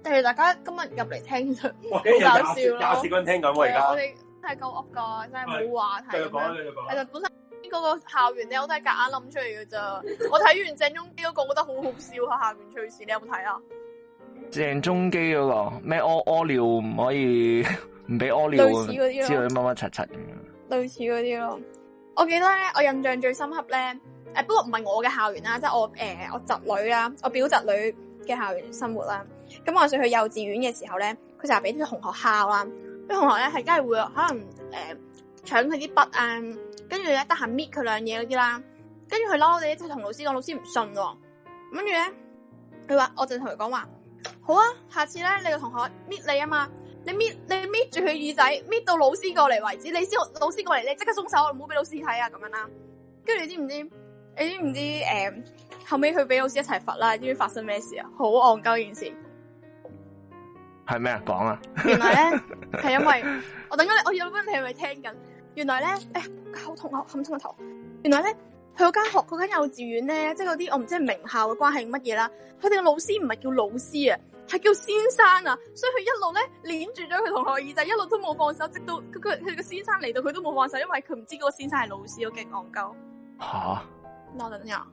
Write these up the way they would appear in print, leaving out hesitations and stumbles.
但係大家今日入嚟聽就好哇搞笑咯。 廿四個人聽緊喎而家。 我哋真係夠噏噶，真係冇話題。 繼續講，繼續講。 其實本身嗰個校園咧，我都係夾硬諗出嚟嘅咋。我睇完鄭中基嗰個，覺得好好笑啊！校園趣事，你有冇睇啊？ 鄭中基嗰個咩屙尿唔可以唔俾屙尿， 類似嗰啲咯， 之類乜乜柒柒咁樣。 類似嗰啲咯。我記得咧，我印象最深刻咧，不過唔係我嘅校園啦，即係我侄女啦，我表侄女嘅校園生活啦。咁話說去幼稚園嘅時候咧，佢成日俾啲同學敲啦，啲同學咧係梗係會可能搶佢啲筆啊，跟住咧得閒搣佢兩嘢嗰啲啦，跟住佢嬲哋，即係同老師講，老師唔信喎，跟住咧佢話，我就同佢講話，好啊，下次咧你個同學搣你啊嘛，你搣住佢耳仔，搣到老師過嚟為止，你先老師過嚟，你即刻鬆手，唔好俾老師睇啊咁樣啦。跟住你知唔知後尾佢俾老師一齊罰啦？你知唔知發生咩事啊？好戇鳩件事。 係咩啊？講啊！ 原來咧係因為我等緊你，我有問你係咪聽緊？原來咧，好痛啊，冚親個頭。原來咧，佢嗰間幼稚園咧，即係嗰啲我唔知係名校嘅關係乜嘢啦。佢哋嘅老師唔係叫老師啊，係叫先生啊。所以佢一路咧捏住咗佢同學耳仔，一路都冇放手，直到佢個先生嚟到，佢都冇放手，因為佢唔知嗰個先生係老師，我勁戇鳩。 吓！ 我等陣。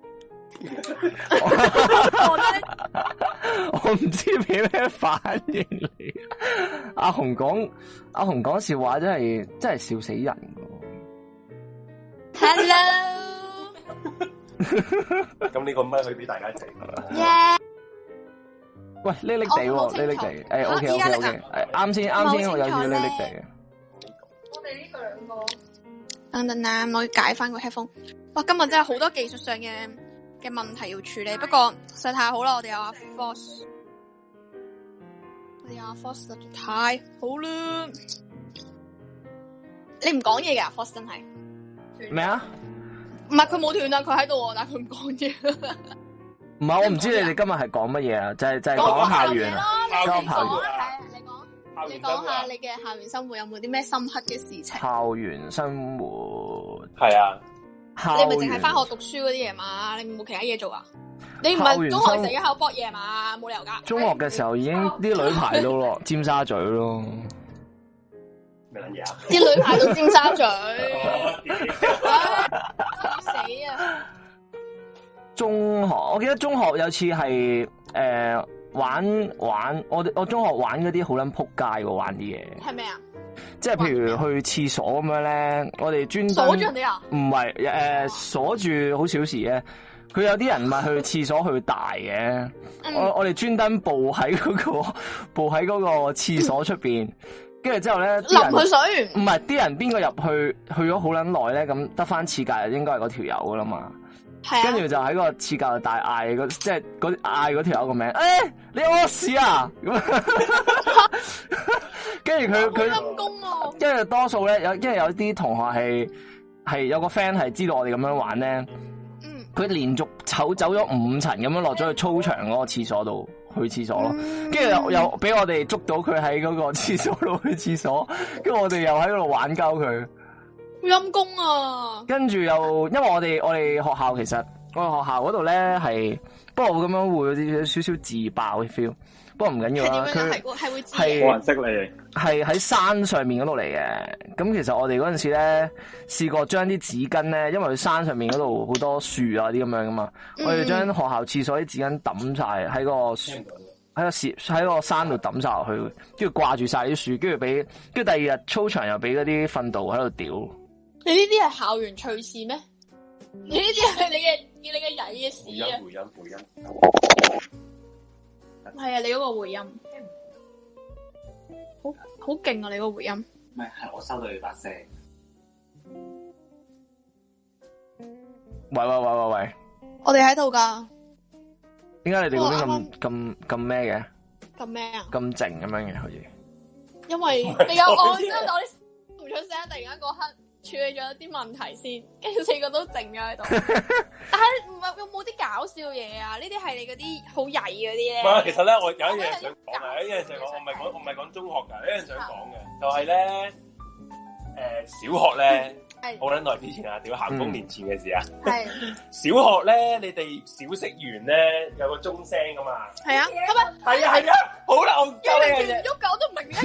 我唔知俾咩反應你。阿紅講笑話真係笑死人噶。 Hello。 咁呢個咪可以俾大家睇。 Yeah。 喂，叻叻地喎，叻叻地。OK。啱先，我有少叻叻地。 我哋呢個兩個。等等啊，我要解翻個 headphone。哇，今日真係好多技術上嘅問題要處理，不過實在太好啦！我哋有阿 Force， 實在太好啦！你唔講嘢㗎 Force 真係咩啊？ 唔係佢冇斷啊，佢喺度，但係佢唔講嘢。 唔係，我唔知你哋今日係講乜嘢啊？就係講校園啊，講校園。 你講下你嘅校園生活有冇啲咩深刻嘅事情？ 校園生活係啊。 你咪淨係翻學讀書嗰啲嘢嘛？你冇其他嘢做啊？你唔係中學成日喺度搏嘢嘛？冇理由噶。 中學嘅時候已經啲女排到咯，尖沙咀咯。 咩撚嘢啊？ 啲女排到尖沙咀，死啊！ 中學，我記得中學有次係玩，我中學玩嗰啲好撚撲街喎，玩啲嘢。係咩啊？即係譬如去廁所咁樣咧，我哋專登鎖住人哋啊？唔係鎖住好小事嘅。佢有啲人咪去廁所去大嘅，我哋專登步喺嗰個廁所出邊，跟住之後咧淋佢水。唔係啲人邊個入去咗好撚耐咧，咁得翻廁格應該係嗰條友噶啦嘛。跟住就喺個廁格度大嗌，即係嗌嗰條友個名，你屙屎啊！跟住佢陰公喎。跟住多數咧因為有啲同學係有個 friend 係知道我哋咁樣玩咧，佢連續走咗5層咁樣落咗去操場嗰個廁所度去廁所咯，跟住又俾我哋捉到佢喺嗰個廁所度去廁所，跟住我哋又喺嗰度玩鳩佢。陰公啊！跟住又，因為我哋學校其實我哋學校嗰度咧係，不過我咁樣會有少少自爆嘅 feel， 不過唔緊要啦。佢係會冇人識你，係喺山上面嗰度嚟嘅。咁其實我哋嗰陣時咧試過將啲紙巾咧，因為佢山上面嗰度好多樹啊啲咁樣噶嘛，我哋將學校廁所啲紙巾抌晒喺個山度抌晒落去，跟住掛住晒啲樹，跟住第二日操場又俾嗰啲訓導喺度屌。 你呢啲係校園趣事咩？你呢啲係你嘅曳嘅事啊！回音，係啊！你嗰個回音，好勁啊！你嗰個回音， 唔係我收到你把聲。 喂！ 我哋喺度噶。 點解你哋嗰邊咁咩嘅？ 咁咩啊？ 咁靜咁樣嘅，好似。因為你有我，之後我啲唔出聲，突然間嗰刻。處理咗一啲問題先，跟住4個都靜咗喺度。但係唔係有冇啲搞笑嘢啊？呢啲係你嗰啲好曳嗰啲咧。唔係，其實咧我有一樣想講嘅，一樣想講，我唔係講中學㗎，一樣想講嘅，就係咧小學咧，好撚耐之前啊，屌咸豐年前嘅事啊。係小學咧，你哋小息完咧有個鐘聲㗎嘛？係啊，係咪？係啊，好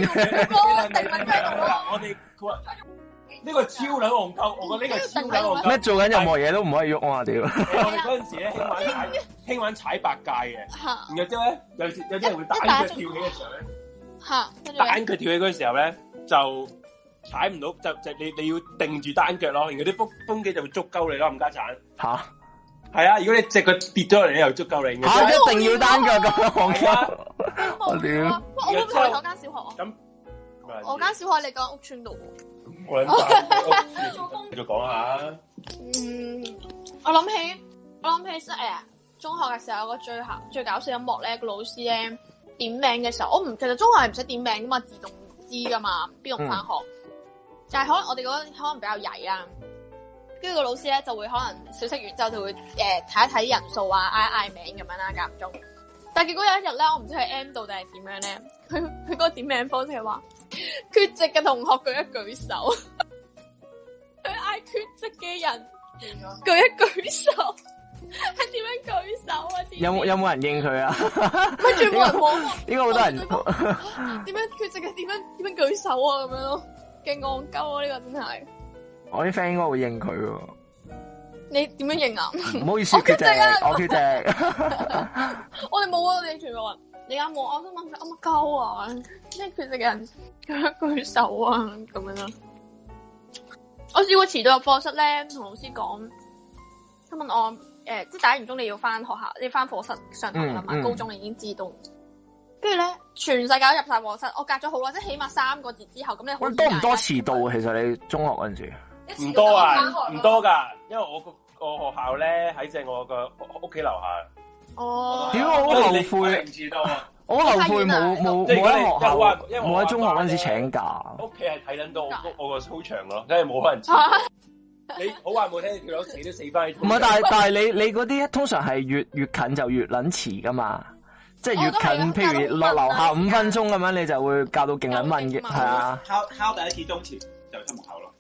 我哋呢個超撚戇鳩，我覺得呢個超撚戇鳩。 咩做緊任何嘢都唔可以喐啊！屌！ 我哋嗰陣時咧興玩踩白界嘅，然後之後咧有啲人會單腳跳起嘅時候咧，單腳跳起嗰個時候咧就踩唔到，就你要定住單腳咯，然後啲風機就會捉鳩你咯，冚家鏟。嚇！係啊！如果你隻腳跌咗落嚟，又捉鳩你。 一定要單腳咁樣戇鳩。 我屌！我會唔會去嗰間小學啊？ 咁我間小學喺你間屋村度。 我諗繼續講下。 我諗起中學嘅時候有個最搞笑音樂咧，個老師咧點名嘅時候，其實中學係唔使點名噶嘛，自動知噶嘛，邊度翻學。但係可能我哋嗰可能比較曳啦，跟住個老師咧就會可能小息完之後就會睇一睇人數啊，嗌名咁樣啦，間唔中。但係結果有一日咧，我唔知係 M 到定係點樣咧，佢嗰個點名方式係話缺席嘅同學舉一舉手，佢嗌缺席嘅人舉一舉手，係點樣舉手啊？ 有冇人應佢啊？ 跟住冇人望， 應該好多人。 點樣缺席嘅？點樣舉手啊？咁樣咯，勁戇鳩啊！呢個真係。我啲 friend 應該會應佢喎。 你點樣應啊？ 唔好意思，缺席啊！我缺席。 我哋冇啊！我哋全部人。你啱冇？我想問佢乜鳩啊？咩缺席嘅人舉手啊？咁樣咯。我試過遲到入課室咧，同老師講，佢問我即係打完鐘你要翻學校，你翻課室上堂啦嘛？高中已經自動。跟住咧，全世界都入晒課室，我隔咗好耐，即係起碼3個字之後，咁你好多唔多遲到啊？其實你中學嗰陣時唔多啊，唔多㗎，因為我個學校咧喺正我個屋企樓下。 哦，屌我好後悔，我好後悔冇喺學校，冇喺中學嗰陣時請假。 屋企係睇緊到我個操場咯，真係冇可能遲。你好話冇聽，佢攞死都死翻。 唔係，但係你嗰啲通常係越近就越撚遲噶嘛，即係越近，譬如落樓下5分鐘咁樣，你就會教到勁撚問嘅，係啊。 敲第一次鐘前就出門口咯。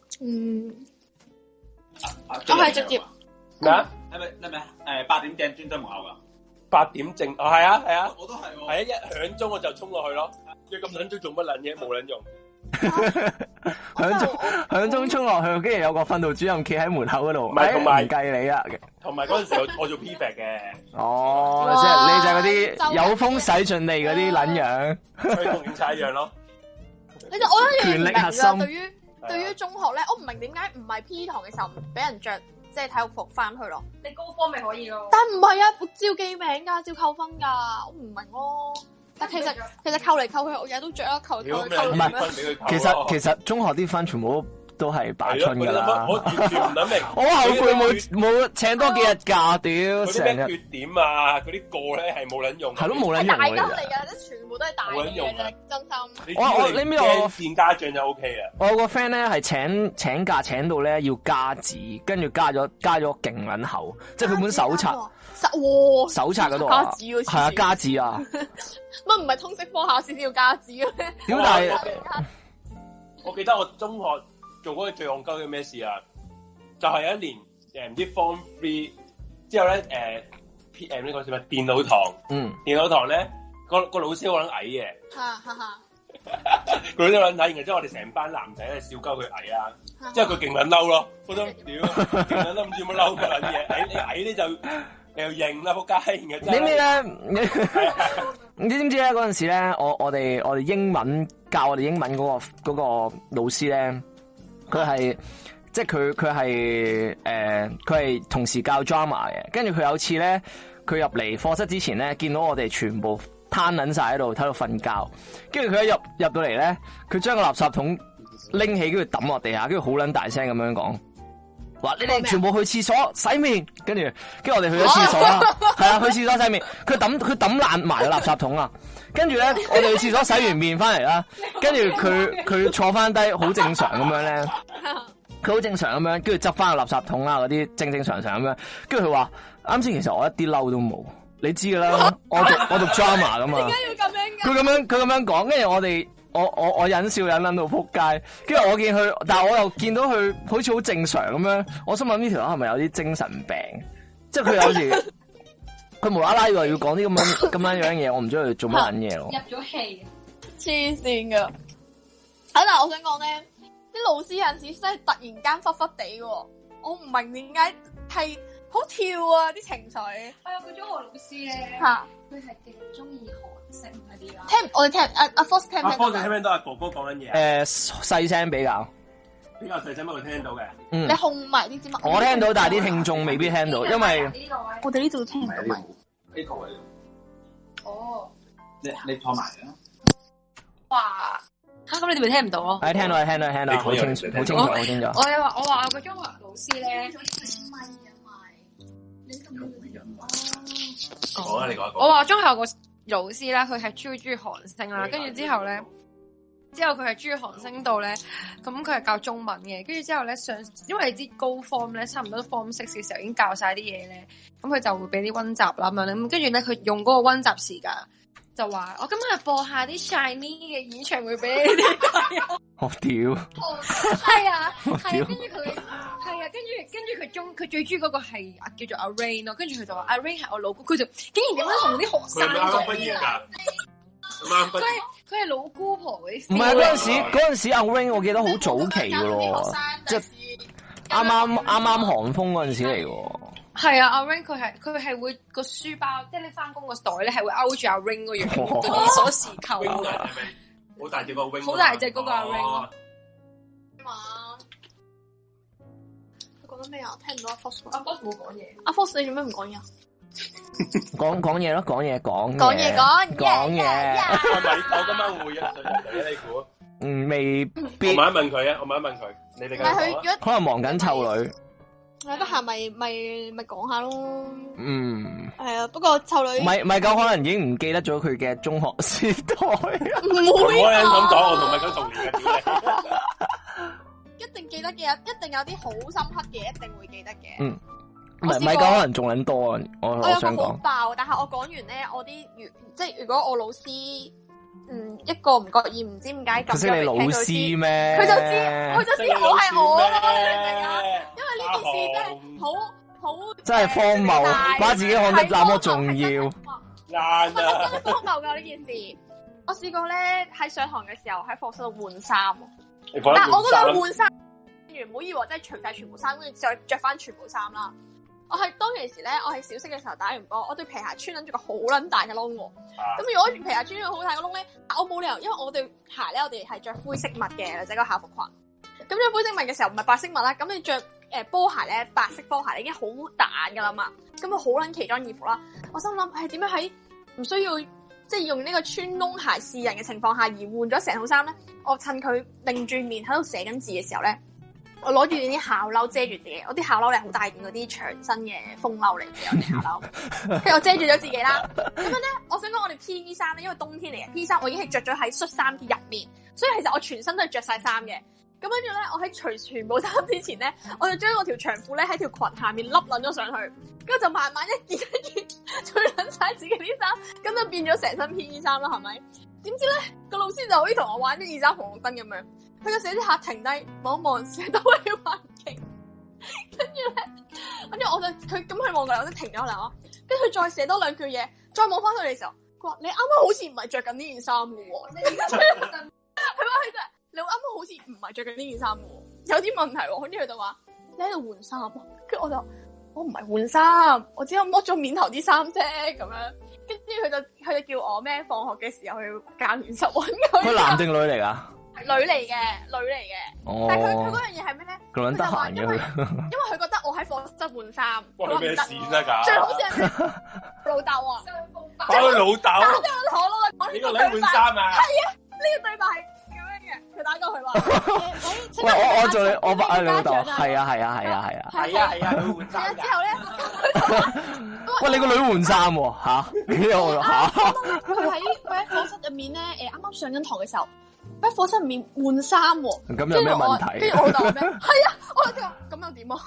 我係直接咩啊？ 係咪8點正專登門口噶 ？8點正，係啊， 我都係喎。 係啊，一響鐘我就衝落去咯。你咁撚鐘做乜撚嘢？冇撚用。 響鐘衝落去，跟住有個訓導主任企喺門口嗰度， 唔係同埋計你啊。 同埋嗰陣時我做 P.F. 嘅。 哦，即係你就嗰啲有風使盡地嗰啲撚樣， 佢同警察一樣咯。 其實我覺得權力核心。 對於中學咧，我唔明點解唔係 P 堂嘅時候唔俾人着即係體育服翻去咯？ 你高科咪可以咯？ 但唔係啊，照記名噶，照扣分噶，我唔明咯。但其實扣嚟扣去，我日日都着啦，扣嚟扣去。 唔係，其實中學啲分全部都係白春噶啦。 我完全唔諗明。 我後悔冇請多幾日假，屌成日。 缺點啊，嗰啲個咧係冇撚用。 係咯，冇撚用。 大家嚟噶，即全部都係大嘅啫，真心。 你咩我見家長就 O K 啊。 我有個 friend 咧係請假請到咧要加紙，跟住加咗勁撚厚，即係佢本手冊。手冊嗰度啊，係啊，加紙啊。 乜唔係通識科考試先要加紙嘅咩？ 點解？ 我記得我中學做嗰個最戇鳩嘅咩事啊？就係有一年唔知 Form 3之後咧呢個叫咩電腦堂？電腦堂咧個老師好撚矮嘅。佢都撚睇，然後之後我哋成班男仔咧笑鳩佢矮啦，之後佢勁撚嬲咯，覺得屌勁撚嬲，唔知乜嬲乜撚嘢，你矮咧就你又認啦，仆街！ 你咩咧？你知唔知咧？嗰陣時咧，我哋英文教我哋英文嗰個老師咧，佢係即係佢係同時教 drama 嘅，跟住佢有次咧，佢入嚟課室之前咧，見到我哋全部攤撚晒喺度瞓覺，跟住佢一入到嚟咧，佢將個垃圾桶拎起，跟住抌落地下，跟住好撚大聲咁樣講。話你哋全部去廁所洗面，跟住我哋去咗廁所啦，係啊，去廁所洗面。佢抌爛埋個垃圾桶啊，跟住咧我哋去廁所洗完面翻嚟啦，跟住佢坐翻低，好正常咁樣咧，佢好正常咁樣，跟住執翻個垃圾桶啊嗰啲正常咁樣，跟住佢話啱先其實我一啲嬲都冇，你知噶啦，我讀 drama 噶嘛，點解要咁樣？佢咁樣講，跟住我忍笑忍撚到撲街，跟住我見佢，但係我又見到佢好似好正常咁樣，我心諗呢條友係咪有啲精神病？即係佢有時佢無啦啦要講啲咁樣樣嘢，我唔知佢做乜撚嘢咯。 入咗戲， 黐線噶！ 但係我想講咧，啲老師有陣時真係突然間忽忽地喎，我唔明點解係好跳啊啲情緒。 我有個中學老師咧，佢係極中意韓星嗰啲啦。 我哋聽阿 Fox 聽唔聽到？ 阿 Fox 聽唔聽到阿哥哥講緊嘢？ 細聲比較細聲，不過聽到嘅。 你控埋啲字幕。 我聽到，但係啲聽眾未必聽到，因為我哋呢度聽唔到咪。 呢個位。 哦。 你拖埋啦。 哇！咁你哋咪聽唔到咯？ 聽到，好清楚。 我話我個中學老師咧。 好啊，你講。 我話中學個老師咧，佢係超中意韓星啦，跟住之後佢係中意韓星到咧，咁佢係教中文嘅，跟住之後咧因為你知高 form 咧，差唔多 form 6嘅時候已經教晒啲嘢咧，咁佢就會俾啲溫習啦咁樣咧，咁跟住咧佢用嗰個溫習時間就話我今日播下啲 Shiny 嘅演唱會俾你哋睇。 我屌！ 係啊，跟住佢最中意嗰個係叫做阿 Rain 咯，跟住佢就話阿 Rain 係我老公，佢就竟然點樣同啲學生講啊？佢係老姑婆嗰啲。唔係嗰陣時阿 Rain 我記得好早期噶咯，即係啱啱韓風嗰陣時嚟喎。 係啊，阿 Rain 佢係會個書包，即係你翻工個袋咧係會勾住阿 Rain 嗰樣嗰啲鎖匙扣嘅。 好大隻個 Rain， 好大隻嗰個阿 Rain。 佢講緊咩啊？聽唔到阿 Fox。 阿 Fox 冇講嘢。 阿 Fox 你做咩唔講嘢啊？ 講嘢咯，講嘢。 我今晚會啊，你估？ 未必。 我問一問佢，你哋繼續講。 可能忙緊湊女。 得閒咪講下咯。係啊，不過湊女咪夠可能已經唔記得咗佢嘅中學時代。 唔會啊！ 咁講，我同咪講童年嘅。 一定記得嘅，一定有啲好深刻嘅，一定會記得嘅。 咪夠可能仲撚多啊！我想講。 好爆，但係我講完咧，我啲即係如果我老師一個唔覺意唔知點解咁識你老師咩？ 佢就知我係我咯，你明唔明啊？因為呢件事真係好真係荒謬，把自己看得那麼重要。 真係荒謬㗎呢件事。我試過咧喺上堂嘅時候喺課室度換衫，但係我嗰度換衫完唔好以為真係除晒全部衫，跟住再着翻全部衫啦。我係當其時咧，我係小息嘅時候打完波，我對皮鞋穿緊住個好撚大嘅窿喎。咁如果皮鞋穿咗個好大嘅窿咧，我冇理由，因為我對鞋咧，我哋係着灰色襪嘅，或者個校服裙。咁着灰色襪嘅時候唔係白色襪啦，咁你着波鞋咧，白色波鞋已經好彈噶啦嘛。咁佢好撚奇裝異服啦。我心諗係點樣喺唔需要即係用呢個穿窿鞋示人嘅情況下而換咗成套衫咧？我趁佢擰住面喺度寫緊字嘅時候咧。我攞住啲校褸遮住自己，我啲校褸咧好大件嗰啲長身嘅風褸嚟嘅，我啲校褸，跟住我遮住咗自己啦。咁樣咧，我想講我哋 P.E. 衫咧，因為冬天嚟嘅 P.E. 衫我已經係着咗喺恤衫嘅入面，所以其實我全身都係着晒衫嘅。咁跟住咧，我喺除全部衫之前咧，我就將我條長褲咧喺條裙下面笠撚咗上去，跟住就慢慢一件一件除撚晒自己啲衫，咁就變咗成身 P.E. 衫啦，係咪？點知咧個老師就好似同我玩啲2盞紅綠燈咁樣。佢個寫字客停低望一望成周圍環境，跟住我就佢望過嚟，我都停咗落嚟咯。跟住佢再寫多兩句嘢，再望翻佢哋嘅時候，佢話你啱啱好似唔係着緊呢件衫嘅喎。你而家係話佢就你啱啱好似唔係着緊呢件衫嘅喎，有啲問題喎。跟住佢就話你喺度換衫啊。跟住我唔係換衫，我只係剝咗面頭啲衫啫咁樣。跟住佢就叫我咩放學嘅時候去教練室揾佢。 佢男定女嚟㗎？ 女嚟嘅。但係佢嗰樣嘢係咩咧？ 佢撚得閒嘅因為佢覺得我喺課室換衫， 關咩事啫㗎？ 最好似係老豆啊！ 包佢老豆。 你個女換衫啊？ 係啊，呢個對白係咁樣嘅。佢打過去話： 喂，我做你，我把你老豆。係啊， 佢換衫。 之後咧， 喂，你個女換衫喎嚇？ 佢喺課室入面咧，啱啱上緊堂嘅時候。喺課室入面換衫喎， 咁有咩問題？ 跟住我老豆話咩？係啊，我就話咁又點啊？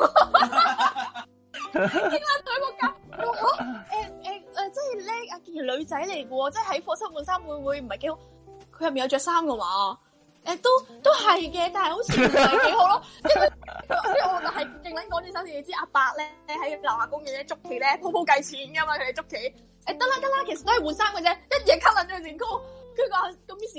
傾下對個夾，即係咧，阿健女仔嚟嘅喎，即係喺課室換衫會唔會唔係幾好？佢入面有着衫嘅嘛？都係嘅，但係好似唔係幾好咯。跟住我就係勁撚講住手，你知阿伯咧喺樓下公園咧捉棋咧鋪計錢㗎嘛，佢哋捉棋。得啦，其實都係換衫嘅啫，一嘢 cut 撚咗佢件褲。跟住話咁於是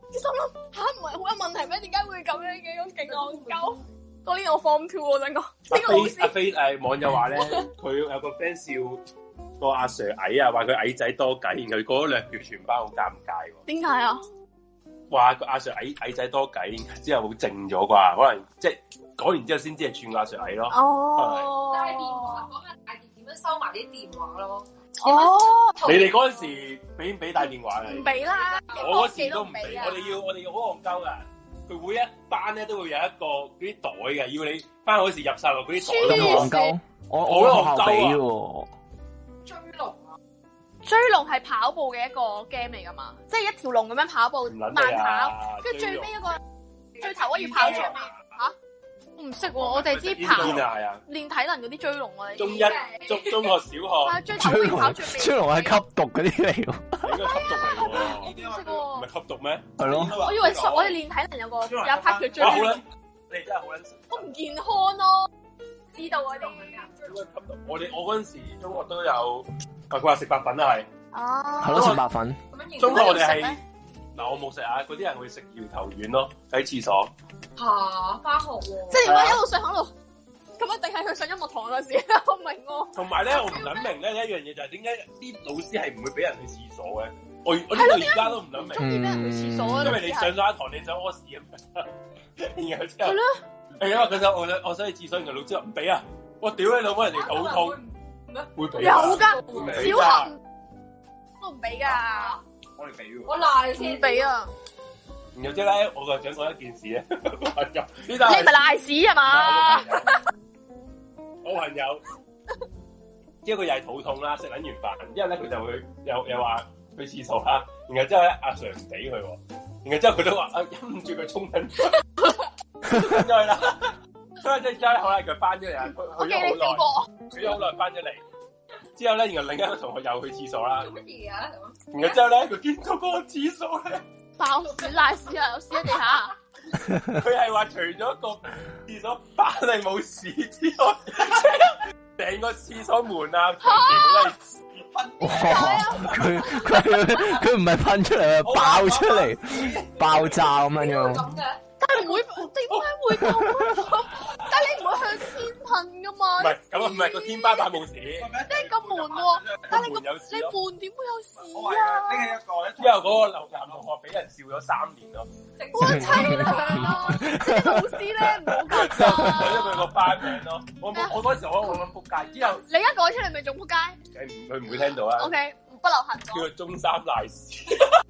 心諗吓唔係好有問題咩？點解會咁樣嘅？咁勁戇鳩。嗰年我 Form 2我想講。 阿飛網友話咧，佢有個 friend 笑個阿 Sir 矮啊，話佢矮仔多計，然後過咗2個月全班好尷尬喎。 點解啊？ 話個阿 Sir 矮仔多計，之後好靜咗啩？可能即係講完之後先知係串個阿 Sir 矮咯。 哦。 但係電話講下大電點樣收埋啲電話咯。 哦。 你哋嗰陣時俾唔俾帶電話嘅？ 唔俾啦。 我嗰時都唔俾。我哋要好戇鳩噶。佢每一班咧都會有一個嗰啲袋嘅，要你翻嗰時入晒落嗰啲袋。 咁戇鳩，我學校俾喎。 追龍啊！ 追龍係跑步嘅一個 game 嚟噶嘛，即係一條龍咁樣跑步，慢跑，跟住最尾一個最頭嗰要跑出嚟。吓？我唔識喎，我哋知跑練體能嗰啲追龍我哋。 中學、小學。 追頭嗰要跑最尾。 追龍係吸毒嗰啲嚟喎。 應該吸毒嚟喎。 唔識喎。 唔係吸毒咩？ 係咯。 我以為我哋練體能有一 part 叫追龍。 好撚，你真係好撚。 好唔健康咯，知道嗰啲。 應該吸毒。我嗰陣時中學都有，佢話食白粉啊係。 哦。 係咯，食白粉。 中學我哋係嗱，我冇食啊，嗰啲人會食搖頭丸咯，喺廁所。 嚇！返學喎。即係點解一路上喺度？咁一定係佢上音樂堂嗰時，我明喎。 同埋咧，我唔諗明咧一樣嘢就係點解啲老師係唔會俾人去廁所嘅？我呢個而家都唔諗明。 中意俾人去廁所啊！ 因為你上咗一堂，你想屙屎咁樣，然後之後係咯。 係因為佢就我想去廁所，然後老師話唔俾啊！我屌你老母，人哋肚痛，會俾有㗎，小學都唔俾㗎。 我哋俾喎。 我賴先俾啊！ 然後之後咧，我就想講一件事咧，你咪賴屎係嘛？ 我朋友，之後佢又係肚痛啦，食撚完飯，之後咧佢就會又話去廁所啦，然後之後咧阿 Sir 唔俾佢喎，然後之後佢都話忍唔住佢衝緊咗去啦，所以即係後來佢翻咗嚟啊， 我記你死過， 佢咗好耐翻咗嚟，之後咧然後另一個同學又去廁所啦， 乜嘢啊？ 然後之後咧佢見到嗰個廁所咧。 爆屎賴屎啊！有屎喺地下。 佢係話除咗個廁所板係冇屎之外，成個廁所門啊，全部都係屎噴。 佢唔係噴出嚟啊，爆出嚟，爆炸咁樣樣。 但係唔會，點解會咁？但係你唔會向天噴噶嘛？ 唔係咁啊，唔係個天花板冇屎， 即係個門喎。但係你門點會有屎啊？ 呢係一個之後嗰個男同學俾人笑咗3年咯。 我凄涼咯！啲老師咧唔好咁啊！ 改咗佢個班名咯。我嗰時我諗仆街，之後你一改出嚟咪仲仆街？ 佢唔會聽到啊。 O K，不流行。 叫佢中三賴屎。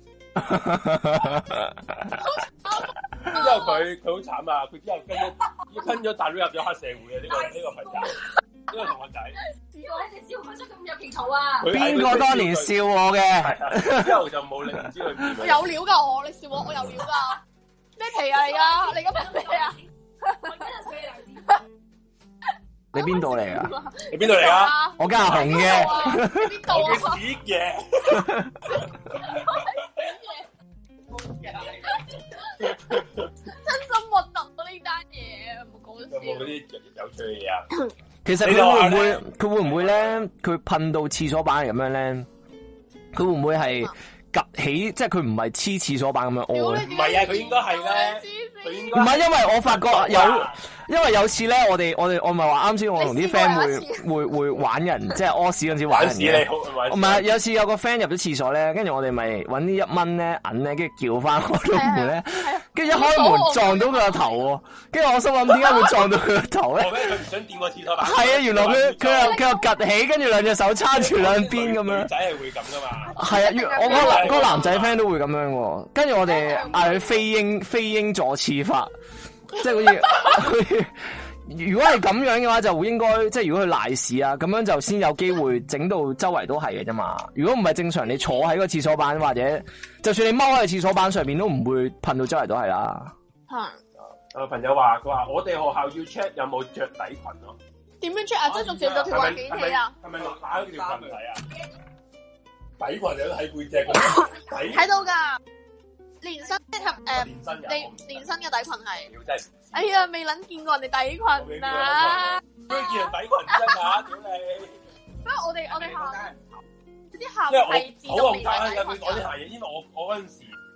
之後佢好慘啊！佢之後跟咗大佬入咗黑社會啊！呢個朋友，呢個同學仔。 你哋笑佢出咁有皮草啊！ 邊個當年笑我嘅？ 之後就冇理，唔知佢邊。 我有料㗎我，你笑我有料㗎。咩皮啊？你咁係咩啊？ 你邊度嚟啊？ 你邊度嚟啊？ 我家下紅嘅。 你邊度啊？ 我屎嘅。 真心核突啊！呢單嘢唔好講笑。 有冇嗰啲有趣嘅嘢啊？ 其實佢會唔會咧？佢噴到廁所板係咁樣咧？佢會唔會係趌起？即係佢唔係黐廁所板咁樣屙咧？ 唔係啊！佢應該係咧。佢應該唔係，因為我發覺因為有次咧，我咪話啱先，我同啲 friend 會玩人，即係屙屎嗰陣時玩人嘅。唔係，有次有個 friend 入咗廁所咧，跟住我哋咪揾啲1蚊咧銀咧，跟住叫翻開到門咧，跟住一開門撞到佢個頭喎，跟住我心諗點解會撞到佢個頭咧？ 佢唔想掂個廁所板。 係啊，原來佢又趌起，跟住兩隻手叉住兩邊咁樣。 女仔係會咁噶嘛？ 係啊，我嗰個男仔 friend 都會咁樣喎。跟住我哋嗌佢飛鷹坐廁法。即係好似，如果係咁樣嘅話，就應該即係如果佢賴屎啊，咁樣就先有機會整到周圍都係嘅啫嘛。如果唔係正常，你坐喺個廁所板或者，就算你踎喺個廁所板上面，都唔會噴到周圍都係啦。 我朋友話，佢話我哋學校要 check 有冇着底裙咯。 點樣 check 啊？即係仲着到條環幾起啊？ 係咪落下嗰條裙睇啊？底裙有睇背脊睇到㗎。連身適合連身嘅底裙係，哎呀未撚見過人哋底裙啊！ 都見人底裙啫嘛，屌你！ 不過我哋校啲校係自動免洗底裙。 我啲鞋嘢，因為我嗰陣時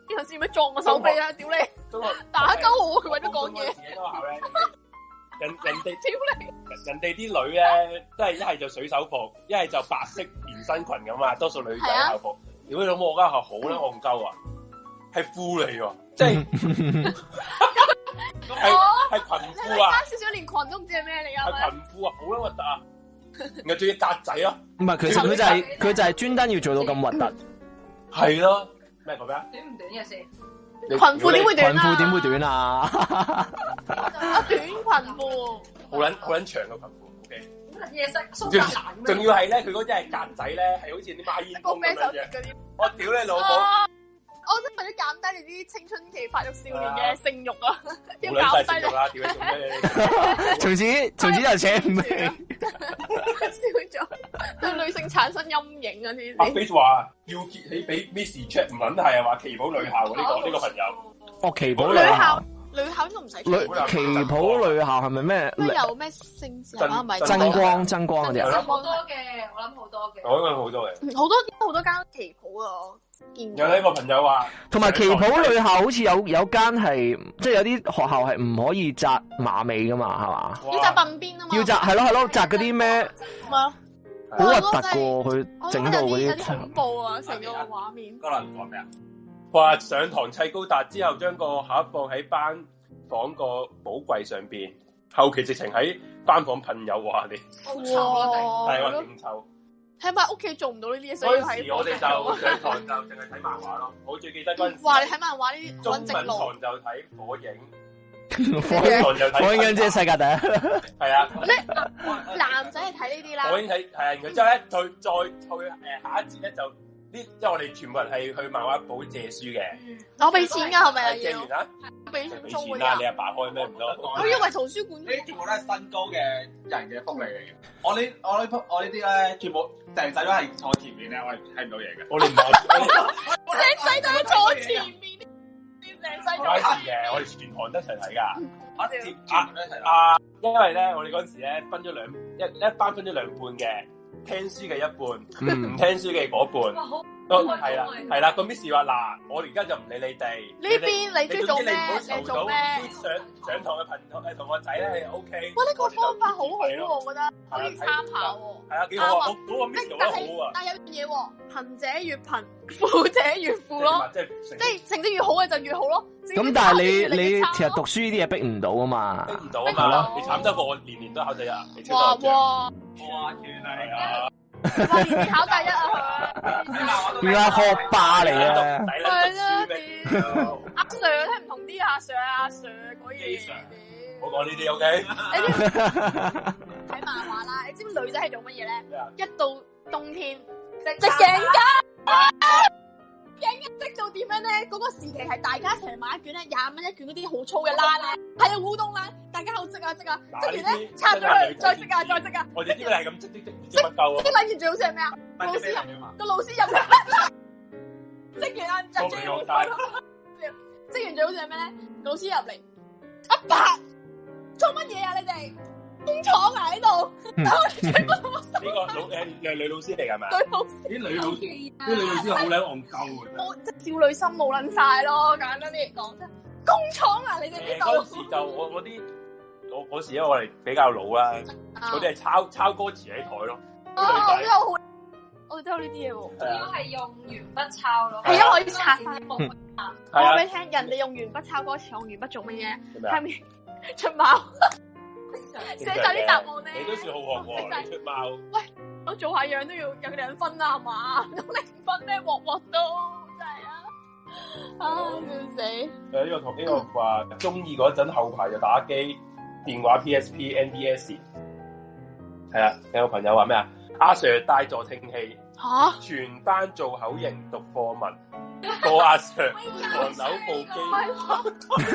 邊頭先咩撞我手臂啊！屌你，打鳩我，佢為咗講嘢。 人哋啲女咧，都係一係就水手服，一係就白色連身裙咁啊，多數女仔校服。如果你老母我間學校好咧戇鳩啊，係褲嚟喎，即係係裙褲啊！ 少少連裙都唔知係咩嚟噶。 係裙褲啊，好撚核突啊！然後仲要格仔咯。 唔係，其實佢就係專登要做到咁核突。 係咯，咩講咩啊？ 短唔短嘅先？ 裙褲點會短啊？ 裙褲點會短啊？ 啊，短裙褲。 好撚長嘅裙褲 ，OK。 嘢色蘇格蘭仲要係咧，佢嗰啲係格仔咧，係好似啲孖煙通咁樣嘅。我屌你老母！ 我真係為咗減低你啲青春期發育少年嘅性慾啊！要減低你啦，屌你做咩？ 從此就扯唔起。 笑咗，對女性產生陰影啊！呢啲。 阿 Face 話要結起俾 Miss Check 唔撚係啊，話旗袍女校呢個朋友。 哦，旗袍女校。女校應該唔使旗袍女校係咪咩？ 有咩姓氏啊？咪真光嗰啲啊？ 好多嘅，我諗好多嘅。 我諗好多嘅。 好多間旗袍啊！ 有呢個朋友話， 同埋旗袍女校好似有間係，即係有啲學校係唔可以紮馬尾噶嘛，係嘛？ 要紮鬢邊啊嘛。 要紮係咯，紮嗰啲咩？ 係啊。 好核突噶，佢整到嗰啲。 有啲恐怖啊！成個畫面。 嗰輪講咩啊？話上堂砌高達之後，將個盒放喺班房個寶櫃上邊，後期直情喺班房噴油話你， 哇！ 係話勁臭。 喺埋屋企做唔到呢啲嘢，所以喺我哋就上堂就淨係睇漫畫咯。我最記得嗰陣時， 哇！你睇漫畫呢啲中文堂就睇火影， 火影即係世界第一。 係啊， 男仔係睇呢啲啦。 火影睇係啊，然之後咧再去下一節咧就。即係我哋全部人係去漫畫部借書嘅。 我俾錢㗎係咪啊？ 借完啦， 俾錢啦！你阿爸開咩唔多？ 我以為圖書館呢啲全部都係身高嘅人嘅福利嚟嘅。我呢啲咧，全部成世都係坐前面咧，我係睇唔到嘢嘅。 我哋唔係， 成世都係坐前面，成世都係嘅。我哋全行都一齊睇㗎。 我哋全部都一齊睇。 因為咧，我哋嗰陣時咧分咗一班分咗兩半嘅。聽書嘅一半，唔聽書嘅嗰半，係啦。個 Miss 話嗱，我而家就唔理你哋呢邊，你中意做咩？你做咩？ 上堂嘅同學仔咧係 OK。 哇！呢個方法好好喎，我覺得可以參考喎。 係啊，幾好啊！嗰個 Miss 做得好啊。 但係有樣嘢喎，貧者越貧，富者越富咯。即係成績越好嘅就越好咯。 咁但係你其實讀書呢啲嘢逼唔到啊嘛， 逼唔到啊嘛。你慘得過我年年都考第一， 哇！ 原來啊！ 年年考第一啊！ 原來學霸嚟啊！ 係啊！阿 Sir 聽唔同啲阿 Sir 嗰嘢。 唔好講呢啲 OK。 睇漫畫啦，你知唔知女仔係做乜嘢咧？一到冬天，織頸巾。頸巾織到點樣咧？嗰個時期係大家一齊買一卷咧，20蚊一卷嗰啲好粗嘅冷咧，係啊烏冬冷，大家喺度織啊，織完咧拆咗佢，再織啊！ 我哋呢個係咁織乜鳩啊？ 織完最好似係咩啊？個老師入嚟，織完啊，最好織完最好似係咩咧？老師入嚟，阿爸做乜嘢啊？你哋工廠啊喺度？ 呢個係女老師嚟㗎嘛？啲女老師好撚戇鳩嘅。 即少女心冇撚晒咯，簡單啲嚟講啫。工廠啊，你哋呢度？ 嗰時就我嗰時因為我哋比較老啦，佢哋係抄歌詞喺台咯。我哋都有呢啲嘢喎。 主要係用鉛筆抄咯。 係因為可以拆翻。我話俾你聽，人哋用鉛筆抄歌詞，用鉛筆做乜嘢？下面出貓。寫晒啲答案咧， 你都算好學喎，你出貓。 喂，我做下樣都要有2分啦，係嘛？咁0分咩？鑊都真係啊！笑死！ 呢個話中意嗰陣後排就打機、電話 PSP、NDS。係啊，有個朋友話咩啊？阿 Sir 帶助聽器，全班做口型讀課文，個阿 Sir 唐樓部機。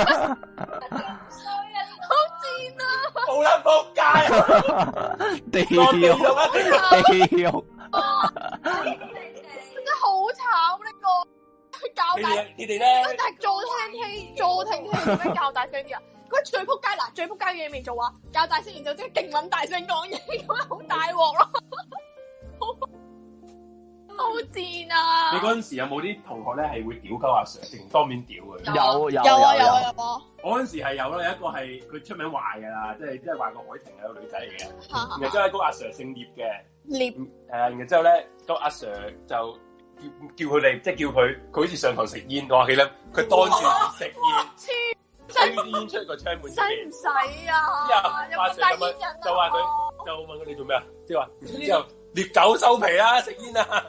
好賤啊！ 好撚仆街， 地獄， 真係好慘呢個教大你哋咧， 但係助聽器點樣教大聲啲啊？佢最仆街嗱，最仆街嘅嘢未做啊！教大聲，然之後即係勁撚大聲講嘢，咁樣好大鑊咯。 好賤啊！ 你嗰陣時有冇啲同學咧係會屌鳩阿 Sir，定當面屌佢？ 有。 我嗰陣時係有咯，有一個係佢出名壞㗎啦，即係壞過海婷係個女仔嚟嘅。然後之後咧，嗰個阿 Sir 姓聶嘅，聶然後之後咧，個阿 Sir 就叫佢哋，即係叫佢好似上堂食煙，我記得佢當住食煙，吹啲煙出個窗門。使唔使啊？ 之後阿 Sir 就話佢，就問佢哋做咩啊？即係話之後獵狗收皮啦，食煙啊！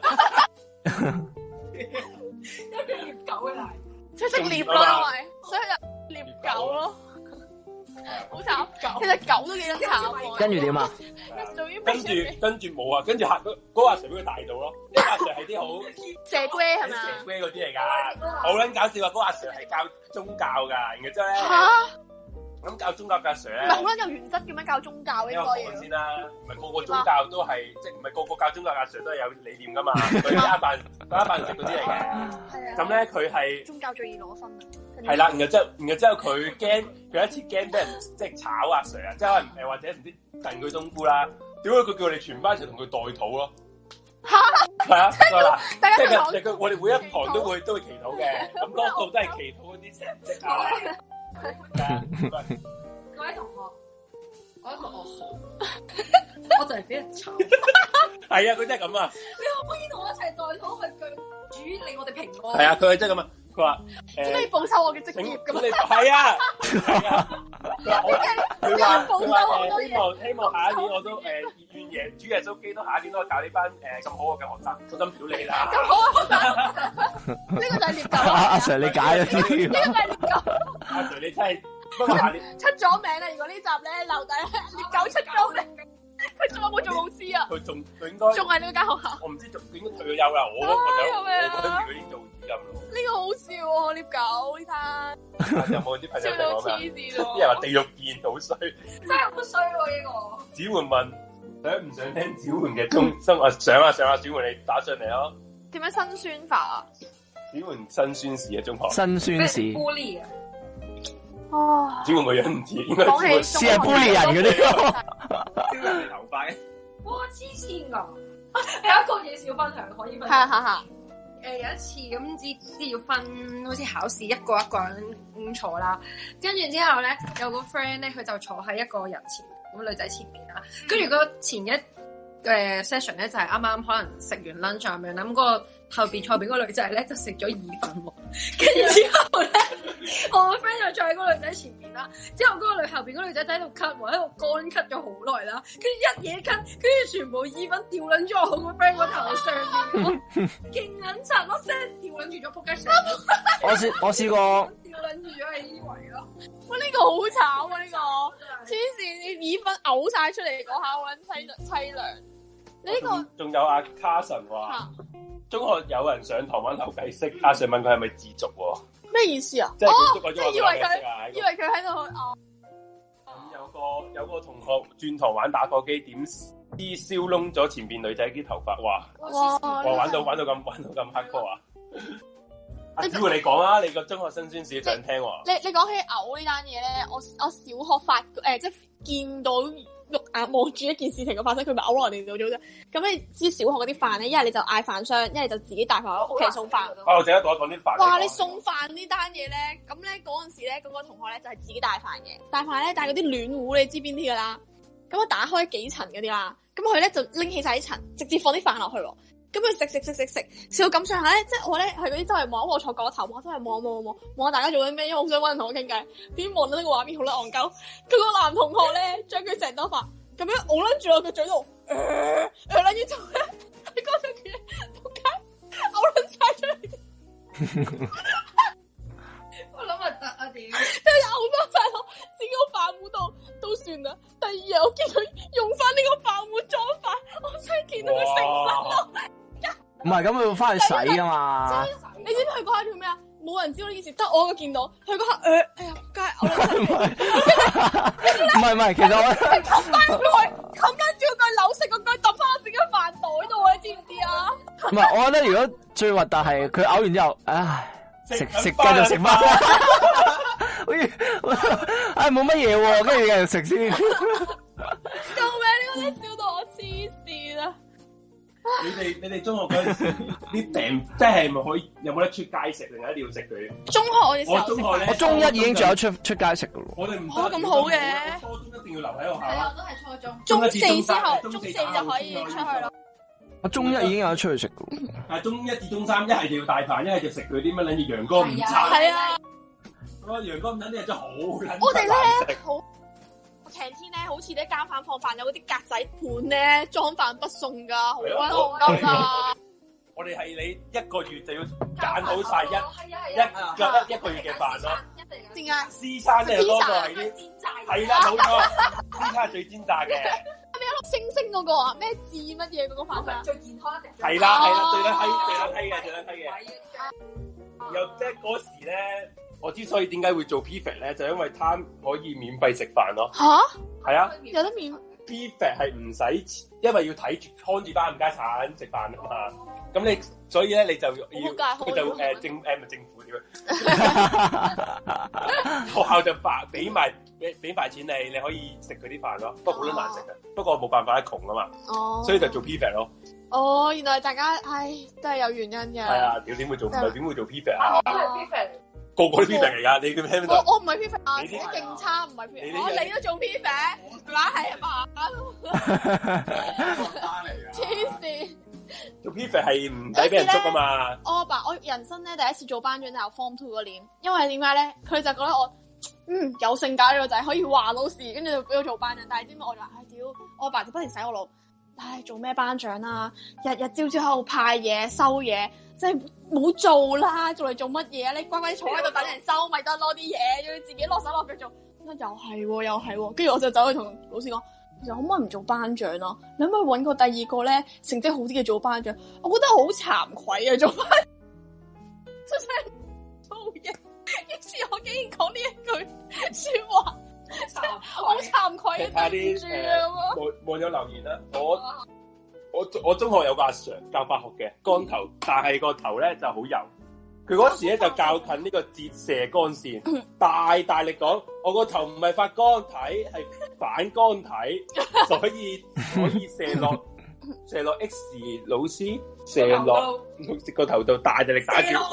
一個獵狗嘅嚟， 即係識獵咯，因為所以就獵狗咯，好慘。其實狗都幾得慘。 跟住點啊？ 跟住冇啊，跟住嗰個阿 Sir 俾佢大到咯。呢個阿 Sir 係啲好蛇龜係咪啊？ 蛇龜嗰啲嚟㗎，好撚搞笑啊！嗰個阿 Sir 係教宗教㗎，然後之後咧。咁教宗教嘅阿 Sir 咧， 唔係好撚有原則嘅咩？教宗教應該要先啦，唔係個個宗教都係，即係唔係個個教宗教嘅阿 Sir 都係有理念噶嘛？佢一扮食嗰啲嚟嘅。咁咧佢係宗教最易攞分啊。 係啦，然後之後佢驚，佢有一次驚俾人即係炒阿 Sir 啊，即係可能或者唔知燉佢冬菇啦，點解佢叫我哋全班一齊同佢代禱咯？係啊，即係佢我哋每一堂都會祈禱嘅，咁多數都係祈禱嗰啲成績啊。 各位同學，我一個噩耗，我就係俾人炒。 係啊，佢真係咁啊！ 你可唔可以同我一齊代禱去主令我哋平安？ 係啊，佢係真係咁啊！佢話可以報酬我嘅職業咁啊！ 係啊，佢話希望下一年我都願耶主耶穌基督下一年都可以教呢班咁好嘅學生，我真表你啦！ 咁好啊，學生，呢個就係獵狗。 阿 Sir 你解咗啲， 呢個就係獵狗。 阿 Sir 你真係不過下年出咗名啦！如果呢集咧留低獵狗出咗名，佢仲有冇做老師啊？ 佢應該仲係呢間學校。 我唔知仲應該退咗休啦。我覺得佢已經做主任咯。 呢個好笑喎，獵狗呢單。 有冇啲朋友講黐線喎！ 啲人話地獄見好衰， 真係好衰喎呢個。 子桓問想唔想聽子桓嘅中生活？想啊！子桓你打上嚟咯。 點樣辛酸法啊？ 子桓辛酸事啊，中學辛酸事。 bully 啊！ 哦， 子桓個樣唔似，應該似係 bully 人嗰啲。 招人哋頭髮。 哇！黐線㗎！有一個嘢小分享可以分享。 係。 有一次咁知要分，好似考試一個人咁坐啦，跟住之後咧有個 friend 咧佢就坐喺一個人前，咁女仔前面啦，跟住嗰前一session 咧就係啱啱可能食完 lunch 咁樣啦，咁個後邊坐邊嗰個女仔咧就食咗意粉喎，跟住之後咧我個 friend 就坐喺嗰個女仔前面啦，之後嗰個後邊嗰個女仔就喺度咳喎，喺度乾咳咗好耐啦，跟住一嘢咳，跟住全部意粉掉撚咗我個 friend 個頭上面，勁撚柒咯，聲掉撚住咗仆街上面。 我試過掉撚住咗喺依圍咯。 哇！呢個好慘啊！呢個黐線，啲意粉嘔晒出嚟嗰下好撚凄涼。你呢個仲有阿 Carson 話，中學有人上堂玩投計骰，阿 Sir 問佢係咪自瀆喎？ 咩意思啊？ 即係以為佢喺度哦。 咁有個同學轉堂玩打火機，點知燒窿咗前邊女仔啲頭髮，哇！玩到咁黑科啊！阿子桓你講啊，你個中學辛酸史想聽喎。 你講起嘔呢單嘢咧，我小學即係見到肉眼望住一件事情嘅發生，佢咪嘔落人哋度咗啫。咁你知小學嗰啲飯咧，一係你就嗌飯箱，一係就自己帶飯喺屋企送飯。 我陣間講啲飯。 哇！你送飯呢單嘢咧，咁咧嗰陣時咧，嗰個同學咧就係自己帶飯嘅，帶飯咧帶嗰啲暖壺，你知邊啲噶啦？咁我打開幾層嗰啲啦，咁佢咧就拎起晒啲層，直接放啲飯落去喎。咁佢食到咁上下咧，即係我咧係嗰啲周圍望，我坐過頭，我周圍望下大家做緊咩，因為我好想搵人同我傾偈。點望到呢個畫面好撚戇鳩，佢個男同學咧將佢成兜飯咁樣㧬撚住落個嘴度，撚住做咧，你嗰陣時仆街嘔撚晒出嚟。 我諗係得啊屌！ 即係嘔翻晒落自己個飯壺度都算啦。第二日我見佢用翻呢個飯壺裝飯，我真係見到佢成身咯。 唔係咁，佢要翻去洗噶嘛？ 你知唔知佢嗰下叫咩啊？冇人知道呢件事，得我一個見到。佢嗰下哎呀，仆街唔係，其實我冚翻住個扭食個句揼翻我自己個飯袋度，你知唔知啊？ 唔係，我覺得如果最核突係佢嘔完之後，唉，食繼續食翻，好似唉冇乜嘢喎，跟住繼續食先。 救命！呢個真係笑到我黐線啊！ 你哋中學嗰陣時啲訂，即係咪可以有冇得出街食，定係一定要食佢？ 中學我哋我中學咧， 我中一已經仲有出街食噶咯。 我哋唔咁好嘅。 初中一定要留喺學校。 係啊，我都係初中。 中四之後，中四就可以出去咯。 我中一已經有得出去食噶。 但係中一至中三，一係就要帶飯，一係就食佢啲乜撚嘢陽光午餐。 係啊。 嗰陽光午餐啲嘢真係好撚。 我哋咧好。canteen 咧，好似啲監飯放飯有嗰啲格仔盤咧，裝飯不送噶，好鬼戇鳩噶。 我哋係你一個月就要揀好晒一個月嘅飯咯。 點解 ？C 餐咧多過係啲煎炸。係啦，冇錯，C 餐係最煎炸嘅。 係咪有粒星星嗰個啊？咩字乜嘢嗰個飯啊？ 最健康一定。 係啦，最撚閪嘅。又即係嗰時咧。我之所以點解會做 PFAT 咧，就因為貪可以免費食飯咯。 吓？係啊，有得免。 PFAT 係唔使，因為要睇住看住班冚家鏟食飯啊嘛。咁你所以咧，你就要佢就政府點樣？學校就俾埋錢你可以食佢啲飯咯。不過好多難食嘅，不過冇辦法，窮啊嘛。哦。所以就做 PFAT 咯。 哦，原來大家都係有原因嘅。係啊，點會做 PFAT 啊？ 我都係 PFAT。 個個都 PFAT 嚟㗎，你叫聽唔到？ 我唔係 PFAT 啊，我勁差，唔係 PFAT。你都做 PFAT，係嘛？黐線！ 做 PFAT 係唔使俾人捉㗎嘛？ 我人生咧第一次做班長就係 Form 2嗰年，因為點解咧？佢就覺得我有性格呢個仔可以話老師，跟住就俾我做班長。但係點解我就話屌，我爸就不停洗我腦。做咩班長啊？日日朝朝喺度派嘢收嘢，即係冇做啦，做嚟做乜嘢啊？你乖乖坐喺度等人收咪得咯，啲嘢要自己落手落腳做。又係喎，跟住我就走去同老師講，其實可唔可以唔做班長咯？你可唔可以搵個第二個咧成績好啲嘅做班長？我覺得好慚愧啊，做班出聲做嘢，於是我竟然講呢一句說話。好慚愧啊！對住啊！ 冇有留言啦。我中學有個阿 Sir 教化學嘅，光頭，但係個頭咧就好油。佢嗰時咧就較近呢個折射光線，大力講，我個頭唔係發光體，係反光體，所以射落 X 老師射落個頭度，大力打住。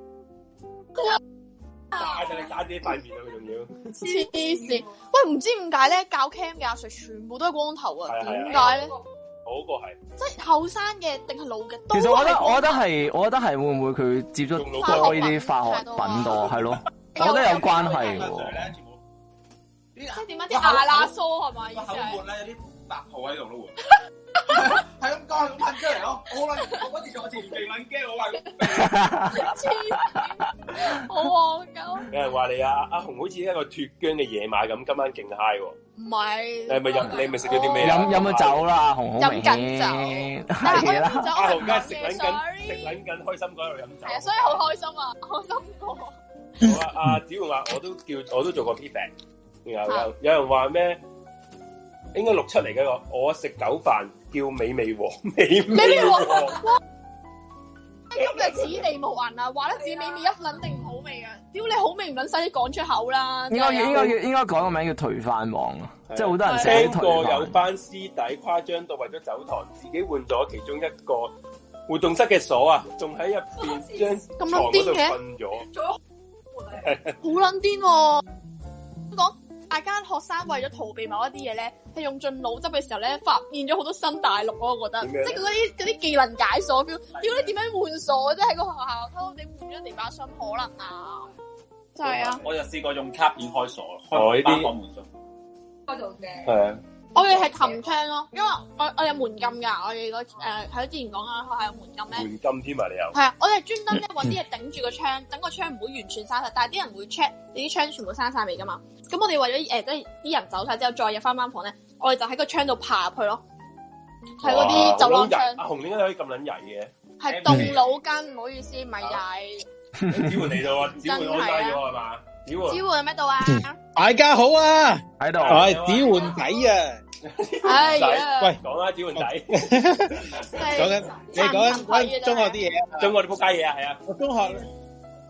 大力打自己塊面啊！佢仲要黐線，喂，唔知點解咧？教 Cam 嘅阿 Sir 全部都係光頭啊？點解咧？ 嗰個係即係後生嘅定係老嘅？ 其實我覺得係會唔會佢接觸多呢啲化學品多？係咯，我覺得有關係喎。 即係點解啲阿拉蘇係咪？意思係口咧有啲白泡喺度咯喎。係咁講，係咁噴出嚟咯。我嗰次做前鼻敏驚，我話好戇鳩。 有人話你阿紅好似一個脫韁嘅野馬咁，今晚勁 high 喎。 唔係。 你係咪食咗啲咩？ 飲咗酒啦，阿紅好明顯。 飲緊酒。係啦。 阿紅梗係食撚緊，開心嗰度飲酒。 係啊，所以好開心啊，開心過。 好啊，阿子煥話我都做過 PFAT。然後有人話咩？應該67嚟嘅我食狗飯叫美味王，美味王。 今日此地無銀啊！話得自己美味一撚定唔好味啊！屌你好味唔撚使講出口啦！ 應該改個名叫頹飯王啊！即係好多人聽過有班師弟誇張到為咗走堂，自己換咗其中一個活動室嘅鎖啊，仲喺入邊張床嗰度瞓咗， 好撚癲喎！講。大家學生為咗逃避某一啲嘢咧，係用盡腦汁嘅時候咧，發現咗好多新大陸咯。我覺得，即係嗰啲技能解鎖 feel。屌你點樣換鎖？即係喺個學校偷偷地換咗地把鎖，可能啊？就係啊！ 我就試過用卡片開鎖，開班房門鎖。 開到嘅。 係啊。 我哋係擒窗咯，因為我有門禁㗎。我哋嗰喺之前講啊，學校有門禁咧。 門禁添啊！你有？ 係啊，我哋專登咧揾啲嘢頂住個窗，等個窗唔會完全閂晒。但係啲人會 check 你啲窗全部閂晒未㗎嘛？咁我哋為咗即係啲人走晒之後，再入翻班房咧，我哋就喺個窗度爬入去咯。喺嗰啲走廊窗。 阿紅點解可以咁撚曳嘅？ 係動腦筋，唔好意思，唔係曳。 子煥嚟到啊！子煥開低咗係嘛？子煥喺咩度啊？ 大家好啊！ 喺度。 係子煥仔啊！ 喂，講啦，子煥仔。 講緊你講緊中學啲嘢， 中學啲仆街嘢啊，係啊。 我中學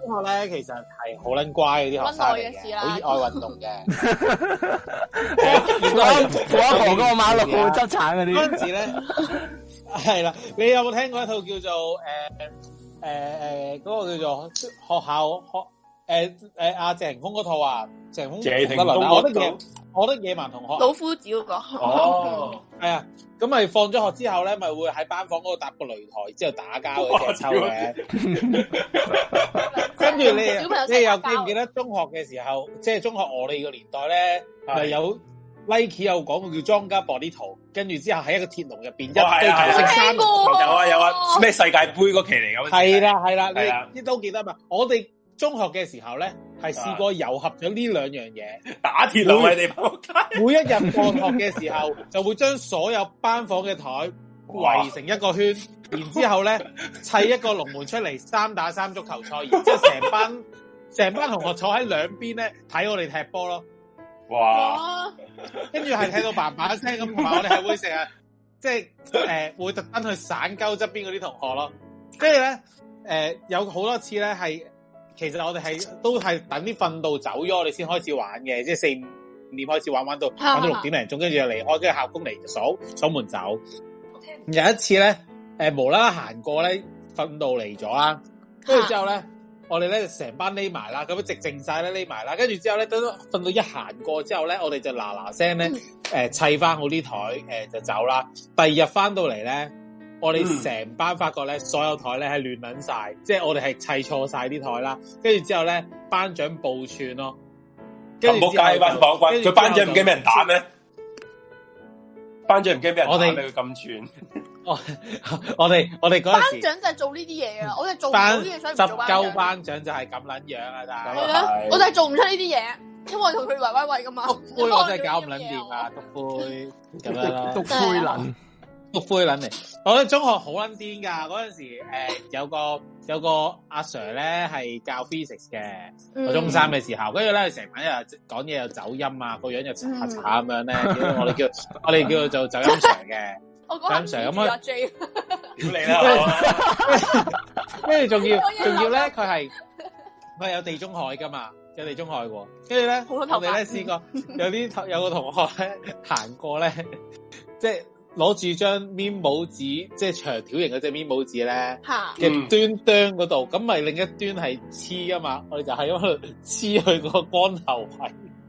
中學咧其實係好撚乖嗰啲學生嚟嘅，好熱愛運動嘅。 我阿婆嗰個馬路執橙嗰啲。 嗰陣時咧，係啦，你有冇聽過一套叫做嗰個叫做學校阿謝霆鋒嗰套啊？謝霆鋒我的野蠻同學。 老夫子嗰個。 哦。 係啊，咁咪放咗學之後咧，咪會喺班房嗰度搭個擂台，之後打交嘅隻抽嘅。跟住你又記唔記得中學嘅時候，即係中學我哋個年代咧，咪有 Nike 有廣告叫莊家 body 圖，跟住之後喺一個鐵籠入邊一堆球色衫， 有啊，咩世界盃嗰期嚟㗎？ 係啦，你都記得嘛？我哋中學嘅時候咧，係試過糅合咗呢兩樣嘢， 打鐵籠喺地方。 每一日放學嘅時候，就會將所有班房嘅台圍成一個圈，然之後咧砌一個龍門出嚟，3打3足球賽，然之後成班同學坐喺兩邊咧睇我哋踢波咯。 哇！ 跟住係睇到叭叭聲咁，同埋我哋係會成日即係會特登去散鳩側邊嗰啲同學咯。跟住咧有好多次咧係。其實我哋都係等啲訓導走咗，我哋先開始玩嘅，即係4、5點開始玩到6點零鐘，跟住就離開，跟住校工嚟就鎖門走。有一次咧，無啦啦行過咧，訓導嚟咗啦，跟住之後咧，我哋咧就成班匿埋啦，咁樣直靜晒咧匿埋啦，跟住之後咧，等訓導一行過之後咧，我哋就嗱聲咧，砌翻好啲台，就走啦。第二日翻到嚟咧。我哋成班發覺咧，所有台咧係亂撚晒，即係我哋係砌錯晒啲台啦。跟住之後咧，班長報串咯。跟住之後， 佢班長唔驚俾人打咩？班長唔驚俾人打咩？佢咁串。 我哋嗰陣時， 班長就係做呢啲嘢啊！我哋做唔到呢啲嘢，所以唔做班長。 執鳩班長就係咁撚樣啊！但係係咯，我就係做唔出呢啲嘢，因為我同佢圍威喂噶嘛。 篤灰我真係搞唔撚掂啊！篤灰咁樣啦， 篤灰撚。 篤灰撚嚟，我覺得中學好撚癲㗎。嗰陣時有個阿 Sir 咧係教 physics 嘅，我中3嘅時候，跟住咧成晚日講嘢又走音啊，個樣又查咁樣咧，我哋叫做走音 Sir 嘅。 我講Sir 咁啊 J， 屌你啦！ 跟住仲要咧，佢係有地中海㗎嘛，有地中海喎。跟住咧，我哋咧試過有個同學咧行過咧，即係。攞住張面帽紙，即係長條形嗰隻面帽紙咧嘅端嗰度，咁咪另一端係黐噶嘛，我哋就喺嗰度黐佢個光頭位。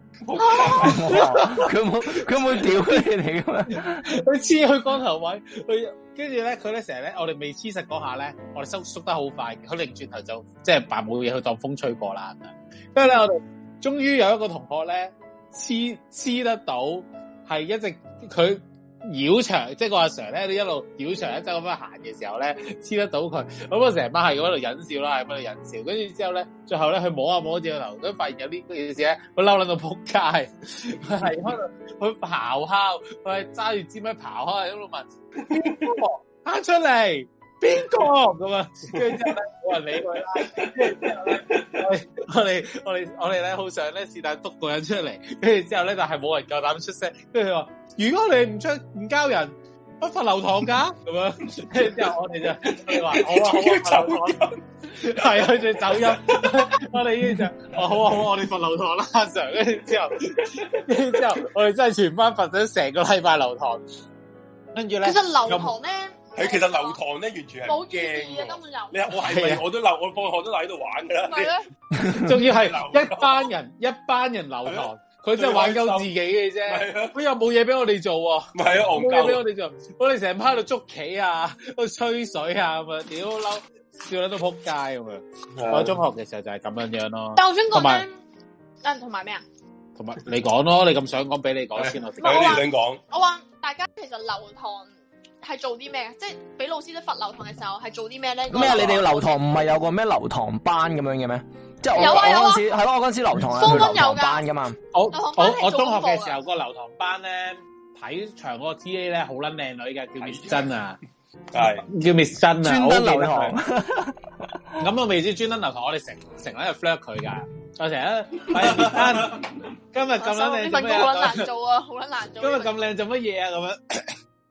佢冇屌你哋噶嘛？佢黐佢光頭位，跟住咧，佢咧成日咧，我哋未黐實嗰下咧，我哋縮得好快，佢擰轉頭就即係扮冇嘢，去當風吹過啦。跟住咧，我哋終於有一個同學咧黐得到，係一直佢。繞牆，即係個阿 Sir 咧，你一路繞牆一周咁樣行嘅時候咧，黐得到佢，咁我成班係喺度忍笑啦，喺度忍笑，跟住之後咧，最後咧，佢摸下摸住個頭，咁發現有呢件事咧，佢嬲撚到仆街，佢係喺度，佢咆哮，佢係揸住支咪咆哮喺度問邊個行出嚟，邊個咁啊？跟住之後咧，冇人理佢啦。跟住之後咧，我哋咧好想咧是但督個人出嚟，跟住之後咧，但係冇人夠膽出聲，跟住佢話。如果你唔交人，不罰留堂噶咁樣，跟住之後我哋就話好啊，係啊，佢走音，我哋呢就好啊，我哋罰留堂啦，阿 Sir，跟住之後，我哋真係全班罰咗成個禮拜留堂，跟住咧， 其實留堂咧， 其實留堂咧完全係冇意義嘅，根本就你我係咪我都留，我放學都留喺度玩噶啦， 係咧， 仲要係一班人留堂。佢真係玩鳩自己嘅啫，佢又冇嘢俾我哋做喎。 唔係啊， 冇嘢俾我哋做，我哋成班喺度捉棋啊，喺度吹水啊，咁啊，屌嬲，笑到都仆街咁樣。我中學嘅時候就係咁樣咯。 但我想講咧，同埋咩啊？ 同埋你講咯，你咁想講俾你講先，我你想講。 我話大家其實留堂係做啲咩？即係俾老師都罰留堂嘅時候係做啲咩咧？ 咩？你哋要留堂唔係有個咩留堂班咁樣嘅咩？即係我嗰陣時係咯，我嗰陣時留堂係去留堂班噶嘛。 我中學嘅時候個留堂班咧，睇場嗰個 T.A. 咧好撚靚女嘅，叫 Miss 珍啊，係叫 Miss 珍啊， 專登留堂。 咁我未知專登留堂，我哋成日喺度 flirt 佢噶，我成日Miss 珍，今日咁撚靚做咩啊？ 好撚難做啊，好撚難做。 今日咁靚做乜嘢啊？咁樣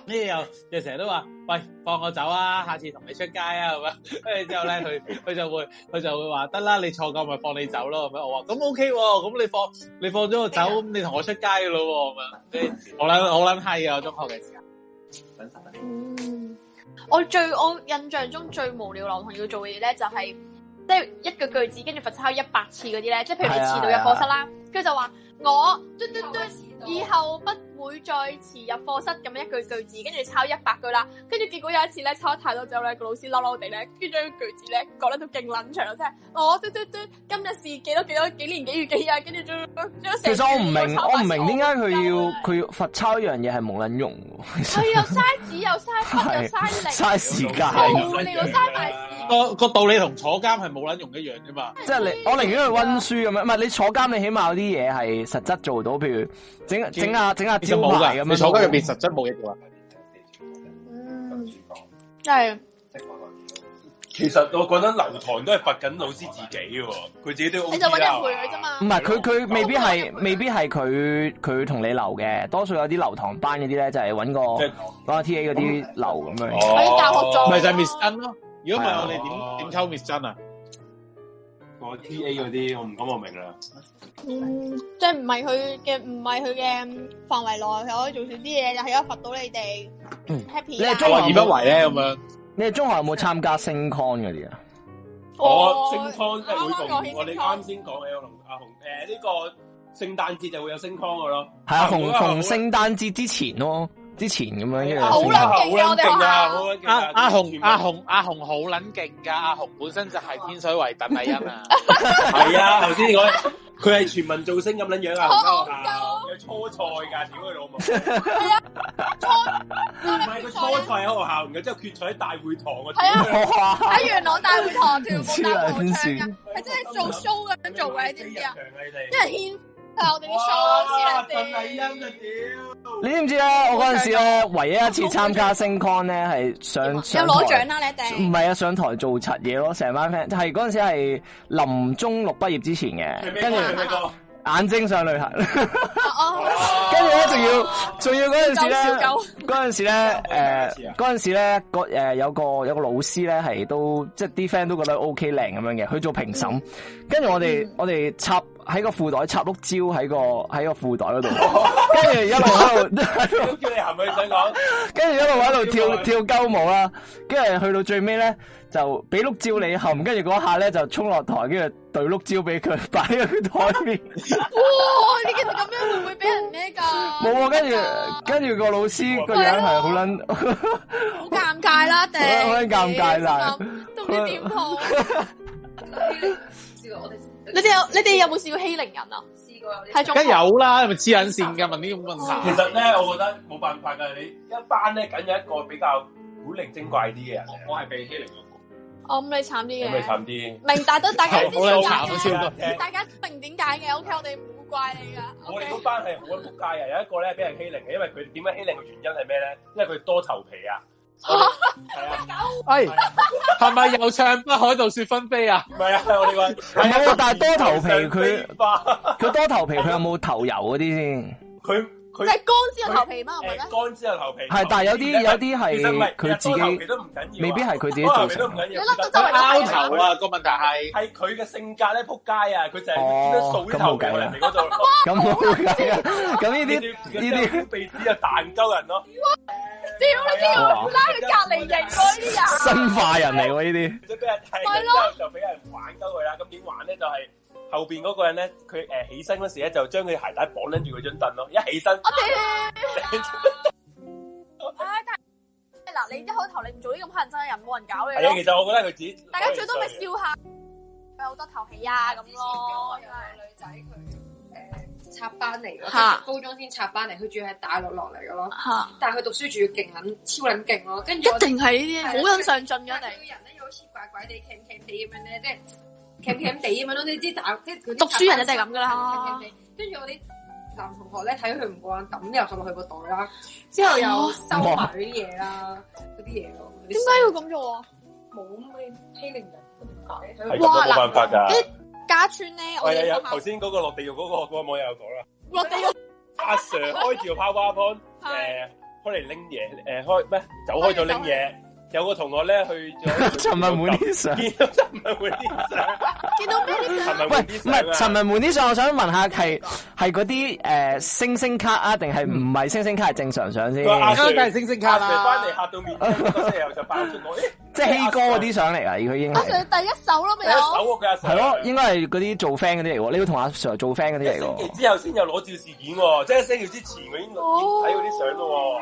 又成日都話，喂，放我走啊，下次同你出街啊，咁樣。跟住之後咧，佢就會話得啦，你錯夠咪放你走咯，咁樣。我話咁 OK 喎，咁你放咗我走，咁你同我出街噶咯喎，咁樣。即係好撚閪啊！中學嘅時間。 我印象中最無聊流堂要做嘅嘢咧，就係即係一個句子跟住罰抄100次嗰啲咧，即係譬如你遲到入課室啦，跟住就話我以後不會再遲入課室咁樣一句句子，跟住抄100句啦，跟住結果有一次咧抄得太多之後咧，個老師嬲嬲地咧，跟住將句子咧講得都勁撚長，即係我今日是幾多幾年幾月幾日，跟住將其實我唔明點解佢要罰抄一樣嘢係冇撚用喎。 係又嘥紙又嘥筆又嘥力， 嘥時間， 無聊嘥埋時間。 個道理同坐監係冇撚用一樣啫嘛。即係我寧願去溫書咁樣，唔係你坐監你起碼有啲嘢係實質做到，譬如整下招牌咁樣。 你坐監入邊實質冇嘢做啊。 真係。 其實我覺得留堂都係罰緊老師自己嘅，佢自己都 OK 啦。你就揾人陪佢啫嘛。 唔係佢未必係佢同你留嘅，多數有啲留堂班嗰啲咧就係揾個 TA 嗰啲留咁樣。 喺教學裝。 咪就係 Miss 珍咯。如果唔係我哋點溝 Miss 珍啊？ 個 TA 嗰啲我唔講我明啦。 即係唔係佢嘅範圍內，佢可以做少啲嘢，就係而家罰到你哋 happy。 你係中學而不為咧咁樣。 你哋中學有冇參加升 con 嗰啲啊？ 我升 con 即係每逢我哋啱先講嘅阿紅呢個聖誕節就會有升 con 嘅咯。係啊， 逢聖誕節之前咯，之前咁樣。 好撚勁啊！ 阿紅好撚勁㗎，阿紅本身就係天水圍鄧麗欣啊。 係啊，頭先講佢係全民造星咁撚樣啊！有初賽㗎，屌佢老母！ 係啊， 唔係佢初賽喺學校，然後之後決賽喺大會堂啊！ 係啊，喺元朗大會堂跳舞大合唱㗎，係真係做 show 咁樣做嘅，你知唔知啊？因為牽係我哋啲 show 鄧麗欣啊屌！ 你知唔知咧？我嗰陣時咧，唯一一次參加升 con 咧係上有攞獎啦，你一定唔係啊？上台做柒嘢咯，成班 friend 係嗰陣時係臨中六畢業之前嘅，跟住眼睛上旅行，跟住咧仲要嗰陣時咧，有個老師咧係都即係啲 friend 都覺得 OK 靚咁樣嘅，去做評審，跟住我哋插喺個褲袋插碌蕉喺個褲袋嗰度，跟住一路喺度叫你係咪想講？ 跟住一路喺度跳鳩舞啦，跟住去到最尾咧就俾碌蕉你含，跟住嗰下咧就衝落台，跟住對碌蕉俾佢擺喺佢台面。 哇！你其實咁樣會唔會俾人咩㗎？ 冇啊，跟住個老師個樣係好撚好尷尬啦，定好撚尷尬啦， 都唔知點好。你哋有冇試過欺凌人啊？試過有啲， 梗有啦，係咪黐撚線㗎？問呢個問題。 其實咧，我覺得冇辦法㗎，你一班咧梗有一個比較古靈精怪啲嘅人。我係被欺凌嗰個。 咁你慘啲嘅。 咁你慘啲。 明大家知點解嘅，大家明點解嘅。OK，我哋唔會怪你㗎。 我哋嗰班係好撚仆街嘅，有一個咧俾人欺凌嘅，因為佢點解欺凌嘅原因係咩咧？因為佢多頭皮啊。 係係咪又唱北海道雪紛飛啊？ 唔係啊，我哋話唔係喎，但係多頭皮佢多頭皮，佢有冇頭油嗰啲先？ 佢即係乾先有頭皮嘛？係咪咧？ 乾先有頭皮。 係，但係有啲係佢自己，未必係佢自己做成。 你甩到周圍拗頭啊！個問題係佢嘅性格咧，仆街啊！佢就係點樣掃啲頭皮人哋嗰度。 咁冇計啊！咁呢啲鼻子就彈鳩人咯。 屌你都要拉佢隔離營喎呢啲人， 生化人嚟喎呢啲。 即係俾人睇，之後就俾人玩鳩佢啦。咁點玩咧？就係後邊嗰個人咧，佢起身嗰時咧，就將佢鞋帶綁緊住佢張凳咯。一起身， 我哋嗱，你一開頭你唔做呢咁乞人憎嘅人，冇人搞你。 係啊，其實我覺得佢自己， 大家最多咪笑下，有好多頭皮啊咁咯。 有個女仔佢插班嚟嘅，高中先插班嚟，佢仲要係大陸落嚟嘅咯。但係佢讀書仲要勁撚超撚勁咯，跟住一定係呢啲好撚上進嘅，一定。 個人咧又好似怪怪地、鉗地咁樣咧，即係鉗地咁樣咯。你知大即係讀書人一定係咁噶啦。 跟住我啲男同學咧睇佢唔慣，抌啲垃圾落去個袋啦，之後又收埋嗰啲嘢啦，嗰啲嘢咯。 點解要咁做啊？ 冇咩欺凌人， 係咁都冇辦法㗎。 家村咧，我哋學校頭先嗰個落地獄嗰個網友有講啦。 落地獄阿 Sir 開住個 PowerPoint， 開嚟拎嘢，開咩？走開咗拎嘢。有個同學咧去咗陳文滿啲相， 見到陳文滿啲相， 見到咩啲相？ 喂，唔係陳文滿啲相，我想問下係嗰啲星星卡啊，定係唔係星星卡係正常相先？ 阿 Sir 梗係星星卡啦， 翻嚟嚇到面青，之後就爆出我， 即係希哥嗰啲相嚟啊！佢已經阿 Sir 第一手咯，咪有。 第一手佢阿 Sir 係咯，應該係嗰啲做 friend 嗰啲嚟喎。你要同阿 Sir 做 friend 嗰啲嚟喎。 星期之後先有裸照事件喎，即係星期之前我已經睇嗰啲相咯。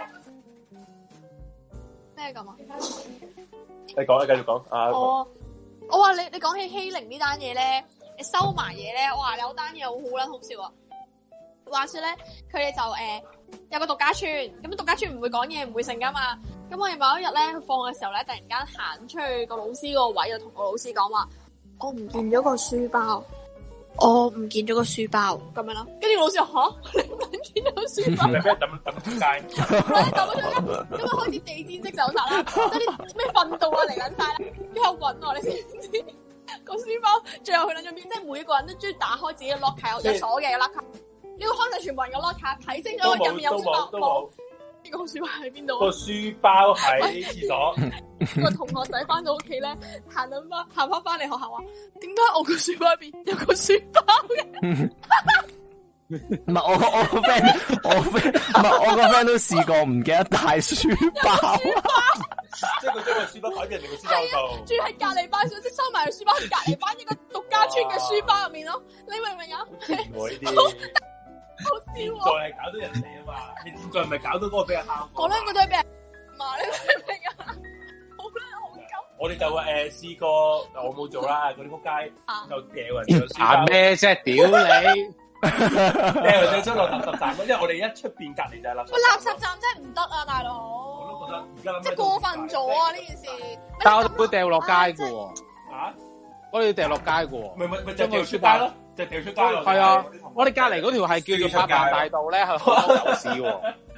咩咁啊？ 你講啊，繼續講啊！ 我話你講起欺凌呢單嘢咧，你收埋嘢咧，我話有單嘢好撚好笑啊！話說咧，佢哋就有個獨家村，咁獨家村唔會講嘢，唔會成噶嘛。咁我哋某一日咧放嘅時候咧，突然間行出去個老師個位，就同個老師講話：我唔見咗個書包，我唔見咗個書包咁樣咯。跟住老師話：吓，你唔見咗個書包？ 你俾人抌出街？ 抌咗出街，咁啊開始地氈式搜查啦，即係啲咩訓導啊嚟緊晒啦，之後揾我，你知唔知個書包最後去撚咗邊？即係每一個人都中意打開自己嘅 locker，有鎖嘅 locker，你要開晒全部人嘅 locker，睇清楚入面有書包冇？呢個書包喺邊度？ 個書包喺廁所。 個同學仔翻到屋企咧，行翻嚟學校話：點解我個書包入邊有個書包嘅？ 唔係我個 friend，我個 friend 都試過唔記得帶書包， 即係佢將個書包擺喺人哋個書包度， 仲要喺隔離班，即係收埋個書包喺隔離班一個獨家村嘅書包入面咯。你明唔明啊？好笑喎！ 再係搞到人哋啊嘛，你現在唔係搞到嗰個俾人敲。 我兩個都係俾人罵，你明唔明啊？好啦，好鳩。 我哋就試過，我冇做啦，嗰啲仆街就掉人哋個書包。 行咩啫？屌你！ 掉人哋出落垃圾站，因為我哋一出邊隔離就係垃圾。 喂，垃圾站真係唔得啊，大佬！ 我都覺得而家諗即係過分咗啊！呢件事。 但係我哋會掉落街嘅喎。 啊？我哋要掉落街嘅喎。 咪就掉出街咯，就掉出街咯。 係啊，我哋隔離嗰條係叫做百萬大道咧，係好多牛屎喎。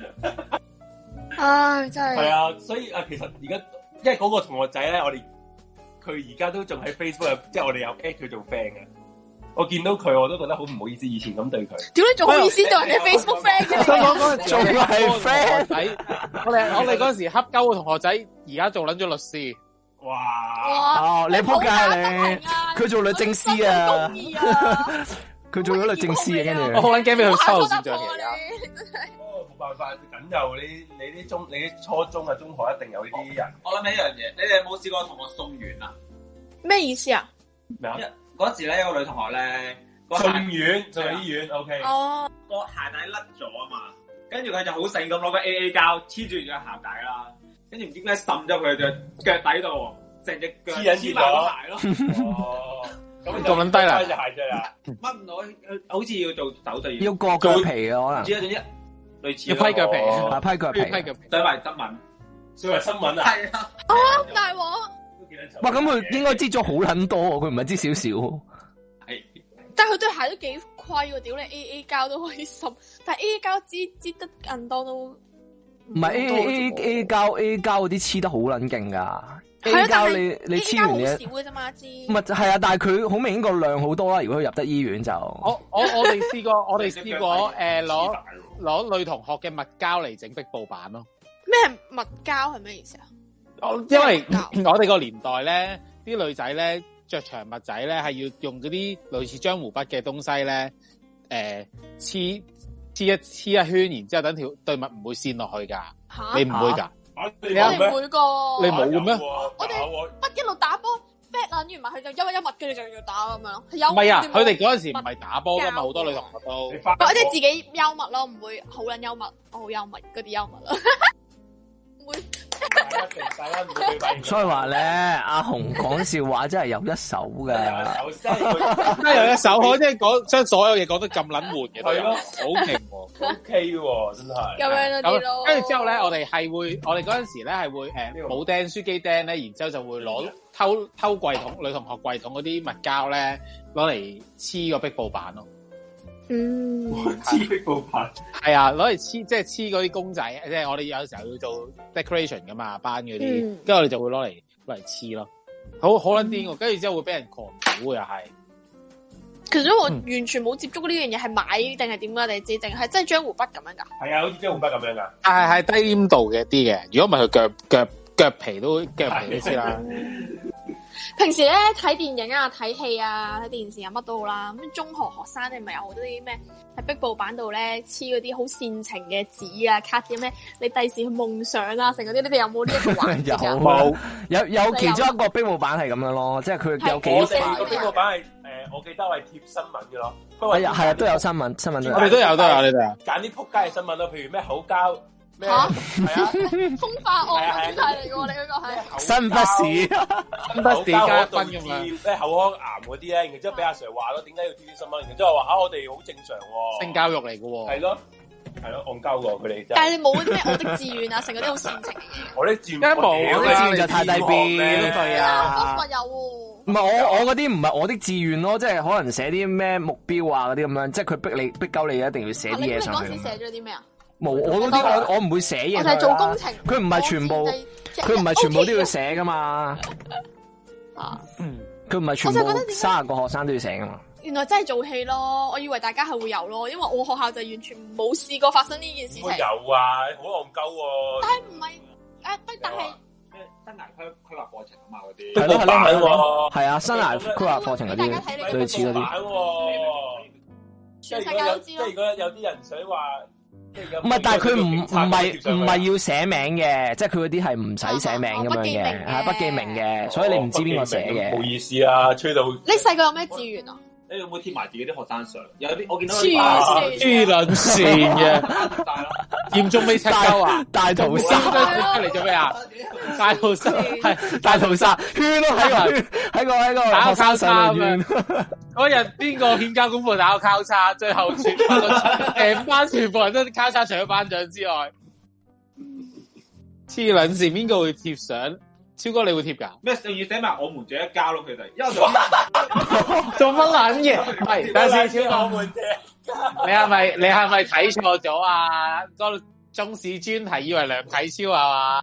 唉，真係。 係啊，所以其實而家因為嗰個同學仔咧，佢而家都仲喺 Facebook， 即係我哋有 add 佢做 friend 嘅。我見到佢，我都覺得好唔好意思，以前咁對佢。屌你仲好意思對人哋 Facebook friend 嘅？ 嗰陣時仲係 friend。我哋嗰陣時恰鳩個同學仔，而家做撚咗律師。 哇！ 哦，你仆街你！佢做律政司啊！佢做咗律政司啊，跟住我好撚驚俾佢收線賬嘅。 冇辦法，僅有你啲初中啊、中學一定有呢啲人。 我諗起一樣嘢，你哋有冇試過同我送院啊？ 咩意思啊？ 咩啊？ 嗰時咧有個女同學咧， 送院就喺醫院 ，OK。 哦。 個鞋帶甩咗啊嘛，跟住佢就好醒咁攞個 AA 膠黐住隻鞋帶啦，跟住唔知點解滲咗佢隻腳底度，成隻腳黐埋個鞋咯。哦， 咁咁撚低啦！ 隻鞋啫啊！ 乜唔到？好似要做手術， 要割腳皮啊，可能。 唔知啊，總之類似。 要批腳皮， 批腳皮， 對埋新聞， 對埋新聞啊！ 係啊。 哦，大鑊！ 哇，咁佢應該擠咗好撚多，佢唔係擠少少。 係， 但係佢對鞋都幾虧喎，屌你 AA 膠都可以滲，但係 AA 膠擠得更多都唔係 AA 膠嗰啲黐得好撚勁噶。 係啊，但係你黐完嘢少嘅啫嘛，支唔係係啊，但係佢好明顯個量好多啦。如果佢入得醫院就我哋試過攞女同學嘅襪膠嚟整壁布板咯。 咩襪膠係咩意思啊？ 因為我哋個年代咧，啲女仔咧着長襪仔咧係要用嗰啲類似漿糊筆嘅東西咧，黐一圈，然之後等條對襪唔會跣落去噶。你唔會噶？ 你唔會個？ 你冇嘅咩？ 我哋乜一路打波 back 撚完埋佢就一物，跟住就要打咁樣咯。 唔係啊，佢哋嗰陣時唔係打波噶嘛，好多女同學都。 或者自己幽默咯，唔會好撚幽默，我好幽默嗰啲幽默咯。唔會。 所以話咧，阿紅講笑話真係有一手噶， 真係有一手，可即係講將所有嘢講得咁撚悶嘅， 係咯， 好勁喎 ，OK 喎，真係。 咁樣嗰啲咯。 跟住之後咧，我哋嗰陣時咧係會冇釘書機釘咧，然之後就會攞偷櫃桶女同學櫃桶嗰啲物膠咧，攞嚟黐個壁布板咯。 黐壁布板係啊，攞嚟黐即係黐嗰啲公仔，即係我哋有時候要做 decoration 噶嘛，班嗰啲，跟住我哋就會攞嚟黐咯，好撚癲喎，跟住之後會俾人狂屌又係， 其實我完全冇接觸過呢樣嘢，係買定係點噶？你知定係真係漿糊筆咁樣噶？ 係啊，好似漿糊筆咁樣噶。 係低黏度嘅啲嘅，如果唔係佢腳皮都知啦。 平時咧睇電影啊、睇戲啊、睇電視啊乜都好啦。咁中學學生你咪有好多啲咩喺壁布板度咧黐嗰啲好煽情嘅紙啊、卡紙咩？你第時去夢想啊，成嗰啲，你哋有冇呢一個環節啊？ 有其中一個壁布板係咁樣咯，即係佢有幾我哋個壁布板係我記得係貼新聞嘅咯。 係啊，都有新聞都有。 我哋都有呢度。 揀啲仆街嘅新聞咯，譬如咩口交。 吓，係啊，風化案主題嚟嘅喎，你嗰個係新不時加分咁樣， 咩口腔癌嗰啲咧，然之後俾阿 Sir 話咯，點解要貼啲新聞？然之後話我哋好正常喎， 性教育嚟嘅喎， 係咯，戇鳩喎佢哋。 但係你冇啲咩我的志願啊，成嗰啲好煽情嘅嘢。 我啲志願冇，我啲志願就太低 B 對啊。 有喎。 唔係我嗰啲唔係我的志願咯，即係可能寫啲咩目標啊嗰啲咁樣，即係佢逼鳩你一定要寫啲嘢上去。 你嗰時寫咗啲咩啊？ 冇，我嗰啲我唔會寫嘢。 我係做工程， 佢唔係全部，佢唔係全部都要寫噶嘛。佢唔係全部30個學生都要寫噶嘛。 原來真係做戲咯，我以為大家係會有咯，因為我學校就完全冇試過發生呢件事情。 有啊，好戇鳩喎。 但係唔係但係咩生涯規劃課程啊嘛嗰啲。 係啊，生涯規劃課程嗰啲類似嗰啲。 全世界都知咯。 即係如果有啲人想話。 唔係，但係佢唔係要寫名嘅，即係佢嗰啲係唔使寫名咁樣嘅，係不記名嘅，所以你唔知邊個寫嘅。 冇意思啊，吹到。 你細個有咩志願啊？ 你有冇貼埋自己啲學生相？有啲我見到黐撚線嘅，嚴重未赤鳩啊！ 大屠殺嚟做咩啊？大屠殺係大屠殺，圈咯喺個打個交叉咁樣。嗰日邊個欠交功課打個交叉，最後成班全部人都交叉，除咗班長之外，黐撚線，邊個會貼相？超哥你會貼㗎？ 咩？要寫埋我們這一家咯，佢哋。因為做乜撚嘢？係等陣先，超哥。你係咪睇錯咗啊？個中史專題以為梁啟超係嘛？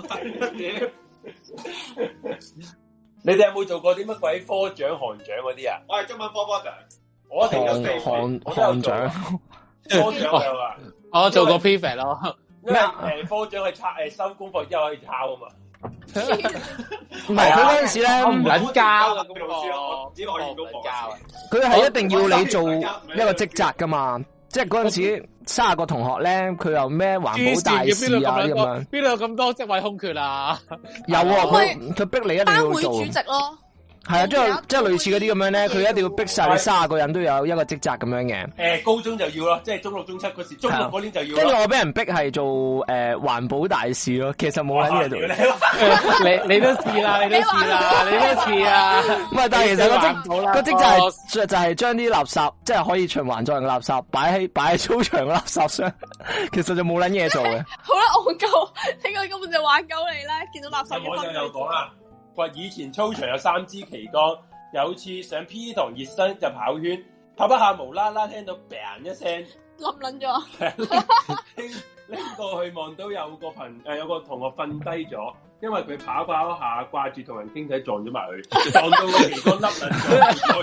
你哋有冇做過啲乜鬼科長、行長嗰啲啊？ 我係中文科長， 我一定有做行長。 科長有啊？ 我做過 prefect 咯。 因為科長係收功課之後可以抄啊嘛。 唔係佢嗰陣時咧， 我唔撚交嘅功課，只可以功課交。 佢係一定要你做一個職責噶嘛，即係嗰陣時30個同學咧，佢有咩環保大使啊咁樣， 邊度有咁多職位空缺啊？ 有佢逼你一定要做。 班會主席咯。 係啊，即係類似嗰啲咁樣咧，佢一定要逼晒你30個人都有一個職責咁樣嘅。 高中就要咯，即係中6、中7嗰時，中6嗰年就要。 跟住我俾人逼係做環保大使咯，其實冇撚嘢做。 你都試啦，你都試啊！ 唔係，但係其實個職責就係將啲垃圾，即係可以循環再用嘅垃圾擺喺操場嘅垃圾箱，其實就冇撚嘢做嘅。 好啦，戇鳩，呢個根本就玩鳩你啦！見到垃圾我就講啦。話以前操場有3支旗杆，有次上 P 堂熱身就跑圈，跑一下無啦啦聽到 bang 一聲， 冧撚咗。 拎過去望到有個同學瞓低咗，因為佢跑下掛住同人傾偈撞咗埋佢，撞到個旗杆甩撚咗。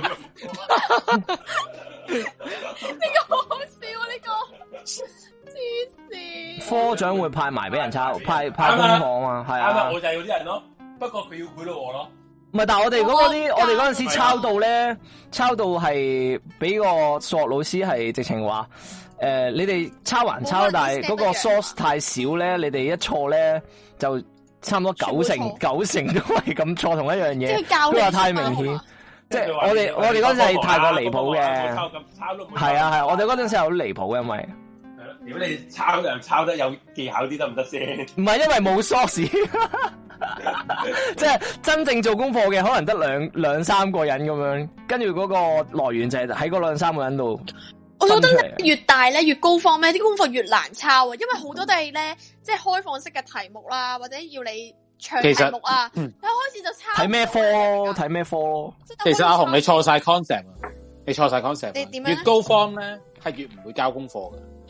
呢個好好笑啊！呢個黐線。 科長會派埋俾人抄，派功課啊嘛，係啊。 啱啊，我就係嗰啲人咯。不過佢要賄賂我咯， 唔係，但係我哋嗰陣時抄到咧，抄到係俾個數學老師係直情話，你哋抄還抄，但係嗰個 source 太少咧，你哋一錯咧就差唔多九成都係咁錯同一樣嘢，佢話太明顯，即係我哋嗰陣時係太過離譜嘅，係啊，我哋嗰陣時係好離譜嘅，因為。 如果你抄人抄得有技巧啲得唔得先？ 唔係，因為冇 source，即係真正做功課嘅可能得兩三個人咁樣，跟住嗰個來源就係喺嗰2、3個人度。 我覺得越大咧越高方咩，啲功課越難抄啊，因為好多都係咧即係開放式嘅題目啦，或者要你長題目啊，一開始就抄。睇咩科咯？ 其實阿紅你錯晒 concept，你錯晒 concept。 你點樣？ 越高方咧係越唔會交功課嘅。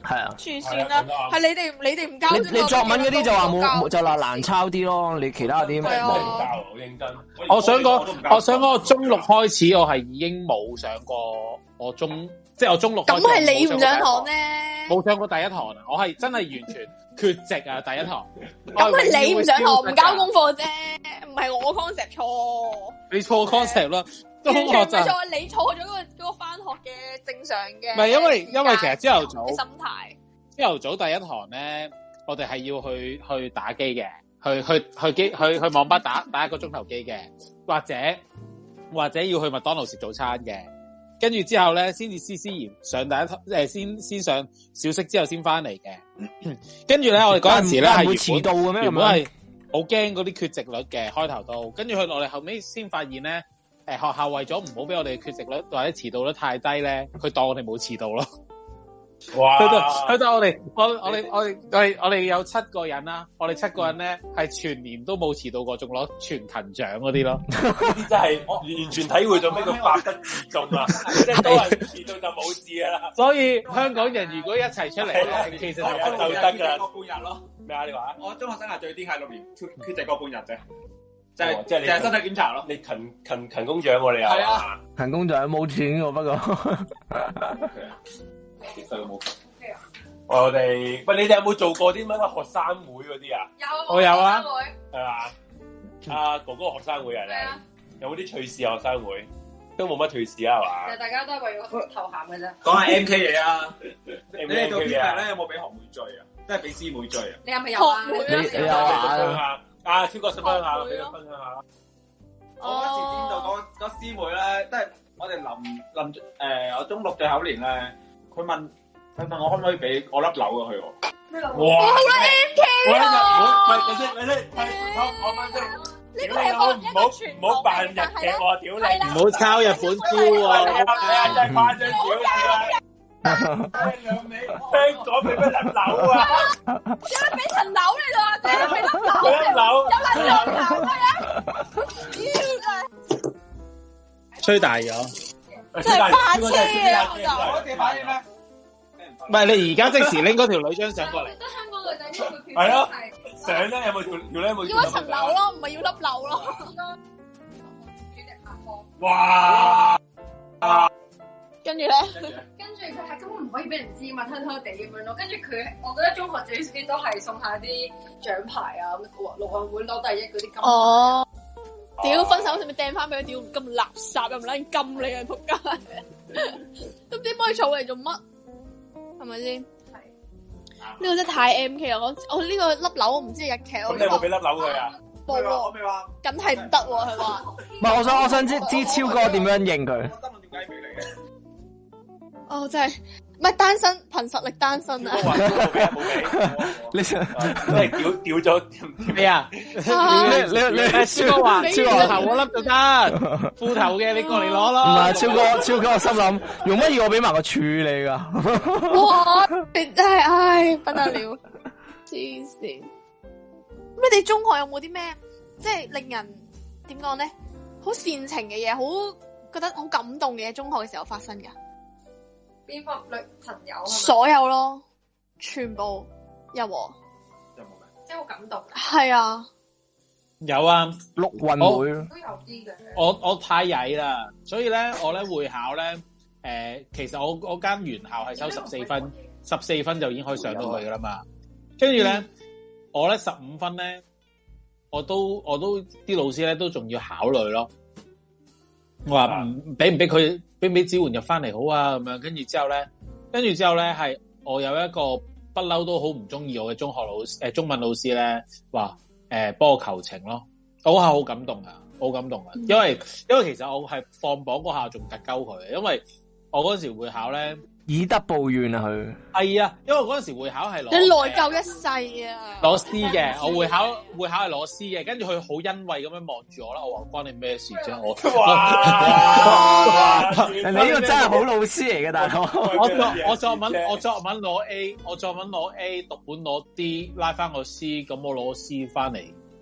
係啊， 住算啦，係你哋唔交。 你作文嗰啲就話冇就話難抄啲咯，你其他啲冇。 好認真。 我想講，我中六開始我係已經冇上過我中六。 咁係你唔上堂咧？ 冇上過第一堂啊！我係真係完全缺席啊！第一堂。 咁係你唔上堂唔交功課啫，唔係我 concept 錯。 你錯 concept 啦。 完全唔係錯，你錯咗嗰個翻學嘅正常嘅。 唔係因為其實朝頭早心態。 朝頭早第一堂咧，我哋係要去打機嘅，去網吧打1個鐘頭機嘅，或者要去麥當勞食早餐嘅。跟住之後咧，先至思然上第一堂，先上小息之後先翻嚟嘅。跟住咧，我哋嗰陣時咧係會遲到嘅咩？原本係好驚嗰啲缺席率嘅開頭都，跟住去我哋後尾先發現咧，學校為咗唔好俾我哋缺席率或者遲到率太低咧，佢當我哋冇遲到咯。 哇！ 去到我哋有7個人啦，我哋7個人咧係全年都冇遲到過，仲攞全勤獎嗰啲咯。 呢啲真係完全體會咗咩叫百得自重啊！即係多人遲到就冇事噶啦。 所以香港人如果一齊出嚟，其實就得噶。 個半日咯。 咩啊？你話？ 我中學生涯最癲係6年缺席個半日啫。即係你身體檢查咯。你勤工獎喎，你又係啊？ 勤工獎冇錢喎，不過。 我哋喂，你哋有冇做過啲乜學生會嗰啲啊？ 有， 我有啊， 係嘛？阿哥哥學生會啊，你有冇啲趣事學生會？都冇乜趣事啊，係嘛？ 其實大家都係為咗頭銜嘅啫。 講下 MK 嘢啊！你哋做 P 咧有冇俾學妹追啊？即係俾師妹追啊？ 你係咪有啊？ 你有啊？ 啊，超過10分下，俾佢分享下。 我嗰時見到嗰師妹咧，即係我哋臨我中六最後一年咧。佢問我可唔可以俾我粒樓啊佢喎？ 咩樓？ 哇！ 好啦 MK 喎！喂，你我翻先。 呢個係唔好扮日劇喎，屌你！ 唔好抄日本招喎！ 你真係誇張少少啦！香港俾乜粒樓啊？ 有得俾層樓你咯，或者俾粒樓？ 粒樓有撚兩樓嘅， 吹大咗。 真係霸車啊！ 我哋反應咧， 唔係你而家即時拎嗰條女張相過嚟。 得香港女仔呢個係咯，相咧有冇條咧？有冇要一層樓咯，唔係要粒樓咯。 哇！ 跟住咧， 跟住佢係根本唔可以俾人知嘛，偷偷地咁樣咯。跟住佢，我覺得中學最少都係送下啲獎牌啊，陸運會攞第一嗰啲金。 哦。屌，分手使咪掟翻俾佢？屌，咁垃圾又唔撚金你啊！仆街，都唔知幫佢儲嚟做乜，係咪先？係呢個真係太 MK 啦！我呢個粒樓我唔知日劇。 咁你有冇俾粒樓佢啊？ 冇喎， 我未話， 梗係唔得喎，佢話。 唔係，我想知超哥點樣應佢？ 我心諗點解俾你嘅？ 哦，真係。唔係單身，憑實力單身啊！ 冇俾， 你想真係掉咗咩啊？你超哥話超哥頭嗰粒就得，褲頭嘅你過嚟攞咯。 唔係超哥，我心諗用乜嘢我俾埋個處理噶？ 哇！真係唉不得了，黐線！咁你哋中學有冇啲咩即係令人點講咧？好煽情嘅嘢，好覺得好感動嘅嘢，中學嘅時候發生噶？ 邊個女朋友？ 所有咯，全部有冇？ 有冇嘅？ 即係好感動。 係啊， 有啊， 陸運會都有啲嘅。 我太曳啦，所以咧我咧會考咧，其實我間原校係收14分，14分就已經可以上到去噶啦嘛。跟住咧，我咧15分咧，我都啲老師咧都仲要考慮咯。我話俾唔俾佢？俾唔俾支援入翻嚟好啊？咁樣跟住之後咧係我有一個不嬲都好唔中意我嘅中文老師咧，話幫我求情咯，我嗰下好感動啊，好感動啊！因為其實我係放榜嗰下仲特鳩佢，因為我嗰時會考咧。 以德報怨啊！佢係啊，因為嗰陣時會考係攞你內疚一世啊！ 攞 C 嘅，我會考係攞 C 嘅，跟住佢好欣慰咁樣望住我啦。我話關你咩事啫？ 你呢個真係好老師嚟嘅，大佬。 我作文攞 A，我作文攞 A，讀本攞 D，拉翻個 C，咁我攞 C 翻嚟，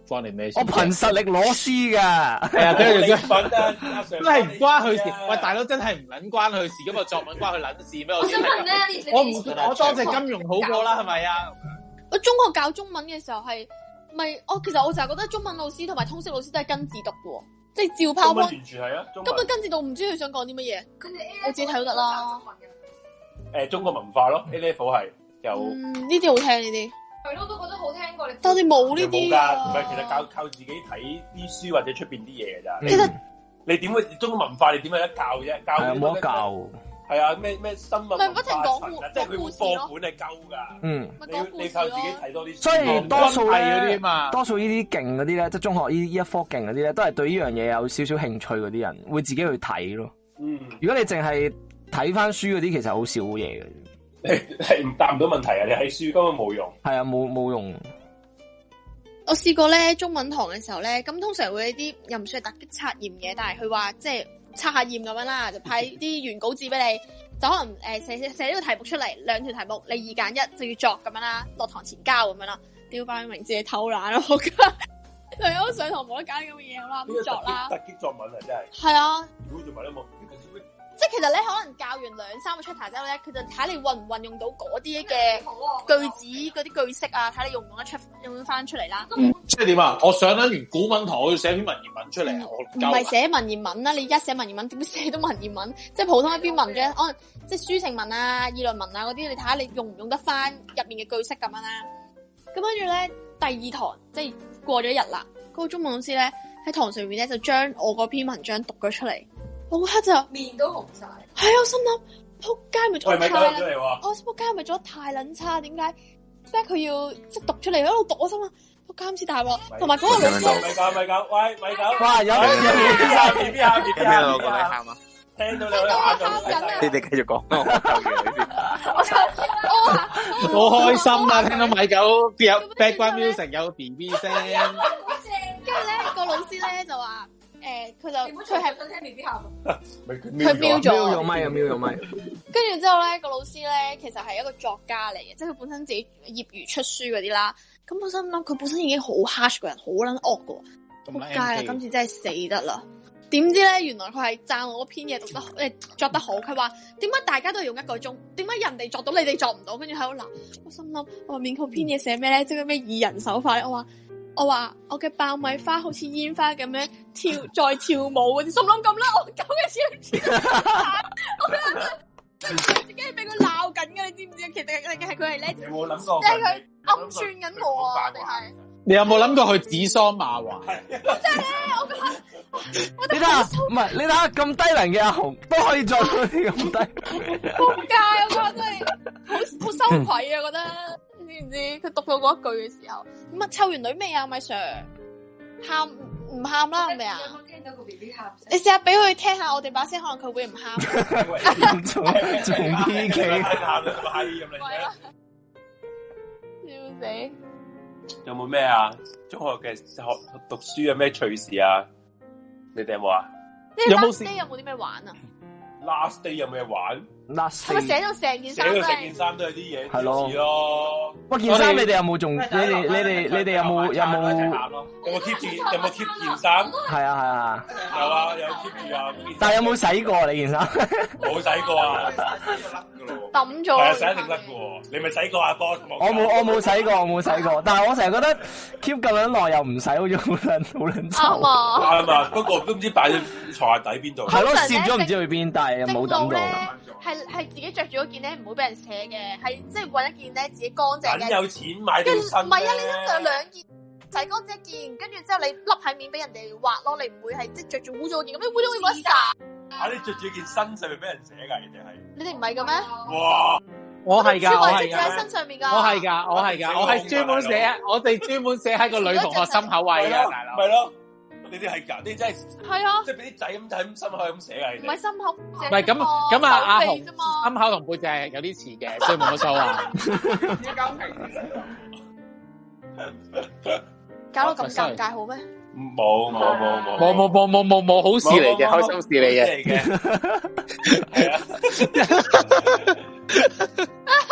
關你咩事？ 我憑實力攞 C 噶， 係啊，跟住你份啊， 真係唔關佢事。喂，大佬真係唔撚關佢事，咁個作文關佢撚事咩？ 我想問咧， 我多謝金融好過啦，係咪啊？ 我中學教中文嘅時候係咪？其實我就係覺得中文老師同埋通識老師都係跟字讀嘅，即係照拋。 完全係啊，根本跟字讀唔知佢想講啲乜嘢，我自己睇都得啦。 中國文化咯 ，A level 係有。 呢啲好聽呢啲。 係咯，都覺得好聽過你。 但係冇呢啲㗎， 唔係，其實靠自己睇啲書或者出邊啲嘢㗎咋。 其實你點會中國文化？你點有得教啫？教冇得教。 係啊，咩新聞文化不停講即係佢課本係鳩㗎。你靠自己睇多啲書。 所以多數嗰啲嘛， 多數呢啲勁嗰啲咧，即係中學呢一科勁嗰啲咧，都係對呢樣嘢有少少興趣嗰啲人，會自己去睇咯。如果你淨係睇翻書嗰啲，其實好少嘢嘅。 係唔答唔到問題啊！你喺書根本冇用。係啊， 冇用。 我試過咧，中文堂嘅時候咧，咁通常會有啲又唔算係突擊測驗嘅，但係佢話即係測下驗咁樣啦，就派啲原稿紙俾你，就可能寫呢個題目出嚟，2條題目，你2揀1就要作咁樣啦，落堂前交咁樣啦，屌擺明自己偷懶咯，我覺得係我上堂冇得揀咁嘅嘢，好啦咁作啦。 突擊作文啊，真係。 係啊。 如果做埋都冇。 即係其實咧，可能教完2-3個出題之後咧，佢就睇你運唔運用到嗰啲嘅句子、嗰啲句式啊，睇你用唔用得出，用翻出嚟啦。 即係點啊？我上完古文堂，我要寫篇文言文出嚟啊！我唔係寫文言文啦，你而家寫文言文點寫到文言文？即係普通一篇文章，可能即係抒情文啊、議論文啊嗰啲，你睇下你用唔用得翻入面嘅句式咁樣啦。咁跟住咧，第2堂即係過咗一日啦，嗰個中文老師咧喺堂上面咧就將我嗰篇文章讀咗出嚟。我嗰刻就面都紅晒，係啊！我心諗仆街咪做得太，我仆街咪做得太撚差，點解？即係佢要即係讀出嚟喺度讀，我心諗仆街咁似大鑊，同埋嗰個老師咪狗，喂咪狗， 哇有邊下， 我覺得喊啊！ 聽到你喊緊， 你哋繼續講，我救完你先。 好開心啊！聽到米狗有 background music 有 BB 聲， 跟住咧個老師咧就話。佢係聽 B B 喊， 佢瞄咗咪， 跟住之後咧，個老師咧其實係一個作家嚟嘅，即係佢本身自己業餘出書嗰啲啦。咁我心諗佢本身已經好 harsh 個人，好撚惡噶，仆街啦！今次真係死得啦！點知咧，原來佢係讚我嗰篇嘢作得好。佢話點解大家都係用1個鐘，點解人哋作到你哋作唔到？跟住喺度鬧，我心諗我話面佢篇嘢寫咩咧？即係咩2人手法咧？我話我嘅爆米花好似煙花咁樣再跳舞嗰啲，心諗咁啦，我狗嘅超我覺得自己係俾佢鬧緊嘅，你知唔知啊？其實係佢係咧， 有冇諗過？ 即係佢暗算緊我啊！定係你有冇諗過去指桑罵槐？ 真係咧，我覺得你睇下，唔係你睇下咁低能嘅阿紅都可以做到啲咁低， 仆街！我覺得真係好羞愧啊！覺得。知唔知佢讀到嗰一句嘅時候，咁啊湊完女未啊，米 Sir？ 喊唔喊啦，係咪啊？ 聽到個 B B 喊， 你試下俾佢聽下我哋把聲，可能佢會唔喊。 仲 PK， 喊到咁閪咁嚟， 笑死！ 有冇咩啊？中學嘅讀書有咩趣事啊？你哋有冇啊？ 有冇先？有冇啲咩玩啊 ？Last day 有冇嘢玩？ 係咪寫到成件衫？ 寫到成件衫都有啲嘢，係咯。 喂，件衫你哋有冇仲？你哋有冇 keep 住？有冇 keep 件衫？ 係啊。 有啊，有 keep 住啊。 但係有冇洗過你件衫？ 冇洗過啊， 抌咗。 係啊，洗一定甩嘅。你咪洗過啊，boss？ 我冇洗過。但係我成日覺得 keep 咁樣耐又唔洗，好似好撚臭。 啱啊，不過都唔知擺喺床下底邊度。 係咯，攝咗唔知去邊，但係又冇抌到。 係自己着住嗰件咧，唔會俾人扯嘅，係即係揾一件咧自己乾淨嘅。 有錢買條新。唔係啊，你都着2件，洗乾淨一件，跟住之後你笠喺面俾人哋畫咯，你唔會係即係着住污糟嗰件，咁你污糟會冇得曬。 啊！你着住件新上面俾人扯㗎，人哋係。 你哋唔係嘅咩？ 哇！ 我係㗎，我係㗎。 喺身上面㗎。 我係㗎，我係專門寫，我哋專門寫喺個女同學心口位㗎，大佬。 咪咯。你哋係㗎，你真係係啊， 即係俾啲仔咁就喺心口咁寫㗎， 唔係心口， 唔係咁啊！阿紅心口同背脊係有啲似嘅，所以冇乜所謂。 搞到咁尷尬好咩？ 冇， 好事嚟嘅，開心事嚟嘅。係啊。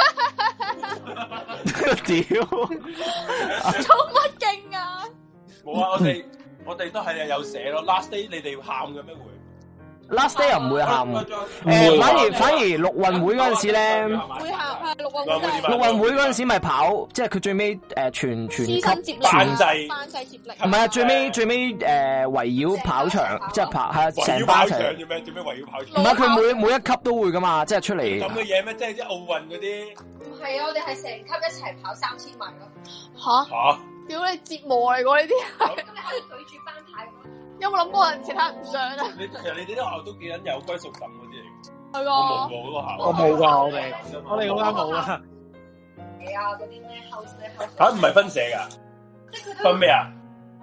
屌， 做乜勁啊？ 冇冇啊！我哋都係有寫咯。Last day 你哋喊嘅咩會？ Last day 又唔會喊，反而陸運會嗰陣時咧， 會喊係陸運會。 陸運會嗰陣時咪跑，即係佢最尾全級班際接力。 唔係啊，最尾圍繞跑場，即係跑係成班場。 做咩圍繞跑場？ 唔係佢每一級都會噶嘛，即係出嚟。 咁嘅嘢咩？即係啲奧運嗰啲。 唔係啊，我哋係成級一齊跑3000米咯。 吓？屌你折磨嚟㗎呢啲。 咁你可以舉住班牌咁咯。 有冇諗過人其他人唔上啊？ 你哋啲學校都幾撚有歸屬感嗰啲嚟。 係啊。 我冇㗎，我哋嗰間冇啊。 係啊，嗰啲咩後嚇唔係分社㗎？ 即係佢分咩啊？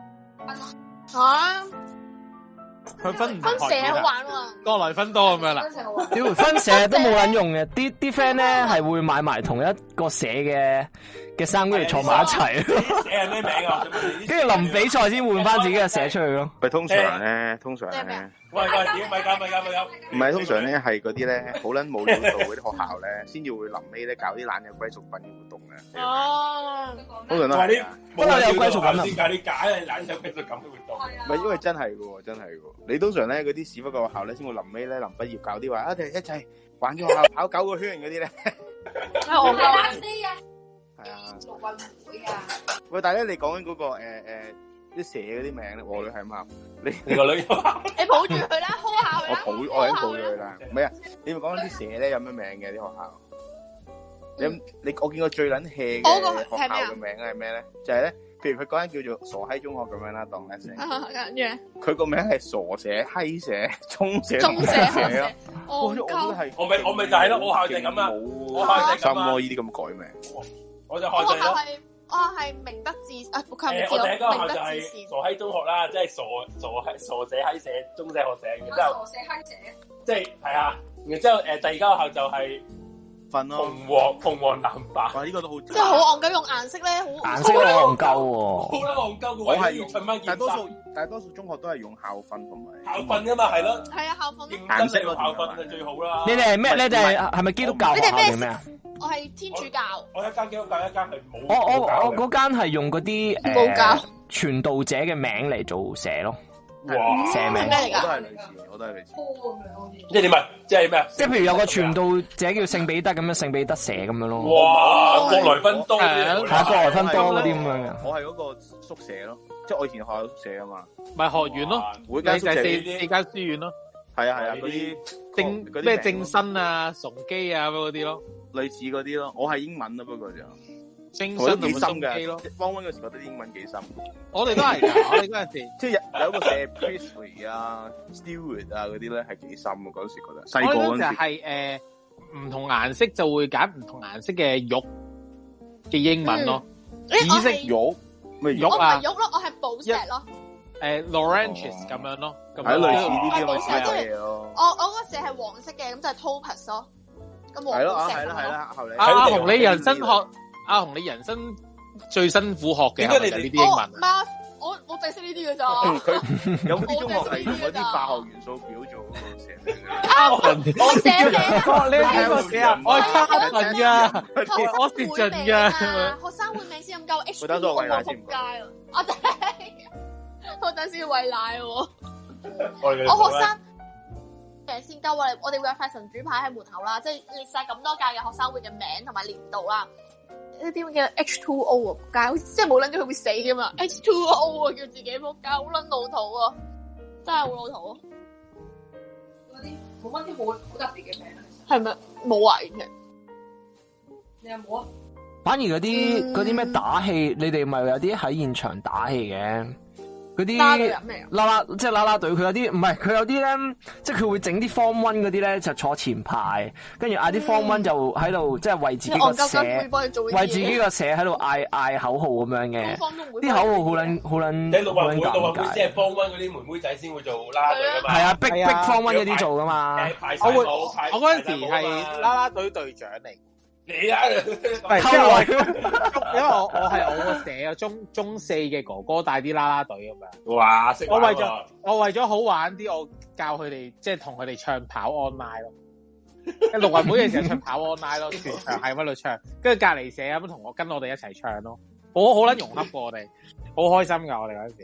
嚇？ 佢分社好玩喎， 多來分多咁樣啦。 屌分社都冇撚用嘅，啲 friend 咧係會買埋同一個社嘅衫，跟住坐埋一齊。 社係咩名啊？ 跟住臨比賽先換翻自己嘅社出去咯。 喂，通常咧， 喂，點咪搞？ 唔係通常咧係嗰啲咧好撚冇料到嗰啲學校咧，先至會臨尾咧搞啲懶有歸屬品嘅活動嘅。 哦， 通常都係啲冇有歸屬感先搞啲假嘅懶有歸屬感嘅活動。 唔係因為真係嘅，真係嘅。你通常咧嗰啲屎忽嘅學校咧，先會臨尾咧臨畢業搞啲話，一齊玩咗學校跑9個圈嗰啲咧。 我哋 last day 啊。 係啊。 陸運會啊。 喂，但係咧你講緊嗰個啲社嗰啲名咧，我女係嘛？ 你個女， 你抱住佢啦 ，hold 下佢啦。 我已經抱咗佢啦。唔係啊，你咪講緊啲社咧有咩名嘅啲學校？我見過最撚 hea 嘅學校嘅名係咩咧？就係咧，譬如佢嗰間叫做傻閪中學咁樣啦，當一聲。 跟住咧， 佢個名係傻社、閪社、中社、 中社咯。 我都係， 我咪就係咯，我校就係咁啊，我校就係咁啊， 呢啲咁改名， 我就學就係咯。 我係明德智啊，佢唔知我第一間學校就係係傻閪中學啦，即係傻社閪社、中社學社，然之後傻社閪社， 即係係啊，然之後第二間學校就係瞓咯， 紅黃藍白， 哇呢個都好， 即係好戇鳩，用顏色咧，好顏色好戇鳩喎， 好啦戇鳩， 我係用大多數中學都係用校訓同埋校訓噶嘛，係咯， 係啊校訓， 顏色咯，校訓係最好啦。 你哋係咩？你哋係咪基督教學校定咩啊？ 我係天主教， 我一間基督教，一間係冇。 我嗰間係用嗰啲傳道者嘅名嚟做社咯。 哇！ 社名咩嚟㗎？ 我都係類似。 即係點啊？即係咩啊？ 即係譬如有個傳道者叫聖彼得咁樣，聖彼得社咁樣咯。 哇！國來分多係國來分多嗰啲咁樣嘅。 我係嗰個宿舍咯，即係我以前學校宿舍啊嘛。 咪學院咯， 每間宿舍 4間書院咯。 係啊，嗰啲咩正新啊、崇基啊嗰啲咯。 類似嗰啲咯，我係英文咯，不過就正新同幾深嘅咯。 方溫嗰時覺得英文幾深， 我哋都係㗎，我哋嗰陣時即係有個寫 Priestley 啊、Stewart 啊嗰啲咧係幾深啊，嗰時覺得。細個嗰陣時係唔同顏色就會揀唔同顏色嘅玉嘅英文咯，紫色玉咩玉啊？ 玉咯，我係寶石咯。 Laurentius 咁樣咯， 係類似呢啲咁嘅嘢咯。 我嗰時係黃色嘅，咁就係 Topaz 咯。 係咯，係啦，後嚟阿紅你人生學，阿紅你人生最辛苦學嘅係呢啲英文。 我淨係識呢啲嘅咋。 佢有啲中學係用嗰啲化學元素表做寫名嘅。 我寫名， 你睇我寫啊，我係卡文噶，我蝕盡噶。 學生會名先咁夠 H，我仆街啊！我等先餵奶喎。我學生名先夠啊！我哋會有塊神主牌喺門口啦，即係列晒咁多屆嘅學生會嘅名同埋年度啦。呢啲叫 H2O 啊，仆街，即係冇諗住佢會死噶嘛 ？H2O 啊，叫自己仆街，好撚老土啊！真係好老土啊！ 嗰啲冇乜啲好特別嘅名， 係咪冇啊？其實你有冇啊？ 反而嗰啲咩打氣，你哋咪有啲喺現場打氣嘅。嗰啲即係啦啦隊，佢有啲唔係，佢有啲咧，即係佢會整啲 Form 1嗰啲咧，就坐前排，跟住嗌啲 Form 1就喺度，即係為自己個社，為自己個社喺度嗌口號咁樣嘅。啲口號好撚，你陸運會即係 Form 1嗰啲妹妹仔先會做啦啦隊噶嘛？係啊，逼 Form 1嗰啲做噶嘛。 我嗰陣時係啦啦隊隊長嚟。 你啊， 係因為我係我個社啊，中4嘅哥哥帶啲啦啦隊咁樣。 哇！ 我為咗好玩啲，我教佢哋即係同佢哋唱跑 online 咯。陸運會嘅時候唱跑 online 咯，全場係喺度唱，跟住隔離社咁跟我哋一齊唱咯。好撚融洽過我哋，好開心噶我哋嗰陣時。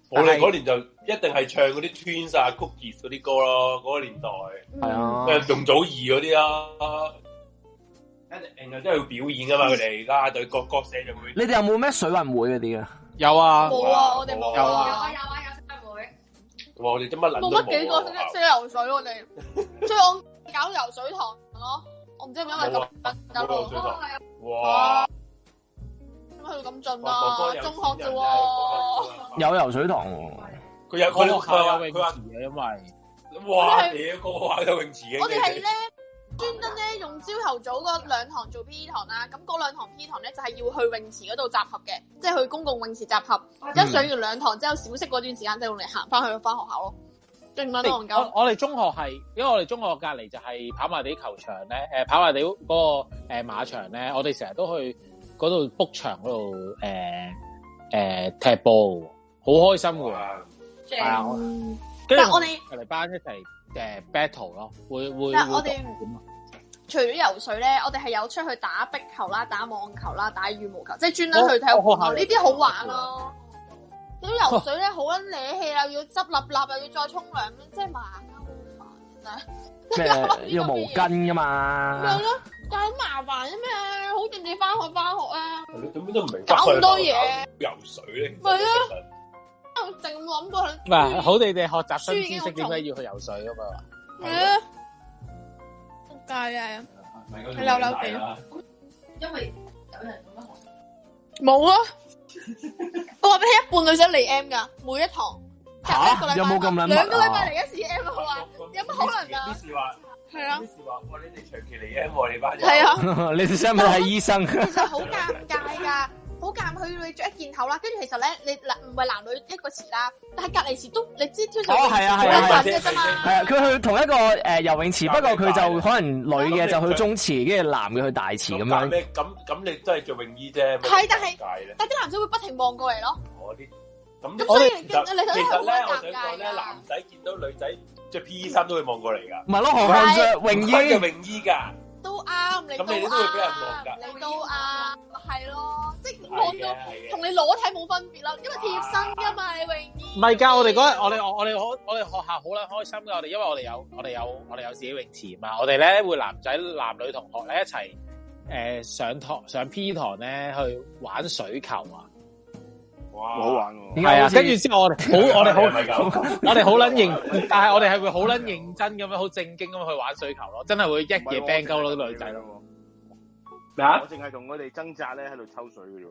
我哋嗰年就一定係唱嗰啲 Twins 啊、Cookies 嗰啲歌咯，嗰個年代係啊， 容祖兒嗰啲啦，一定真係要表演噶嘛，佢哋啦隊各社就會。 你哋有冇咩水運會嗰啲啊？ 有啊， 冇啊，我哋冇有啊， 有水運會。 我哋做乜撚都冇乜幾個識游水，我哋，所以我搞游水堂咯。我唔知係咪因為咁搞到。 哇！ 點解去到咁盡啊？中學啫喎。 有游水堂喎。 佢有佢學校有泳池嘅，因為哇！屌個個有泳池嘅。 我哋係咧專登咧用朝頭早嗰2堂做 P.E. 堂啦，咁嗰2堂 P.E. 堂咧就係要去泳池嗰度集合嘅，即係去公共泳池集合。一上完2堂之後，小息嗰段時間就用嚟行翻去翻學校咯。勁撚戇鳩。 我哋中學係，因為我哋中學隔離就係跑馬地球場咧，跑馬地嗰個馬場咧，我哋成日都去嗰度 book 場嗰度踢波，好開心㗎。係啊，跟住我哋嚟班一齊battle 咯，會。 但係我哋除咗游水咧，我哋係有出去打壁球啦、打網球啦、打羽毛球，即係專登去體育館咯。呢啲好玩咯。咁游水咧好撚瀨氣啦，要執立又要再沖涼，即係麻啊，好煩真係。 咩要毛巾噶嘛？ 係咯，但係麻煩啫咩？好似你翻學啊。 咁都唔明。 搞咁多嘢。 游水咧。 係啊。我淨諗過佢。 唔係好地學習新知識，點解要去游水噶嘛？ 係啊。仆街啊！係溜溜地。 因為有人咁樣學。 冇啊！我話俾你，一半女仔嚟 M 噶，每一堂。 嚇？有冇咁撚密啊？ 2個禮拜嚟一次 M 啊！佢話有乜可能啊？ 啲事話係啊。 啲事話，哇！你哋長期嚟 M 喎，你班人。 係啊。 你哋想唔想睇醫生？ 其實好尷尬㗎。好尷佢你着一件頭啦，跟住其實咧你唔係男女一個池啦，但係隔離池都你知挑水係啊嘅啫嘛。 係啊，佢去同一個游泳池，不過佢就可能女嘅就去中池，跟住男嘅去大池咁樣。 咁你都係做泳衣啫。 係，但啲男仔會不停望過嚟咯。 咁所以其實咧，我想講咧，男仔見到女仔着 P.E. 衫都會望過嚟㗎。 唔係咯，何況着泳衣嘅泳衣㗎。 都啱，你都啱，你都啱，係咯，即係望到同你裸體冇分別啦，因為貼身噶嘛，你泳衣。 唔係㗎，我哋嗰日我哋學校好撚開心㗎，我哋因為我哋有自己泳池嘛，我哋咧會男女同學咧一齊上 P 堂咧去玩水球啊。 哇，好玩喎！ 係啊，跟住之後我哋好撚認，但係我哋係會好撚認真咁樣，好正經咁樣去玩水球咯，真係會一夜 bang 鳩咯啲女仔咯。 咩啊？我淨係同佢哋掙扎咧喺度抽水嘅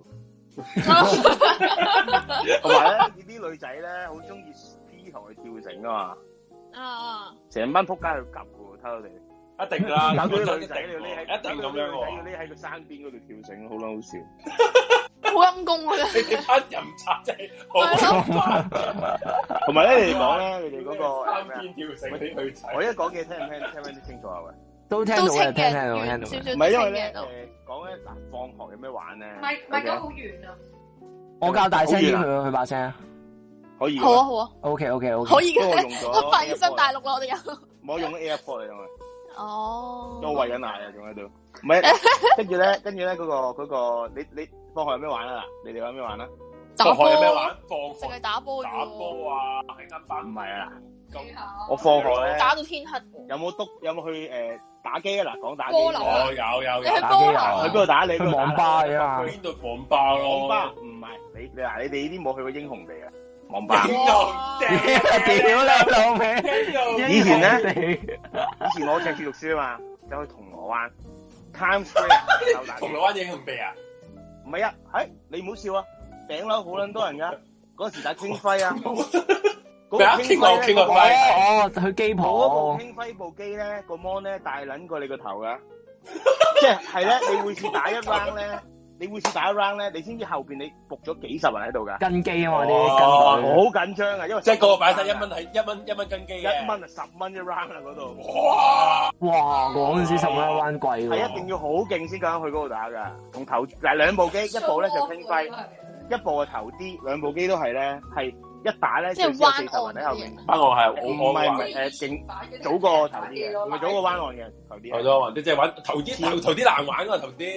啫。同埋咧，呢啲女仔咧好中意 P 堂去跳繩噶嘛。成班仆街去夾嘅，睇到你。一定啦，搞到啲女仔要匿喺，一定咁樣喎。要匿喺個山邊嗰度跳繩，好撚好笑。 好陰功啊！ 你哋班飲茶真係好。 同埋咧，你哋講咧，你哋嗰個山邊跳繩嗰啲女仔， 我一講嘅聽唔聽得清楚啊？喂， 都聽到嘅，聽到。 唔係因為咧，講咧嗱，放學有咩玩咧？ 唔係講好遠啊！ 我較大聲啲佢把聲。 可以。 好啊好啊。 OK。 可以嘅。我發現新大陸啦，我哋有。 我用 AirPod 嚟用啊。 哦。 都餵緊奶啊，仲喺度。唔係，跟住咧，嗰個，你放學有咩玩啊？你哋有咩玩啊？ 放學有咩玩？放學淨係打波。 打波啊！喺間班。 唔係啊。我放學咧。 打到天黑。 有冇去打機啊？嗱，講打機。 有。 你去打機啊？ 去邊度打？你去網吧啊？ 去邊度網吧咯？ 網吧唔係你哋呢啲冇去過英雄地啊？網吧。 屌你老味！ 以前我赤柱讀書啊嘛，走去銅鑼灣。Times Square 銅鑼灣英雄地啊？ 唔係啊，你唔好笑啊！頂樓好撚多人噶，嗰時打傾輝啊！ 咩啊？傾輝去機鋪嗰部傾輝部機咧，個 mon 咧大撚過你個頭噶，即係咧，你每次打一 round 咧，你先知後邊你伏咗幾十人喺度噶。跟機啊嘛啲，好緊張啊！因為即係個個擺晒1蚊係1蚊跟機嘅 ，1蚊10蚊一 round 啊嗰度。 哇！嗰陣時10蚊一 round 貴喎。 係一定要好勁先敢去嗰度打噶，同頭嗱兩部機，一部咧就傾輝，一部係頭啲，兩部機都係咧係。一打咧，最少40人喺後面。灣岸係我唔係勁早過頭啲嘅，唔係早過灣岸嘅頭啲。 係咯，你即係玩頭啲難玩啊頭啲。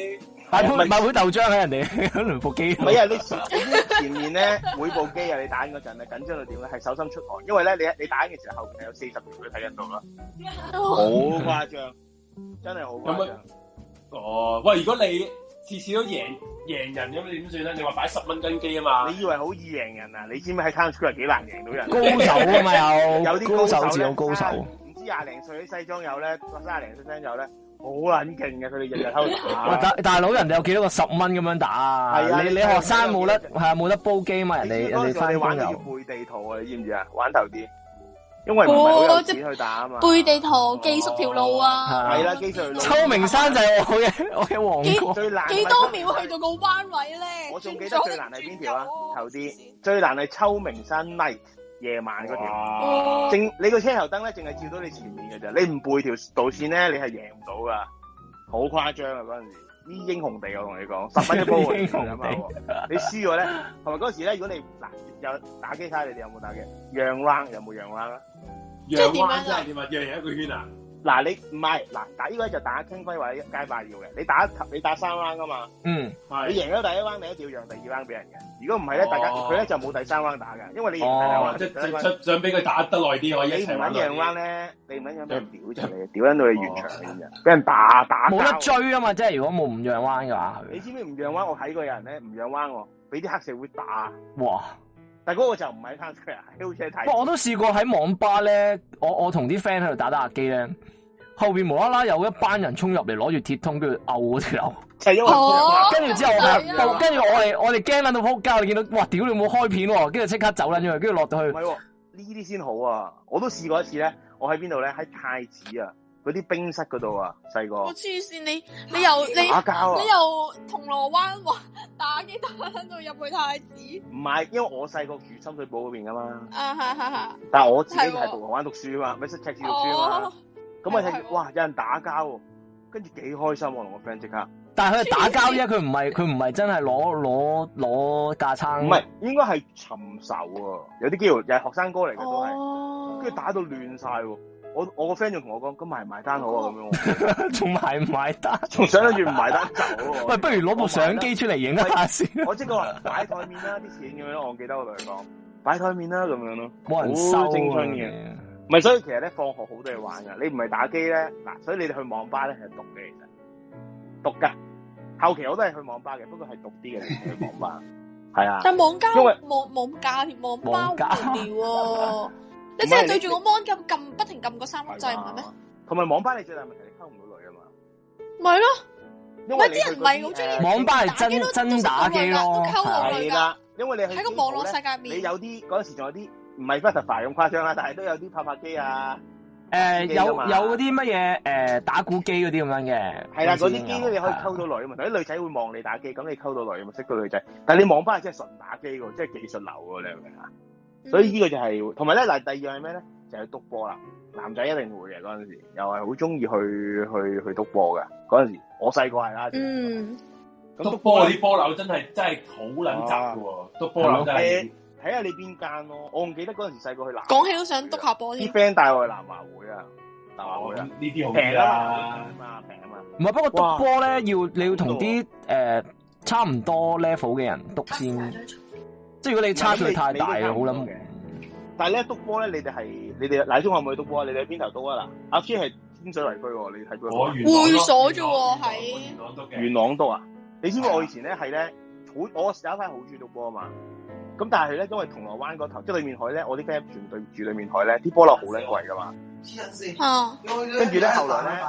買杯豆漿喺人哋嗰兩部機。 唔係啊，你前面咧每部機啊，你打緊嗰陣咧緊張到點咧？係手心出汗，因為咧你打緊嘅時候後邊係有40條都睇緊到啦，好誇張，真係好誇張。 哦，喂，如果你次次都贏人咁，你點算咧？你話擺10蚊斤機啊嘛？你以為好易贏人啊？你知唔知喺 Town Square 幾難贏到人？ 高手啊嘛， 有啲高手自有高手。 唔知20零歲啲西裝友咧，30零歲西裝友咧，好撚勁嘅，佢哋日日喺度打。 大佬，人哋有幾多個10蚊咁樣打啊？係啊，你學生冇得冇得煲機嘛？人哋翻工要背地圖啊！你知唔知啊？玩頭啲。因為唔係好有錢去打啊嘛， 背地圖記熟條路啊， 係啦，記熟條路。 秋名山就係我嘅王國。 最難幾多秒去到個彎位咧？ 我仲記得最難係邊條啊？頭啲最難係秋名山 night 夜晚嗰條，你個車頭燈咧淨係照到你前面嘅咋，你唔背條導線咧，你係贏唔到噶，好誇張啊！嗰陣時啲英雄地我同你講，10蚊一煲英雄地，你輸咗咧，同埋嗰時咧，如果你嗱有打機睇，你哋有冇打機？讓 round 有冇讓 round 啊？ 即係點啊？即係點啊？讓人一個圈啊？ 嗱，你唔係嗱打呢個就打傾輝或者街霸要嘅，你打3 round 噶嘛？ 嗯， 你贏咗第一 round，你一定要讓第2 round 俾人嘅。如果唔係咧，大家佢咧就冇第3 round 打嘅，因為你贏第2 round， 即係想俾佢打得耐啲可以。 你唔撚讓 round咧，你唔撚讓俾人屌出嚟，屌撚到你完場嘅啫，俾人打冇得追啊嘛！即係如果冇唔讓 round 嘅話， 你知唔知唔讓 round？我睇過有人咧唔讓 round 喎，俾啲黑社會打。 哇！ 但係嗰個就唔係 Town Square，好似係睇。 不過我都試過喺網吧咧，我同啲 friend 喺度打下機咧，後邊無啦啦有一班人衝入嚟攞住鐵通，跟住毆嗰條友。 就係因為跟住之後跟住我哋驚撚到仆街，你見到哇屌你冇開片喎，跟住即刻走撚咗去，跟住落到去。 唔係喎，呢啲先好啊！我都試過一次咧，我喺邊度咧？喺太子啊！嗰啲冰室嗰度啊，細個。我黐線，你又打交啊！ 你又銅鑼灣話打機打到入去太子。 唔係，因為我細個住深水埗嗰邊噶嘛。 係。 但係我自己係銅鑼灣讀書啊嘛，咪識赤柱讀書啊嘛。咁啊睇，哇！有人打交喎，跟住幾開心喎，同我 friend 即刻。 但係佢係打交啫，佢唔係真係攞架撐。 唔係，應該係尋仇喎。有啲機會又係學生哥嚟嘅都係，跟住打到亂晒喎。我個 friend 仲同我講，咁埋唔埋單好啊？咁樣， 仲埋唔埋單？ 仲想諗住唔埋單走喎？ 喂，不如攞部相機出嚟影一下先。 我即係話擺台面啦，啲錢咁樣，我記得我同佢講擺台面啦，咁樣咯， 冇人收好青春嘅。唔係，所以其實咧，放學好多嘢玩噶。你唔係打機咧，嗱，所以你哋去網吧咧係讀嘅，其實讀噶。後期我都係去網吧嘅，不過係讀啲嘅，去網吧。係啊。 但網吧， 因為網吧好無聊喎。你真係對住個 mon 撳，不停撳個3粒掣唔係咩？ 同埋網吧你最大問題你溝唔到女啊嘛。 咪咯， 因為啲人唔係好中意網吧係真打機咯， 都溝到女㗎。 因為你喺個網絡世界面， 你有啲嗰陣時仲有啲唔係 Butterfly 咁誇張啦，但係都有啲拍拍機啊。 有嗰啲乜嘢打鼓機嗰啲咁樣嘅。係啦， 嗰啲機咧你可以溝到女啊嘛，啲女仔會望你打機，咁你溝到女啊嘛，識到女仔。但係你網吧係真係純打機喎，即係技術流喎，你明唔明啊？所以呢個就係，同埋咧嗱，第二樣係咩咧？就係篤波啦。男仔一定會嘅嗰陣時，又係好中意去篤波嘅嗰陣時。我細個係啦。 咁篤波嗰啲波樓真係好撚雜嘅喎，篤波樓真係。 睇下你邊間咯。我唔記得嗰陣時細個去南。 講起都想篤下波添。啲 friend 帶我去南華會啊，南華會啊， 呢啲好平啊嘛，平啊嘛。 唔係，不過篤波咧你要同啲差唔多 level 嘅人篤先。即係如果你差距太大啊，好諗嘅。 但係咧篤波咧，你哋嗱中學冇去篤波，你哋喺邊頭篤啊嗱？阿 P 係天水圍區喎，你睇過？ 會所啫喎，喺元朗篤啊！你知唔知我以前咧係咧我有一塊好中意篤波啊嘛。咁但係咧，因為銅鑼灣嗰頭即係對面海咧，我啲 friend 全對住對面海咧，啲波樓好撚貴噶嘛。跟住咧後來咧。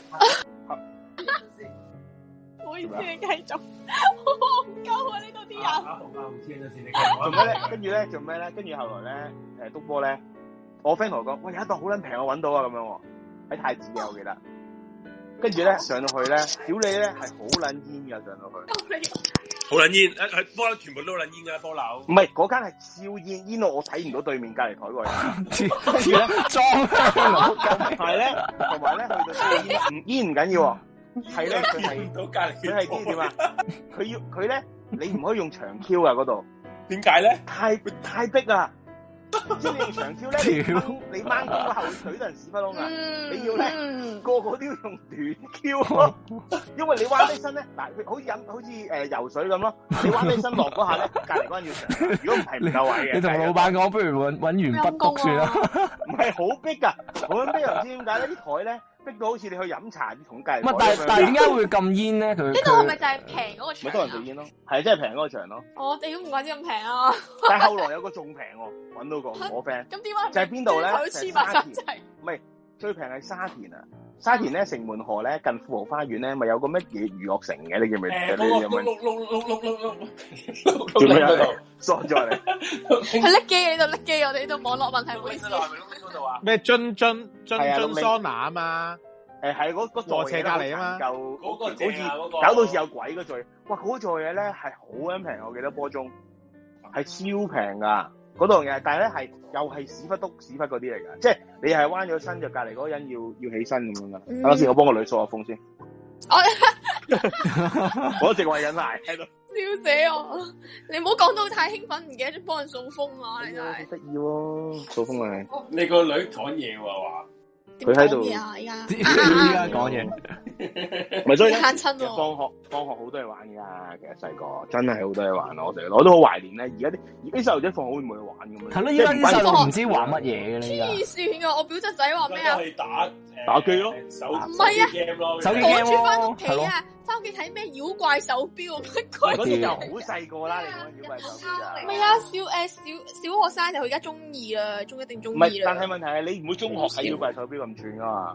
唔好意思，你繼續。好戇鳩啊！呢度啲人。 做咩咧？跟住咧做咩咧？跟住後來咧，篤波咧，我 friend 同我講，喂，有一檔好撚平，我揾到啊，咁樣喎，喺太子嘅，我記得。跟住咧上到去咧，屌你咧係好撚煙㗎，上到去。 好撚煙，波樓全部都撚煙㗎，波樓。 唔係嗰間係燒煙，煙到我睇唔到對面隔離台個人。跟住咧裝香係咧，同埋咧去到燒煙，煙唔緊要喎。係咧，佢係知點啊？佢咧，你唔可以用長 Q 啊嗰度。 點解咧？ 太逼啊！ 即係你用長挑咧，你掹到個後腿都係屎忽窿啊！你要咧個個都要用短挑咯，因為你彎低身咧，嗱，好似游水咁咯，你彎低身落嗰下咧，隔離嗰人要長，如果唔係唔夠位嘅。你同老闆講，不如揾完筆篤算啦。唔係好逼㗎，好逼又唔知點解咧？啲台咧逼到好似你去飲茶同隔離。但係點解會咁煙咧？佢呢度係咪就係平嗰個場？ 咪多人食煙咯，係真係平嗰個場咯。 我哋都唔怪之咁平啊！ 但係後來有個仲平喎，揾到個我 friend。咁點解？就係邊度咧？就係沙田。唔係最平係沙田啊！沙田咧城門河咧近富豪花園咧，咪有個乜嘢娛樂城嘅？你記唔記得？你有冇？做咩喺度？傻咗你！ 佢拎機喺度拎機，我哋呢度網絡問題，唔好意思。 咩津桑拿啊嘛？ 係嗰座斜隔離啊嘛， 嗰個好似搞到似有鬼嗰座，哇！嗰座嘢咧係好撚平，我記得波中係超平噶嗰度嘢，但係咧係又係屎忽嗰啲嚟噶，即係你係彎咗身就隔離嗰個人要起身咁樣噶。等陣先，我幫個女掃下風先。我直話緊賴喺度， 笑死我！你唔好講到太興奮，唔記得咗幫人掃風啊！你真係得意喎，掃風咪你個女講嘢喎話。 佢喺度， 依家講嘢， 咪所以嚇親喎。 放學好多嘢玩噶，其實細個真係好多嘢玩咯。我都好懷念咧。而家啲細路仔放學會唔會去玩咁樣？係咯，依家啲細路唔知玩乜嘢嘅咧。 黐線噶！我表侄仔話咩啊？ 打機咯， 唔係啊， 手機 game 咯，翻屋企啊，翻屋企睇咩妖怪手錶乜鬼？ 嗰啲就好細個啦，你講妖怪手錶啊？ 唔係啊，小學生就佢而家中二啦，中一定中二啦。 唔係，但係問題係你唔會中學睇妖怪手錶咁串噶嘛？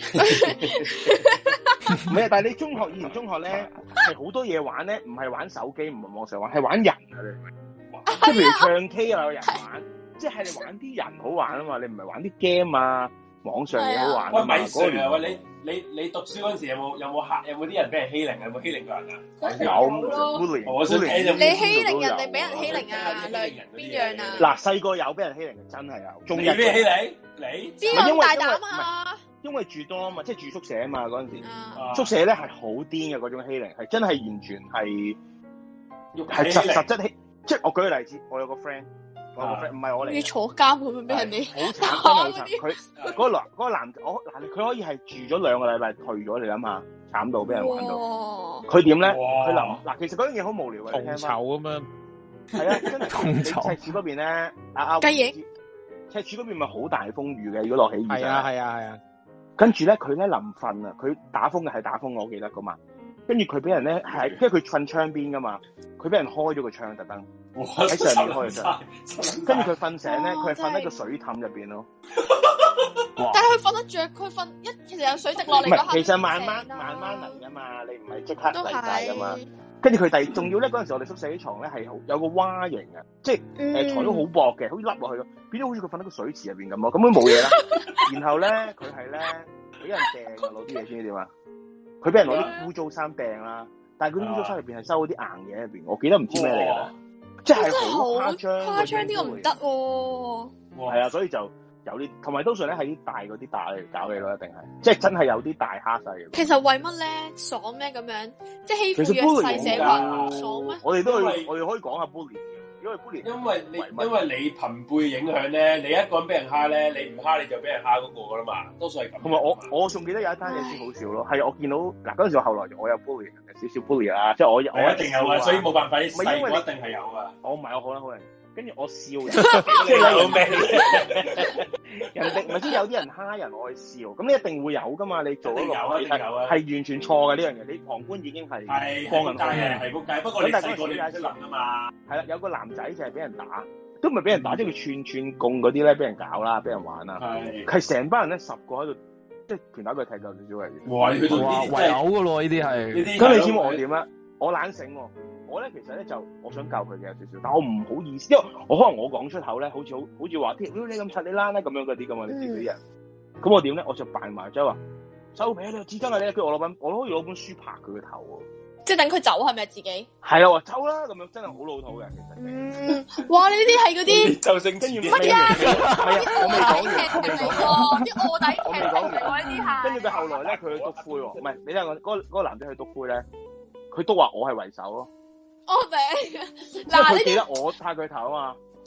唔係啊，但係你以前中學咧係好多嘢玩咧，唔係玩手機，唔係網上玩，係玩人啊！你即係譬如唱 K 啊，有人玩，即係你玩啲人好玩啊嘛，你唔係玩啲 game 啊。網上嘢好玩。 喂，咪Sir啊！喂，你讀書嗰陣時有冇啲人俾人欺凌啊？有冇欺凌過人啊？ 有， 我想聽你欺凌人定俾人欺凌啊？邊樣啊？ 嗱，細個有俾人欺凌，真係有。仲有咩欺凌？你邊個大膽啊？ 因為住多啊嘛，即係住宿舍啊嘛，嗰陣時宿舍咧係好癲嘅嗰種欺凌，係真係完全係實質欺。即係我舉個例子，我有個 friend。唔係我嚟， 要坐監咁樣俾人哋， 好慘，佢嗰個男，佢可以係住咗2個禮拜退咗，你諗下，慘到俾人玩到。佢點咧？佢嗱，其實嗰樣嘢好無聊嘅， 同仇咁樣。 係啊，真係同仇。赤柱嗰邊咧， 雞翼， 赤柱嗰邊咪好大風雨嘅，如果落起雨。 係啊。 跟住咧，佢咧臨瞓啊，佢打風嘅係打風，我記得噶嘛。跟住佢俾人咧係，因為佢瞓窗邊噶嘛，佢俾人開咗個窗特登。喺上面開嘅啫，跟住佢瞓醒咧，佢係瞓喺個水凼入邊咯。 但係佢瞓得着，佢瞓其實有水滴落嚟。 唔係，其實慢慢嚟噶嘛，你唔係即刻嚟晒噶嘛。跟住佢仲要咧，嗰陣時我哋宿舍啲床咧係有個蛙形嘅，即係材料好薄嘅，好似凹落去咯，變咗好似佢瞓喺個水池入邊咁咯，咁都冇嘢啦。然後咧，佢係咧俾人掟啊，攞啲嘢先點啊？佢俾人攞啲污糟衫掟啦，但係嗰啲污糟衫入邊係收嗰啲硬嘢入邊，我記得唔知咩嚟噶。即係好誇張呢個唔得喎。 係啊，所以就有啲，同埋通常咧喺啲大嗰啲打嚟搞你咯，一定係，即係真係有啲大蝦細嘅。 其實為乜咧？爽咩咁樣？即係欺負弱勢社群，爽咩？ 我哋可以講下 bully 嘅，因為 bully 因為你朋輩影響咧，你一個人俾人蝦咧，你唔蝦你就俾人蝦嗰個噶啦嘛，多數係咁。 同埋我仲記得有一單嘢先好笑咯，係我見到嗱嗰陣時，後來我有 bully 少少 bully 啦，即係我一定有啊，所以冇辦法，細個一定係有啊。 我唔係我好啦，跟住我笑人，即係有咩？人哋唔係即係有啲人蝦人，我去笑，咁你一定會有噶嘛？你做一個係完全錯嘅呢樣嘢，你旁觀已經係放人開嘅，係仆街。不過你細個你解釋能啊嘛？係啦，有個男仔就係俾人打，都唔係俾人打，即係佢串供嗰啲咧，俾人搞啦，俾人玩啦，係成班人咧10個喺度。即係拳打腳踢夠少少嚟嘅， 哇！去到啲圍毆嘅咯，呢啲係。 咁你知我點咧？我懶醒喎，我咧其實咧就我想教佢嘅有少少，但我唔好意思，因為我可能我講出口咧，好似話你咁柒你啦咁樣嗰啲噶嘛，你知嗰啲人。咁我點咧？我就扮埋即係話收皮，你紙巾啊你，跟住我可以攞本書拍佢個頭喎。即係等佢走係咪自己？係啊，話走啦咁樣，真係好老土嘅其實。哇！你呢啲係嗰啲就性跟住乜嘢？我未講完，啲臥底劇嚟喎呢啲係。跟住佢後來咧，佢去篤灰喎，唔係你睇我嗰個男仔去篤灰咧，佢都話我係為首咯。我明。嗱，佢記得我拍佢頭啊嘛。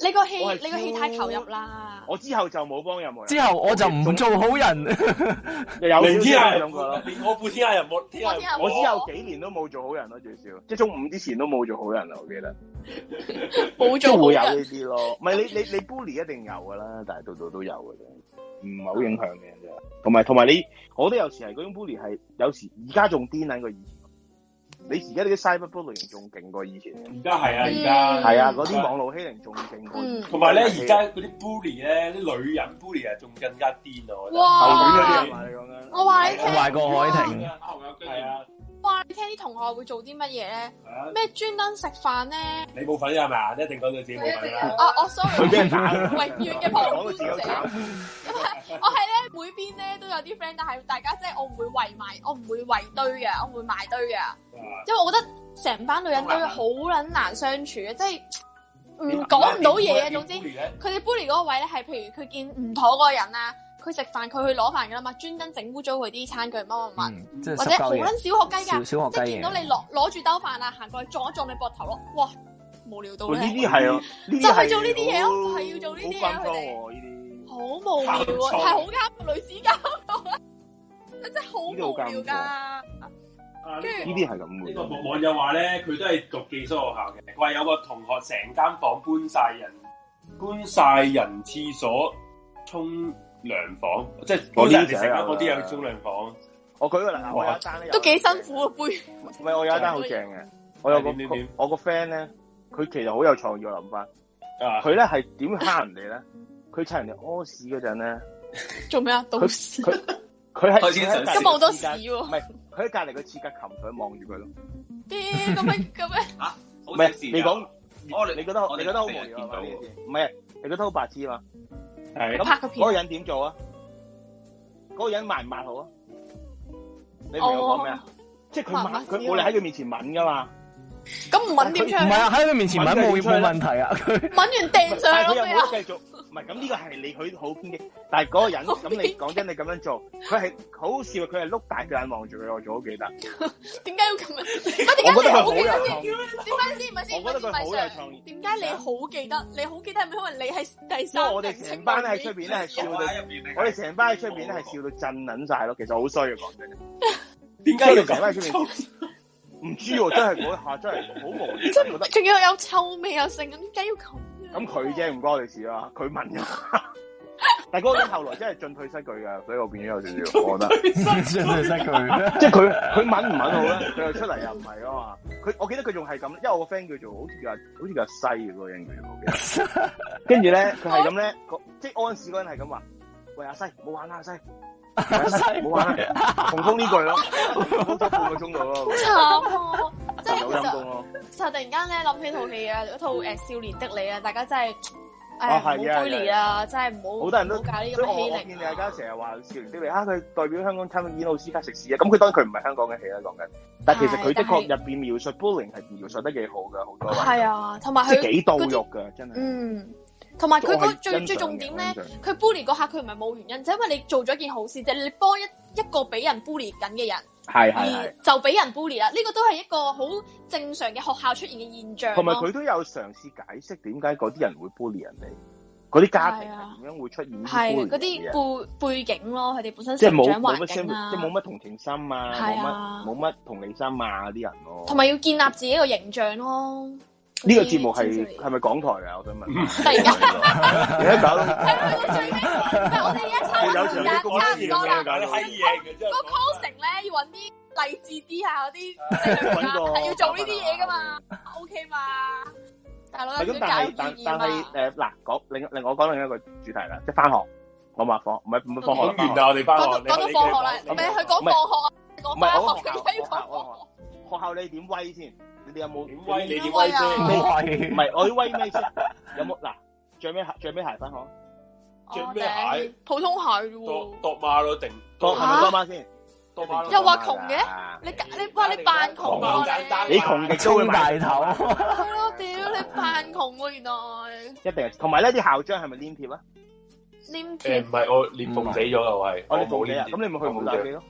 你個戲太投入啦。 我之後就冇幫任何人。 之後我就唔做好人。 有天下諗過啦， 我副天下人冇天下， 我之後幾年都冇做好人咯，最少即係中午之前都冇做好人啦，我記得。 冇做好人。 會有呢啲咯，唔係你 bully 一定有噶啦，但係度度都有嘅啫，唔係好影響嘅啫。同埋你，我覺得有時係嗰種 bully 係有時而家仲癲緊過以前。你而家啲 cyberbullying 仲勁過以前。 而家係啊，而家係啊，嗰啲網絡欺凌仲勁過。同埋咧，而家嗰啲 bully 咧，啲女人 bully 啊，仲更加癲啊！ 哇！ 嗰啲係嘛？你講緊？ 我話你聽， 壞過海婷。 係啊。 哇！你聽啲同學會做啲乜嘢咧？咩專登食飯咧？ 你冇份係咪？一定講到自己冇份啦。 我 sorry， 佢俾人打， 永遠嘅旁觀者。我係咧每邊咧都有啲 friend，但係大家即係我唔會圍埋，我唔會圍堆嘅，我唔會埋堆嘅，因為我覺得成班女人都好撚難相處嘅，即係講唔到嘢嘅。總之佢哋 bully 嗰個位咧係，譬如佢見唔妥嗰個人啦。佢食飯，佢去攞飯噶啦嘛，專登整污糟佢啲餐具乜，或者好撚小學雞㗎，即係見到你攞住兜飯啊，行過去撞一撞你膊頭咯，哇，無聊到咧！ 呢啲係啊， 就係做呢啲嘢咯，就係要做呢啲嘢，佢哋好無聊啊，係好啱女子監獄啊，真係好無聊㗎。 跟住呢啲係咁嘅。 呢個網友話咧，佢都係讀寄宿學校嘅，佢話有個同學成間房搬晒人廁所沖涼房，即係嗰啲成間嗰啲有沖涼房。我舉個例，我有一單咧， 都幾辛苦啊杯。 唔係，我有一單好正嘅，我個 friend 咧，佢其實好有創意，我諗翻。佢咧係點蝦人哋咧？佢趁人哋屙屎嗰陣咧， 做咩啊？倒屎。 佢係今日好多屎喎。唔係，佢喺隔離個廁格擒佢望住佢咯。 啲咁咩？ 嚇？唔係你講，你覺得好無聊啊？唔係，你覺得好白痴啊嘛？係咁，嗰個人點做啊？嗰個人抹唔抹好啊？你明我講咩啊？即係佢冇你喺佢面前吻噶嘛？咁唔吻點出？唔係啊，喺佢面前吻冇問題啊。佢吻完掟上去咯。佢又冇繼續，唔係咁呢個係你佢好偏激，但係嗰個人咁你講真，你咁樣做，佢係好好笑，佢係碌大個眼望住佢，我仲好記得。點解要咁樣？我覺得佢好有創意。點解先？唔係先？我覺得佢好有創意。點解你好記得？你好記得係咪因為你係第三？因為我哋成班喺出邊咧係笑到，我哋成班喺出邊咧係笑到震撚晒咯。其實好衰嘅講真。點解要成班喺出邊？唔知喎，真係嗰下真係好無聊，真係覺得。仲要有臭味又剩，咁點解要咁？咁佢啫，唔關我哋事啦。佢問㗎，但係嗰個人後來真係進退失據㗎，所以我變咗有少少，我覺得進退失據。即係佢吻唔吻好咧？佢又出嚟又唔係啊嘛。我記得佢仲係咁，因為我個 friend 叫做好似叫西嘅嗰個人叫做，跟住咧佢係咁咧，即係屙屎嗰人係咁話：喂阿西，唔好玩啦阿西。冇玩啦，重複呢句咯，重複咗半個鐘度咯。好慘喎，即係其實突然間咧諗起套戲啊，嗰套少年的你啊，大家真係唔好卑劣啊，真係唔好。好多人都搞呢咁嘅欺凌。我見大家成日話少年的你佢代表香港參演奧斯卡食屎啊！咁佢當然佢唔係香港嘅戲啦，講緊。但其實佢的確入邊描述 bullying 係描述得幾好㗎，好多。係啊，同埋佢幾到肉㗎，真係。同埋佢個最重點咧，佢 bully 嗰下佢唔係冇原因，就因為你做咗件好事啫，你幫一個俾人 bully 緊嘅人，而就俾人 bully 啦，呢個都係一個好正常嘅學校出現嘅現象。同埋佢都有嘗試解釋點解嗰啲人會 bully 人哋，嗰啲家庭係點樣會出現係嗰啲背景咯，佢哋本身成長環境啊，即係冇乜同情心啊，冇乜同理心啊啲人咯，同埋要建立自己個形象咯。呢個節目係咪港台啊？我想問。突然間，而家搞到係最尾，我哋而家差唔多啦。個 closing 咧要揾啲勵志啲下嗰啲，係要做呢啲嘢噶嘛 ？OK 嘛？大佬有啲教育意義嘛？但係嗱，令我講另一個主題啦，即係翻學，我話放唔係放學完啦，我哋翻學。講到放學啦，唔係佢講放學啊，講翻學點解要講？學校你點威先？你哋有冇點威？你點威先？唔係我要威咩先？有冇嗱？着咩鞋翻學？着咩鞋？普通鞋啫喎。度馬咯定？係咪多馬先？多馬又話窮嘅？你話你扮窮啊？你窮極都會大頭。係咯，屌你扮窮喎原來。一定係，同埋呢啲校章係咪黏貼啊？黏貼？唔係我裂縫死咗啦，我係。我冇黏貼。咁你咪去冇打機咯？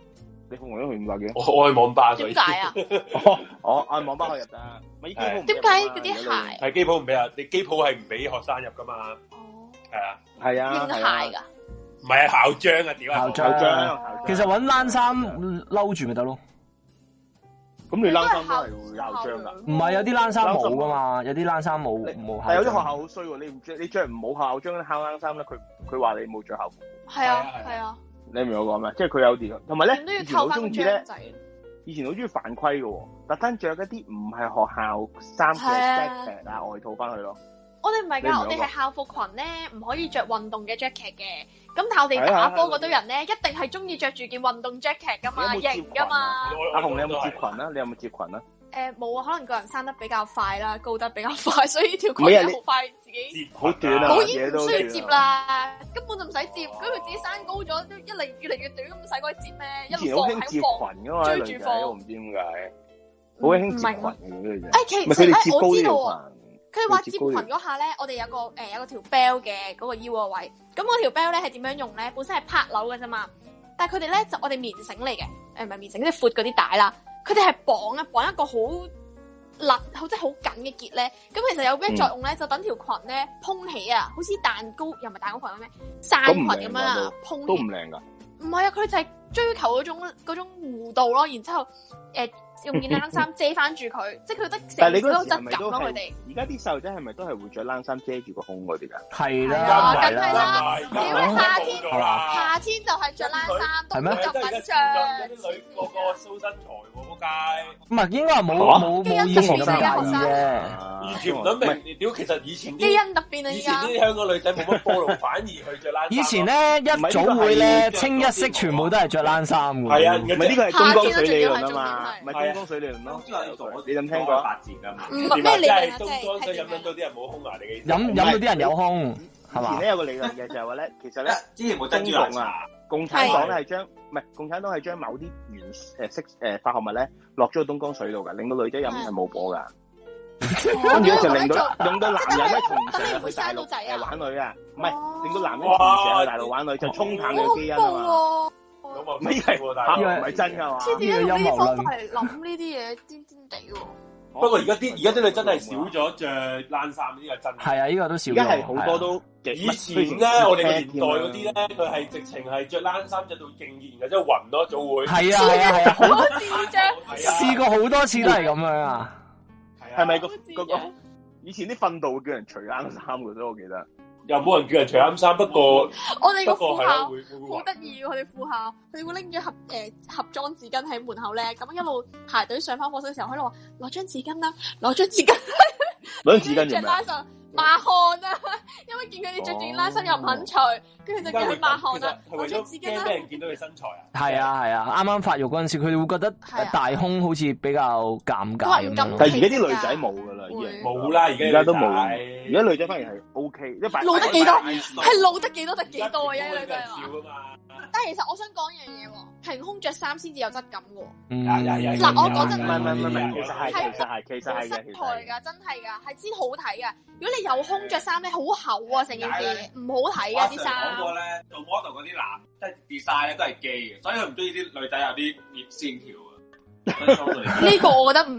你鳳凰都去500幾？ 我去網吧， 點解啊？ 我喺網吧可以入得，咪機鋪點解嗰啲鞋係機鋪唔俾啊？你機鋪係唔俾學生入噶嘛？係啊， 認鞋噶？ 唔係校章啊，屌校章。其實搵冷衫嬲住咪得咯。 咁你冷衫都係會校章噶？ 唔係有啲冷衫冇噶嘛？有啲冷衫冇。 但有啲學校好衰喎，你着唔冇校章校冷衫咧，佢話你冇着校服。 係啊。 你明我講咩？即係佢有啲，同埋咧， 以前好中意咧， 以前好中意犯規嘅，特登着一啲唔係學校衫嘅 jacket 啊外套翻去咯。 我哋唔係噶，我哋係校服裙咧，唔可以着運動嘅 jacket 嘅。咁但係我哋打波嗰堆人咧，一定係中意着住件運動 jacket 噶嘛，型噶嘛。 阿紅，你有冇接裙啊？你有冇接裙啊？ 冇啊，可能個人生得比較快啦，高得比較快，所以條裙好快自己好短啊， 冇已經唔需要接啦，根本就唔使接，咁佢自己生高咗，都越嚟越短，咁使鬼接咩？一路放喺放，追住放， 我唔知點解，好興接裙嘅呢其實咧我知道喎，佢話接裙嗰下咧，我哋有個條 bell 嘅嗰個腰個位，咁我條 bell 咧係點樣用咧？本身係拍鈕嘅啫嘛，但係佢哋咧就我哋棉繩嚟嘅，唔係棉繩，即係闊嗰啲帶啦。佢哋係綁一個好勒，即係好緊嘅結咧。咁其實有咩作用咧？就等條裙咧蓬起啊，好似蛋糕又唔係蛋糕裙咩？散裙咁樣啊，蓬起。都唔靚噶。唔係啊，佢就係追求嗰種弧度咯，然之後用件冷衫遮翻住佢，即係佢得成個質感咯。佢哋而家啲細路仔係咪都係會着冷衫遮住個胸嗰啲噶？ 係啦， 梗係啦。屌你夏天就係着冷衫，冬天就唔着。 啲女個蘇身材喎，仆街。 唔係應該話冇以前咁介意嘅， 完全唔諗明。屌，其實以前基因突變啊！ 以前啲香港女仔冇乜波路，反而去着冷衫。 以前咧一早會咧清一色全部都係着冷衫嘅。 係啊， 唔係呢個係東江水理論啊嘛，唔係東江水理論咯。你有冇聽過發展啊嘛？ 咩理論啊？ 即係東江水飲到啲人冇胸牙，你嘅飲到啲人有胸，係嘛？ 以前咧有個理論嘅就係話咧，其實咧之前冇珍珠奶茶， 共產黨咧係將唔係共產黨係將某啲化學物咧落咗個東江水度噶，令到女仔飲係冇火噶。跟住就令到男人咧從成日去大陸玩女啊，唔係令到男人從成日去大陸玩女就沖淡你嘅基因啊嘛。 呢係唔係真噶嘛？ 呢啲陰謀論係諗呢啲嘢癲癲地喎。 不過而家啲女真係少咗着冷衫，呢個真係。 係啊，呢個都少咗。 而家係好多都以前咧，我哋個年代嗰啲咧，佢係直情係着冷衫着到勁熱嘅，即係暈咯，早會。係啊， 好多次着。 試過好多次都係咁樣啊。 係咪個以前啲訓導會叫人除冷衫嘅啫？我記得。 又冇人叫人除冷衫，不過我哋個副校好得意，我哋副校佢哋會拎咗盒裝紙巾喺門口咧，咁一路排隊上翻課室嘅時候，喺度話攞張紙巾啦，攞張紙巾， 攞張紙巾做咩？ 抹汗啊！因為見佢哋着住冷衫又唔肯除，跟住就叫佢抹汗啊！攞張紙巾啦！ 驚俾人見到佢身材啊！ 係啊，啱啱發育嗰陣時，佢哋會覺得大胸好似比較尷尬咁樣。 但係而家啲女仔冇噶啦，已經冇啦，而家都冇。 而家女仔反而係 OK， 露得幾多？係露得幾多得幾多啊！而家女仔話。但係其實我想講一樣嘢喎，平胸着衫先至有質感嘅喎。嗱，我講真， 唔係，其實係嘅， 實台㗎，真係㗎，係先好睇㗎。如果你有胸着衫咧，好厚啊，成件事唔好睇㗎啲衫。 講過咧，做 model 嗰啲男即係 design 咧都係基嘅，所以佢唔中意啲女仔有啲熱線條啊。 呢個我覺得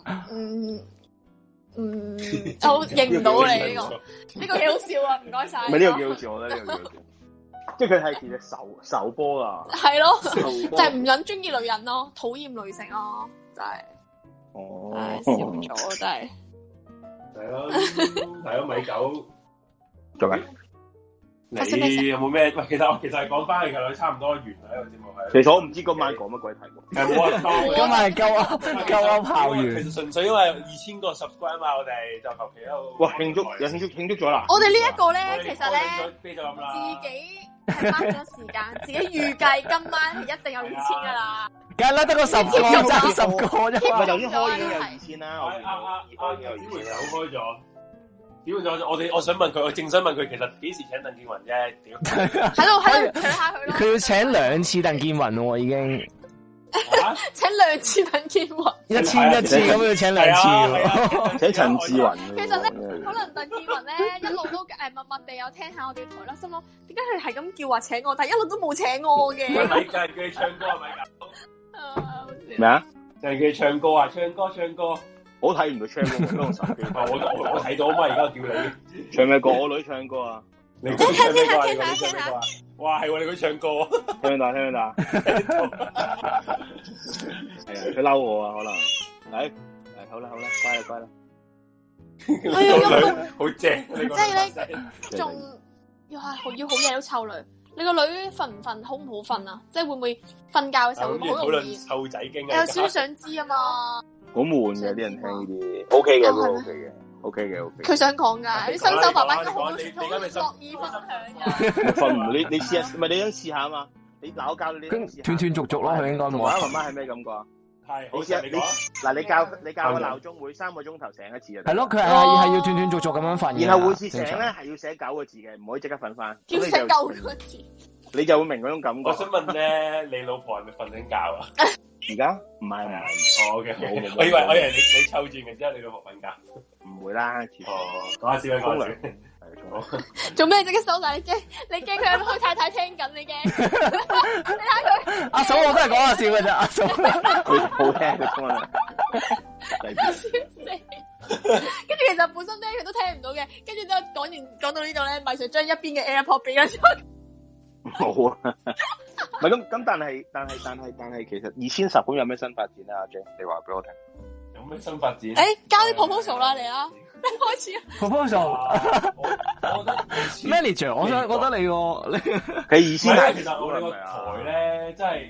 我認唔到你呢個幾好笑啊！唔該晒。 唔係呢個幾好笑，我覺得呢個幾好笑。即係佢係其實手波啊， 係咯，就係唔撚中意女人咯，討厭女性咯，真係，笑咗真係， 係咯，米狗做咩？ 你有冇咩？喂，其實係講翻嚟嘅，差唔多完啦呢個節目係。 其實我唔知今晚講乜鬼題目。 冇人講， 今晚係鳩炮完。 其實純粹因為2000個 subscribe 嘛，我哋就求其喺度。 哇！慶祝咗啦！ 我哋呢一個咧，其實咧，自己係花咗時間，自己預計今晚係一定有2000噶啦。 梗係啦，得個10個啫，10個啫。 唔係頭先開已經有2000啦， 點會手開咗？屌我想問佢，我正想問佢，其實幾時請鄧健泓啫？屌， 喺度取下佢咯。 佢要請2次鄧健泓喎，已經。 請2次鄧健泓。 1000次咁要請2次。 請陳志雲。 其實咧，可能鄧健泓咧一路都默默地有聽下我哋台啦，心諗點解佢係咁叫話請我，但係一路都冇請我嘅。 咪就係叫你唱歌係咪㗎？ 咩啊？ 就係佢唱歌啊，唱歌。 我睇唔到唱歌，我用手機。 我睇到啊嘛，而家叫你唱咩歌？我女唱歌啊！ 你唱咩歌啊？你唱咩歌啊？哇，係喎，你佢唱歌， 聽唔到？係啊，佢嬲我啊，可能。嚟，好啦，乖啦。 我要好正， 即係咧，仲要好夜都湊女。你個女瞓唔瞓，好唔好瞓啊？即係會唔會瞓覺嘅時候會好容易湊仔經啊？ 有少少想知啊嘛。 好悶嘅啲人聽呢啲，OK 嘅都 OK 嘅。 佢想講㗎，啲新手爸爸應該好樂意分享㗎。 瞓唔到，你試下，唔係你想試下啊嘛？你嗱我教你， 斷斷續續咯，佢應該冇。 媽媽係咩感覺啊？係，好似你嗱，你教個鬧鐘每3個鐘頭醒一次啊。 係咯，佢係要斷斷續續咁樣瞓。 然後每次醒咧係要寫9個字嘅，唔可以即刻瞓翻。 要寫9個字， 你就會明嗰種感覺。 我想問咧，你老婆係咪瞓緊覺啊？ 而家唔係。 OK，我以為你湊住嘅之後，你老婆瞓覺。 唔會啦。 講下笑，講下笑。 做咩即刻收晒？你驚佢開太太聽緊你驚？你睇佢。 阿嫂我都係講下笑嘅啫，阿嫂。 佢好聽佢講啊。 笑死！跟住其實本身咧佢都聽唔到嘅，跟住之後講到呢度咧，咪就將一邊嘅 AirPod 俾咗佢。 冇啊，唔係咁，但係其實2010咁有咩新發展啊？阿 J， 你話俾我聽。 有咩新發展？ 交啲 proposal 啦，嚟啦，開始。 proposal， 我覺得 manager， 我覺得你佢2000 其實我哋個台咧，真係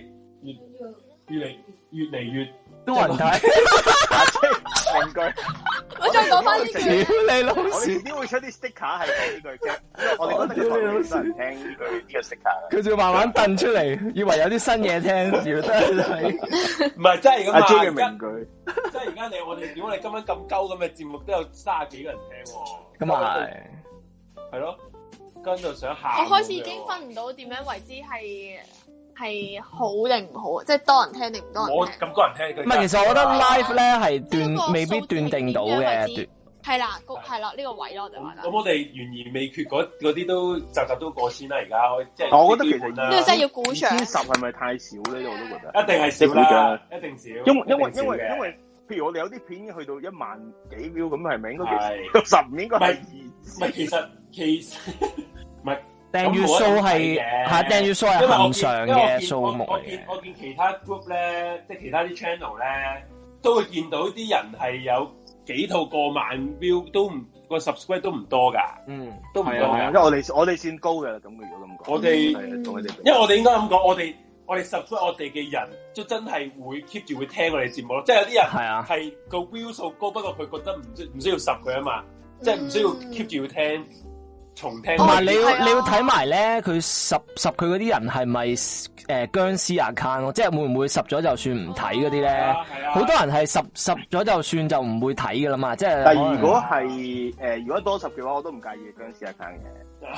越嚟越多人睇。 名句。 我再講翻呢句。 屌你老我哋點會出啲 sticker 係講呢句啫？我哋覺得佢好多人聽呢個 sticker。 佢就慢慢掟出嚟，以為有啲新嘢聽，要得睇。 唔係真係咁啊！ 阿 J 嘅名句。 即係而家我哋點解你今晚咁鳩咁嘅節目都有30幾個人聽喎？ 咁啊係咯，跟住想喊。 我開始已經分唔到點樣為之係好定唔好，即係多人聽定唔多人聽。 我咁多人聽， 唔係，其實我覺得 live 咧係未必斷定到嘅。 係啦，呢個位咯，我就話啦。 咁我哋懸而未決嗰啲都集都過先啦，而家即係。 我覺得其實呢個真係要鼓掌。 2010係咪太少咧？我都覺得。 一定係少啦，一定少。 因為，譬如我哋有啲片已經去到1萬幾 view，咁係咪應該10應該係唔係，其實唔係。 訂閱數係訂閱數係恆常嘅數目。 我見其他 group 咧，即係其他啲 channel 咧，都會見到啲人係有幾套過萬 view，都唔個 subscribe 都唔多噶，都唔多噶。 因為我哋算高嘅啦，咁如果咁講。 我哋因為我哋應該咁講，我哋 subscribe 我哋嘅人都真係會 keep 住會聽我哋節目咯。即係有啲人係個 view 數高，不過佢覺得唔需要10佢啊嘛，即係唔需要 keep 住要聽。重聽同埋你要睇埋咧，佢十佢嗰啲人係咪僵屍 account 咯？即係會唔會10咗就算唔睇嗰啲咧？好多人係10咗就算就唔會睇噶啦嘛。即係。 但係如果係如果多10嘅話，我都唔介意僵屍 account 嘅。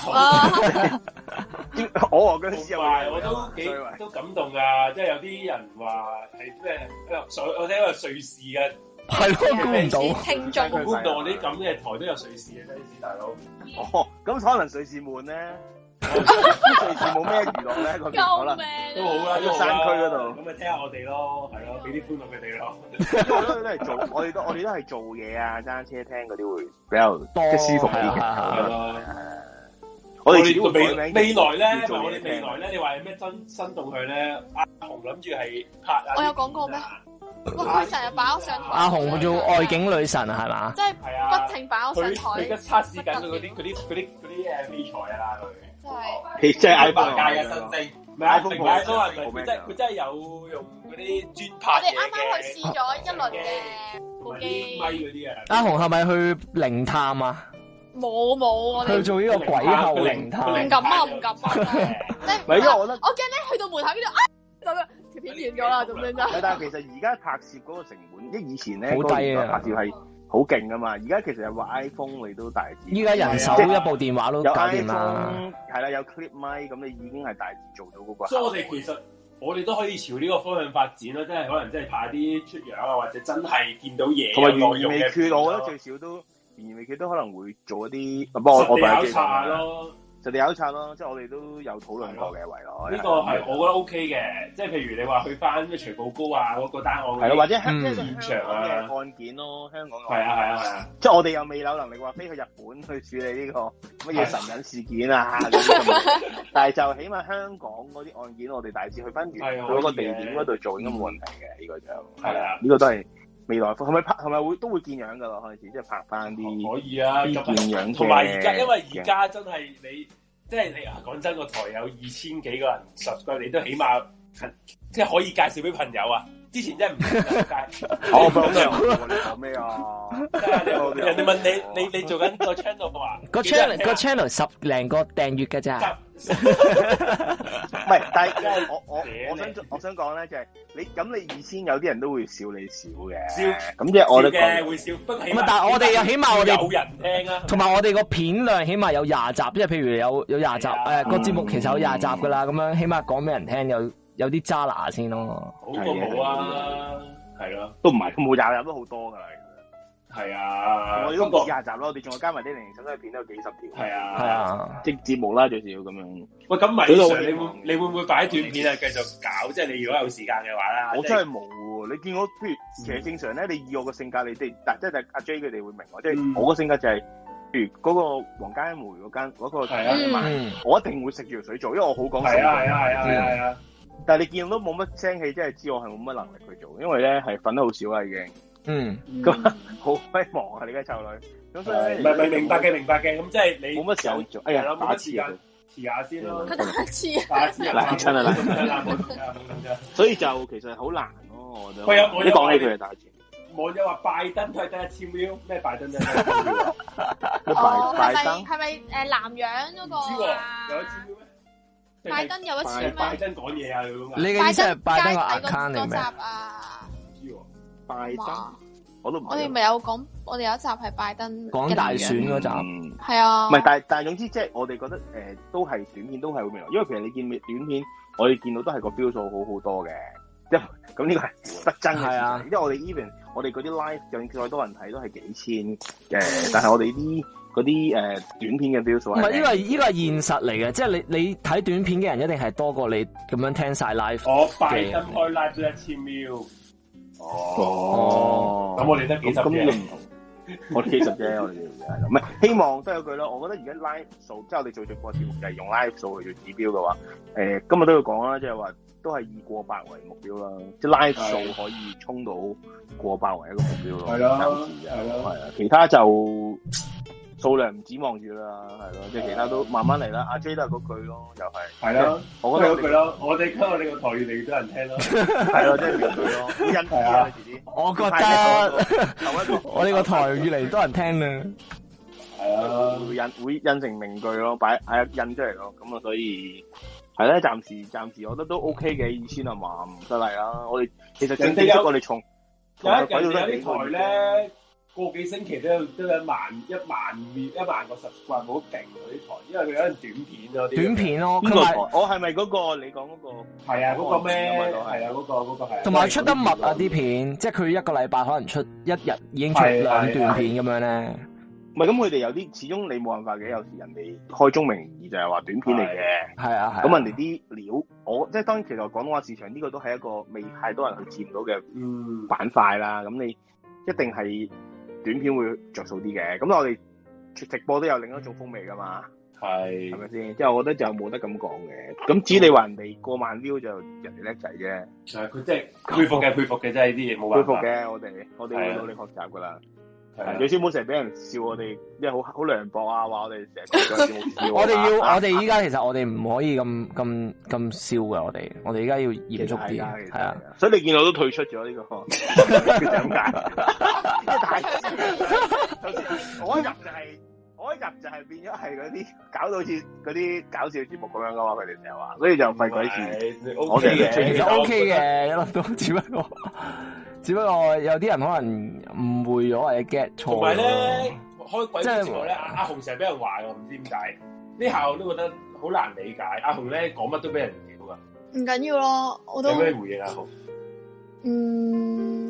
我和僵屍我都感動噶，即係有啲人話係咩？我聽一個瑞士嘅。 係咯，估唔到， 聽眾估唔到我啲咁嘅台都有瑞士嘅 fans 大佬。 哦，咁可能瑞士悶咧，瑞士冇咩娛樂咧，嗰邊可能都好啦， 喺山區嗰度。 咁咪聽下我哋咯，係咯，俾啲歡樂佢哋咯。 因為我都係做，我哋都係做嘢啊，揸車聽嗰啲會比較多舒服啲嘅。我哋未來咧，你話有咩新動向咧？阿紅諗住係拍啊！ 我有講過咩？佢成日擺我上台。 阿紅做外景女神係嘛？ 即係不停擺我上台。 佢而家測試緊佢嗰啲器材啊， 佢即係 iPhone 界嘅新星，唔係 iPhone 佢真係有用嗰啲專拍嘢嘅。 我哋啱啱去試咗一輪嘅部機咪嗰啲啊。 阿紅係咪去靈探啊？ 冇，我哋去做呢個鬼後靈探。 唔敢啊！即係唔係，因為我覺得我驚咧去到門口呢度條片完咗啦，咁樣就。 但係其實而家拍攝嗰個成本，即係以前咧好低啊， 拍攝係好勁噶嘛。而家其實有個 iPhone 你都大致。 依家人手一部電話都搞掂啦。 係啦，有 clip mic 咁，你已經係大致做到嗰個。 所以我哋都可以朝呢個方向發展咯，即係可能真係拍啲出樣啊，或者真係見到嘢。 同埋懸而未決，我覺得最少都懸而未決都可能會做一啲。不過我實地考察咯。 就地考察咯，即係我哋都有討論過嘅圍內。 呢個係我覺得 OK 嘅，即係譬如你話去翻咩徐步高啊嗰個單案， 係咯，或者現場嘅案件咯，香港係啊， 即係我哋又未有能力話飛去日本去處理呢個乜嘢神隱事件啊，但係就起碼香港嗰啲案件，我哋大致去翻原嗰個地點嗰度做應該冇問題嘅，呢個就係啊，呢個都係。未來係咪拍係咪會都會見樣噶咯？開始即係拍翻啲可以啊， 見樣同埋而家，因為而家真係你即係你講真個台有2000幾個人subscribe，你都起碼即係可以介紹俾朋友啊！之前真係唔介， 我講咩啊？ 人哋問你做緊個 channel 話個 channel 10零個訂閱㗎咋？ 唔係，但係我想講咧，就係你2000有啲人都會笑你少嘅，咁即係我都嘅會笑，不過但係我哋又起碼我哋有人聽啊， 同埋我哋個片量起碼有20集，即係譬如有20集，個節目其實有20集噶啦，咁樣起碼講俾人聽有啲渣拿先咯， 好過冇啊，係咯， 都唔係，冇20集都好多噶啦。 係啊， 我哋都冇20集咯，我哋仲有加埋啲零零散散片都有幾十條。 係啊， 即節目啦最少咁樣。 喂，咁米 Sir，你會唔會擺短片啊？繼續搞，即係你如果有時間嘅話啦。 我真係冇喎，你見我譬如其實正常咧，你以我個性格，你哋即係阿 J 佢哋會明我，即係我個性格就係，譬如嗰個黃家梅嗰個我一定會食住條水做，因為我好講水。係啊。但係你見到都冇乜聲氣，即係知我係冇乜能力去做，因為咧係瞓得好少啦已經。咁好鬼忙啊！你而家湊女，咁所以唔係明白嘅，咁即係你冇乜時候做。哎呀，打次啊， 遲下先咯。 佢打次冷親啊冷，所以就其實好難咯，我覺得。 你講起佢係打次。 網友話拜登都係得1000 view，咩拜登啫？ 拜登係咪南洋嗰個啊？ 有1000 view咩？ 拜登有1000咩？ 拜登講嘢啊！ 你嘅意思係拜登個 account 嚟咩？ 拜登，我都唔。 我哋咪有講，我哋有一集係拜登講大選嗰集， 係啊。 唔係，但係總之即係我哋覺得都係短片都係會未來，因為其實你見短片，我哋見到都係個標數好多嘅，即係咁呢個係不爭嘅事實。因為我哋 even 我哋嗰啲 live 究竟再多人睇都係幾千嘅，但係我哋嗰啲短片嘅標數係唔係呢個係現實嚟嘅，即係你睇短片嘅人一定係多過你咁樣聽晒 live。 我拜登開 live 都1000 view。咁我哋得幾十嘅，唔同。 我哋幾十啫，我哋唔係希望都有句啦。我覺得而家 live 數，即係我哋做直播節目就係用 live 數去做指標嘅話，今日都要講啦，即係話都係以過百為目標啦。即係 live 數可以衝到過百為一個目標咯。係咯，係啊，其他就數量唔指望住啦，係咯，即係其他都慢慢嚟啦。阿 J 都係嗰句咯，又係。係咯， 我覺得嗰句咯，我哋個台越嚟越多人聽咯。 係咯，即係嗰句咯，好欣慰啊！遲啲。 我覺得我呢個台越嚟越多人聽啦。 係啊，會印成名句咯，印出嚟咯。咁啊，所以係咧，暫時我覺得都 OK 嘅，2000啊嘛，唔得嚟啦。我哋其實正式我哋從有啲台咧。個幾星期都有1萬個subscribe，好勁嗰啲台，因為佢有短片咯。 短片咯， 邊個台？我係咪嗰個你講嗰個？ 係啊，嗰個咩？係啊，嗰個係。 同埋出得密啊啲片，即係佢一個禮拜可能出一日已經出2段片咁樣咧。 唔係咁，佢哋有啲始終你冇辦法嘅，有時人哋開宗明義就係話短片嚟嘅。係啊，咁人哋啲料，即係當然其實廣東話市場呢個都係一個未太多人去佔到嘅板塊啦。咁你一定係。短片會着數啲嘅，咁我哋直播都有另一種風味噶嘛，係咪先？即係我覺得就冇得咁講嘅。咁至於你話人哋過萬 view 就人哋叻仔啫，係佢即係佩服嘅，真係呢啲嘢冇辦法。佩服嘅，我哋會努力學習噶啦。最少唔好成日俾人笑我哋，因為好涼薄啊，話我哋成日講節目笑。我哋依家其實我哋唔可以咁笑嘅，我哋依家要嚴肅啲，係啊。所以你見我都退出咗呢個，點解？太我一入就係變咗係嗰啲搞到好似嗰啲搞笑節目咁樣噶嘛，佢哋成日話，所以就費鬼事。我哋其實 OK 嘅，一粒都只不過有啲人可能誤會咗或者 get 錯。同埋咧，開鬼節目咧，阿紅成日俾人話我唔知點解，呢下我都覺得好難理解。阿紅咧講乜都俾人屌噶。唔緊要咯，我都有咩回應阿紅？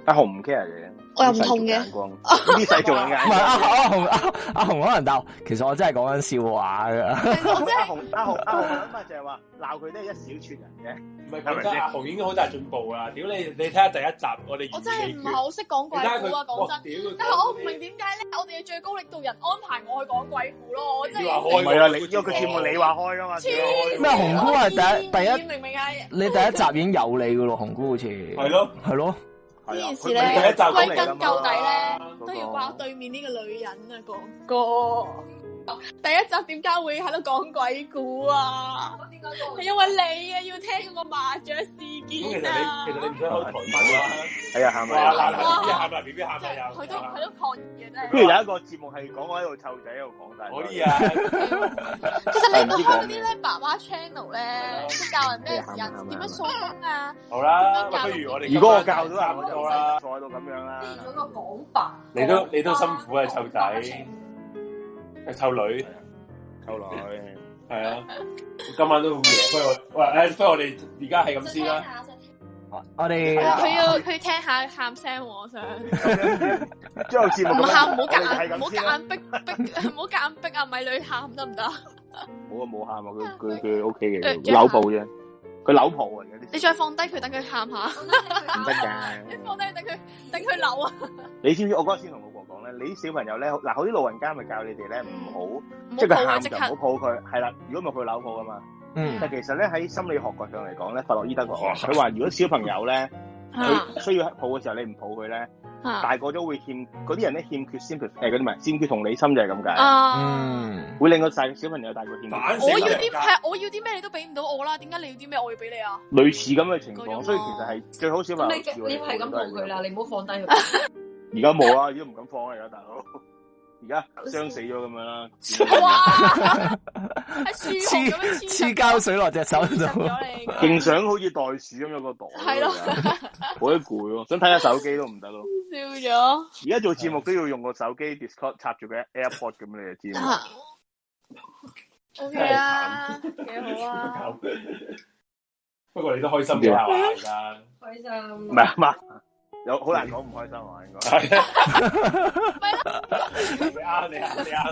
阿紅唔 care 嘅， 我又唔同嘅。 呢世做眼光。 唔係阿紅可能答，其實我真係講緊笑話㗎。 阿紅諗法就係話鬧佢都係一小撮人嘅。 唔係佢真係阿紅已經好大進步啦！屌你睇下第一集我哋， 我真係唔係好識講鬼故啊！講真，但係我唔明點解咧，我哋嘅最高領導人安排我去講鬼故咯，我真係唔係啊！你因為佢節目你話開噶嘛？ 咩紅姑係第一明唔明啊？ 你第一集已經有你噶咯，紅姑好似係咯。 呢件事咧，歸根究底咧，都要話對面呢個女人啊，哥哥。第一集點解會喺度講鬼故啊？係因為你啊，要聽嗰個麻雀事件啊！ 其實你唔使開台版啦。 係啊，喊啊 ！B B 喊啊！又佢都抗議嘅真係。 不如有一個節目係講我喺度湊仔喺度講晒。 可以啊！ 其實你有冇開嗰啲咧爸爸 channel 咧，即教人咩時間點樣疏風啊？ 好啦，不如我哋如果我教到人，我就啦，坐到咁樣啦。 嗰個講白， 你都辛苦啊，湊仔。湊女，係啊！今晚都好夜，不如我哋而家係咁先啦。 我哋佢要聽下喊聲，我想。 之後節目唔喊，唔好夾硬逼，唔好夾硬逼阿米女喊得唔得？ 冇喊啊！佢 OK 嘅，扭抱啫。佢扭抱嚟嘅。 你再放低佢，等佢喊下。 唔得㗎。 你放低等佢扭啊！ 你知唔知我嗰日先同老婆講咧？你啲小朋友咧，嗱，好啲老人家咪教你哋咧，唔好即係佢喊就唔好抱佢，係啦。如果唔係佢扭抱㗎嘛。但其實咧喺心理學角上嚟講咧，弗洛伊德講，佢話如果小朋友咧，佢需要抱嘅時候，你唔抱佢咧，大個咗會欠嗰啲人咧欠缺先嗰啲唔係欠缺同理心就係咁解。會令個小朋友大個欠。 我要啲咩你都俾唔到我啦，點解你要啲咩我要俾你啊？ 類似咁嘅情況，所以其實係最好小朋友。 你係咁抱佢啦，你唔好放低佢。 而家冇啊，而家唔敢放啊，而家大佬。而家傷死咗咁樣啦！ 哇，喺樹咁樣黐膠水落隻手度， 勁想好似袋鼠咁樣個袋。係咯，好得攰咯，想睇下手機都唔得咯。 笑咗。 而家做節目都要用個手機 Discord 插住個 AirPod 咁，你就知啦。 OK 啊，幾好啊！ 不過你都開心嘅係嘛？而家開心。 唔係啊嘛。有好難講唔開心啊，應該係啊，你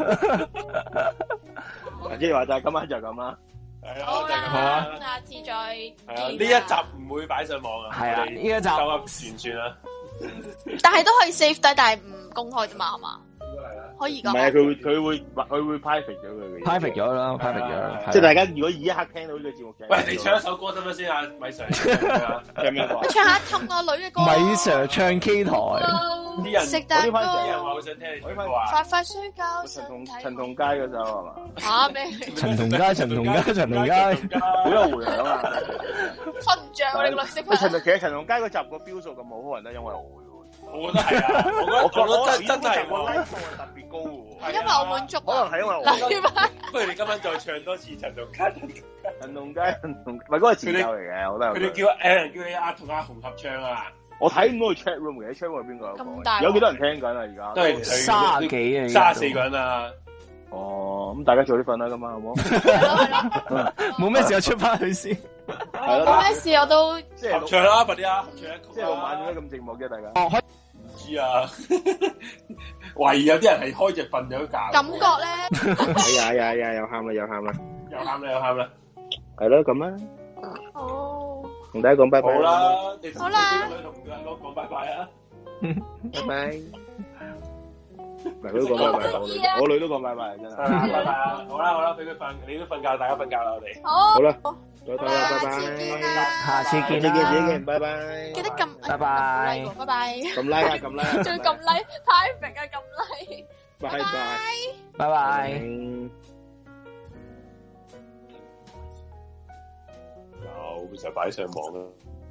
即係話就係今晚就咁啦， 係啊，就咁啦， 下次再係啊，呢一集唔會擺上網啊， 係啊，呢一集夠噏算啦， 但係都可以 save 低，但係唔公開啫嘛，係嘛？可以㗎。唔係啊， 佢會 private 咗佢嘅 private 咗啦，private 咗。 即係大家如果以一刻聽到呢個節目嘅， 喂，你唱一首歌得唔得先啊？米 Sir，唱咩歌？ 你唱下氹個女嘅歌。 米 Sir 唱 K 台， 啲人食蛋糕， 啲人話好想聽你唱歌啊！ 快快睡覺， 陳同佳嗰首係嘛？ 嚇咩？ 陳同佳，好有回響啊！ 瞓唔着我哋個女識。 其實陳同佳嗰集個標數咁好，可能都因為我嘅。 我覺得係啊，我覺得真係個 like 數係特別高喎。 係因為我滿足， 可能係因為我。 不如你今晚再唱多次陳同佳， 唔係嗰個前奏嚟嘅，我覺得。佢哋叫你同阿紅合唱啊！ 我睇唔到佢 chat room 嘅，chat room 係邊個？ 咁大有幾多人聽緊啊？而家都係 30幾啊 ，34個人啊！ 哦，咁大家早啲瞓啦，今晚好唔好？ 冇咩事就出翻去先。 係咯， 冇咩事我都合唱啦，快啲啊！合唱一曲。 即係6晚點解咁寂寞嘅大家？ 唔知啊，懷疑有啲人係開隻瞓咗覺。 感覺咧， 哎呀，又喊啦， 又喊啦， 係咯，咁啦。 好， 同大家講拜拜。 好啦， 好啦， 同講拜拜啊！ 拜拜。嗱，佢都講拜拜，我女都講拜拜，真係。 拜拜啊！好啦，俾佢瞓，你都瞓覺，大家瞓覺啦，我哋。 好啦，拜拜， 下次見， 拜拜。 記得撳， 拜拜， 拜拜。 撳 like 啊，撳 like， 仲要撳 like，太平啊，撳 like。 拜拜， 拜拜。 有，就擺上網啦。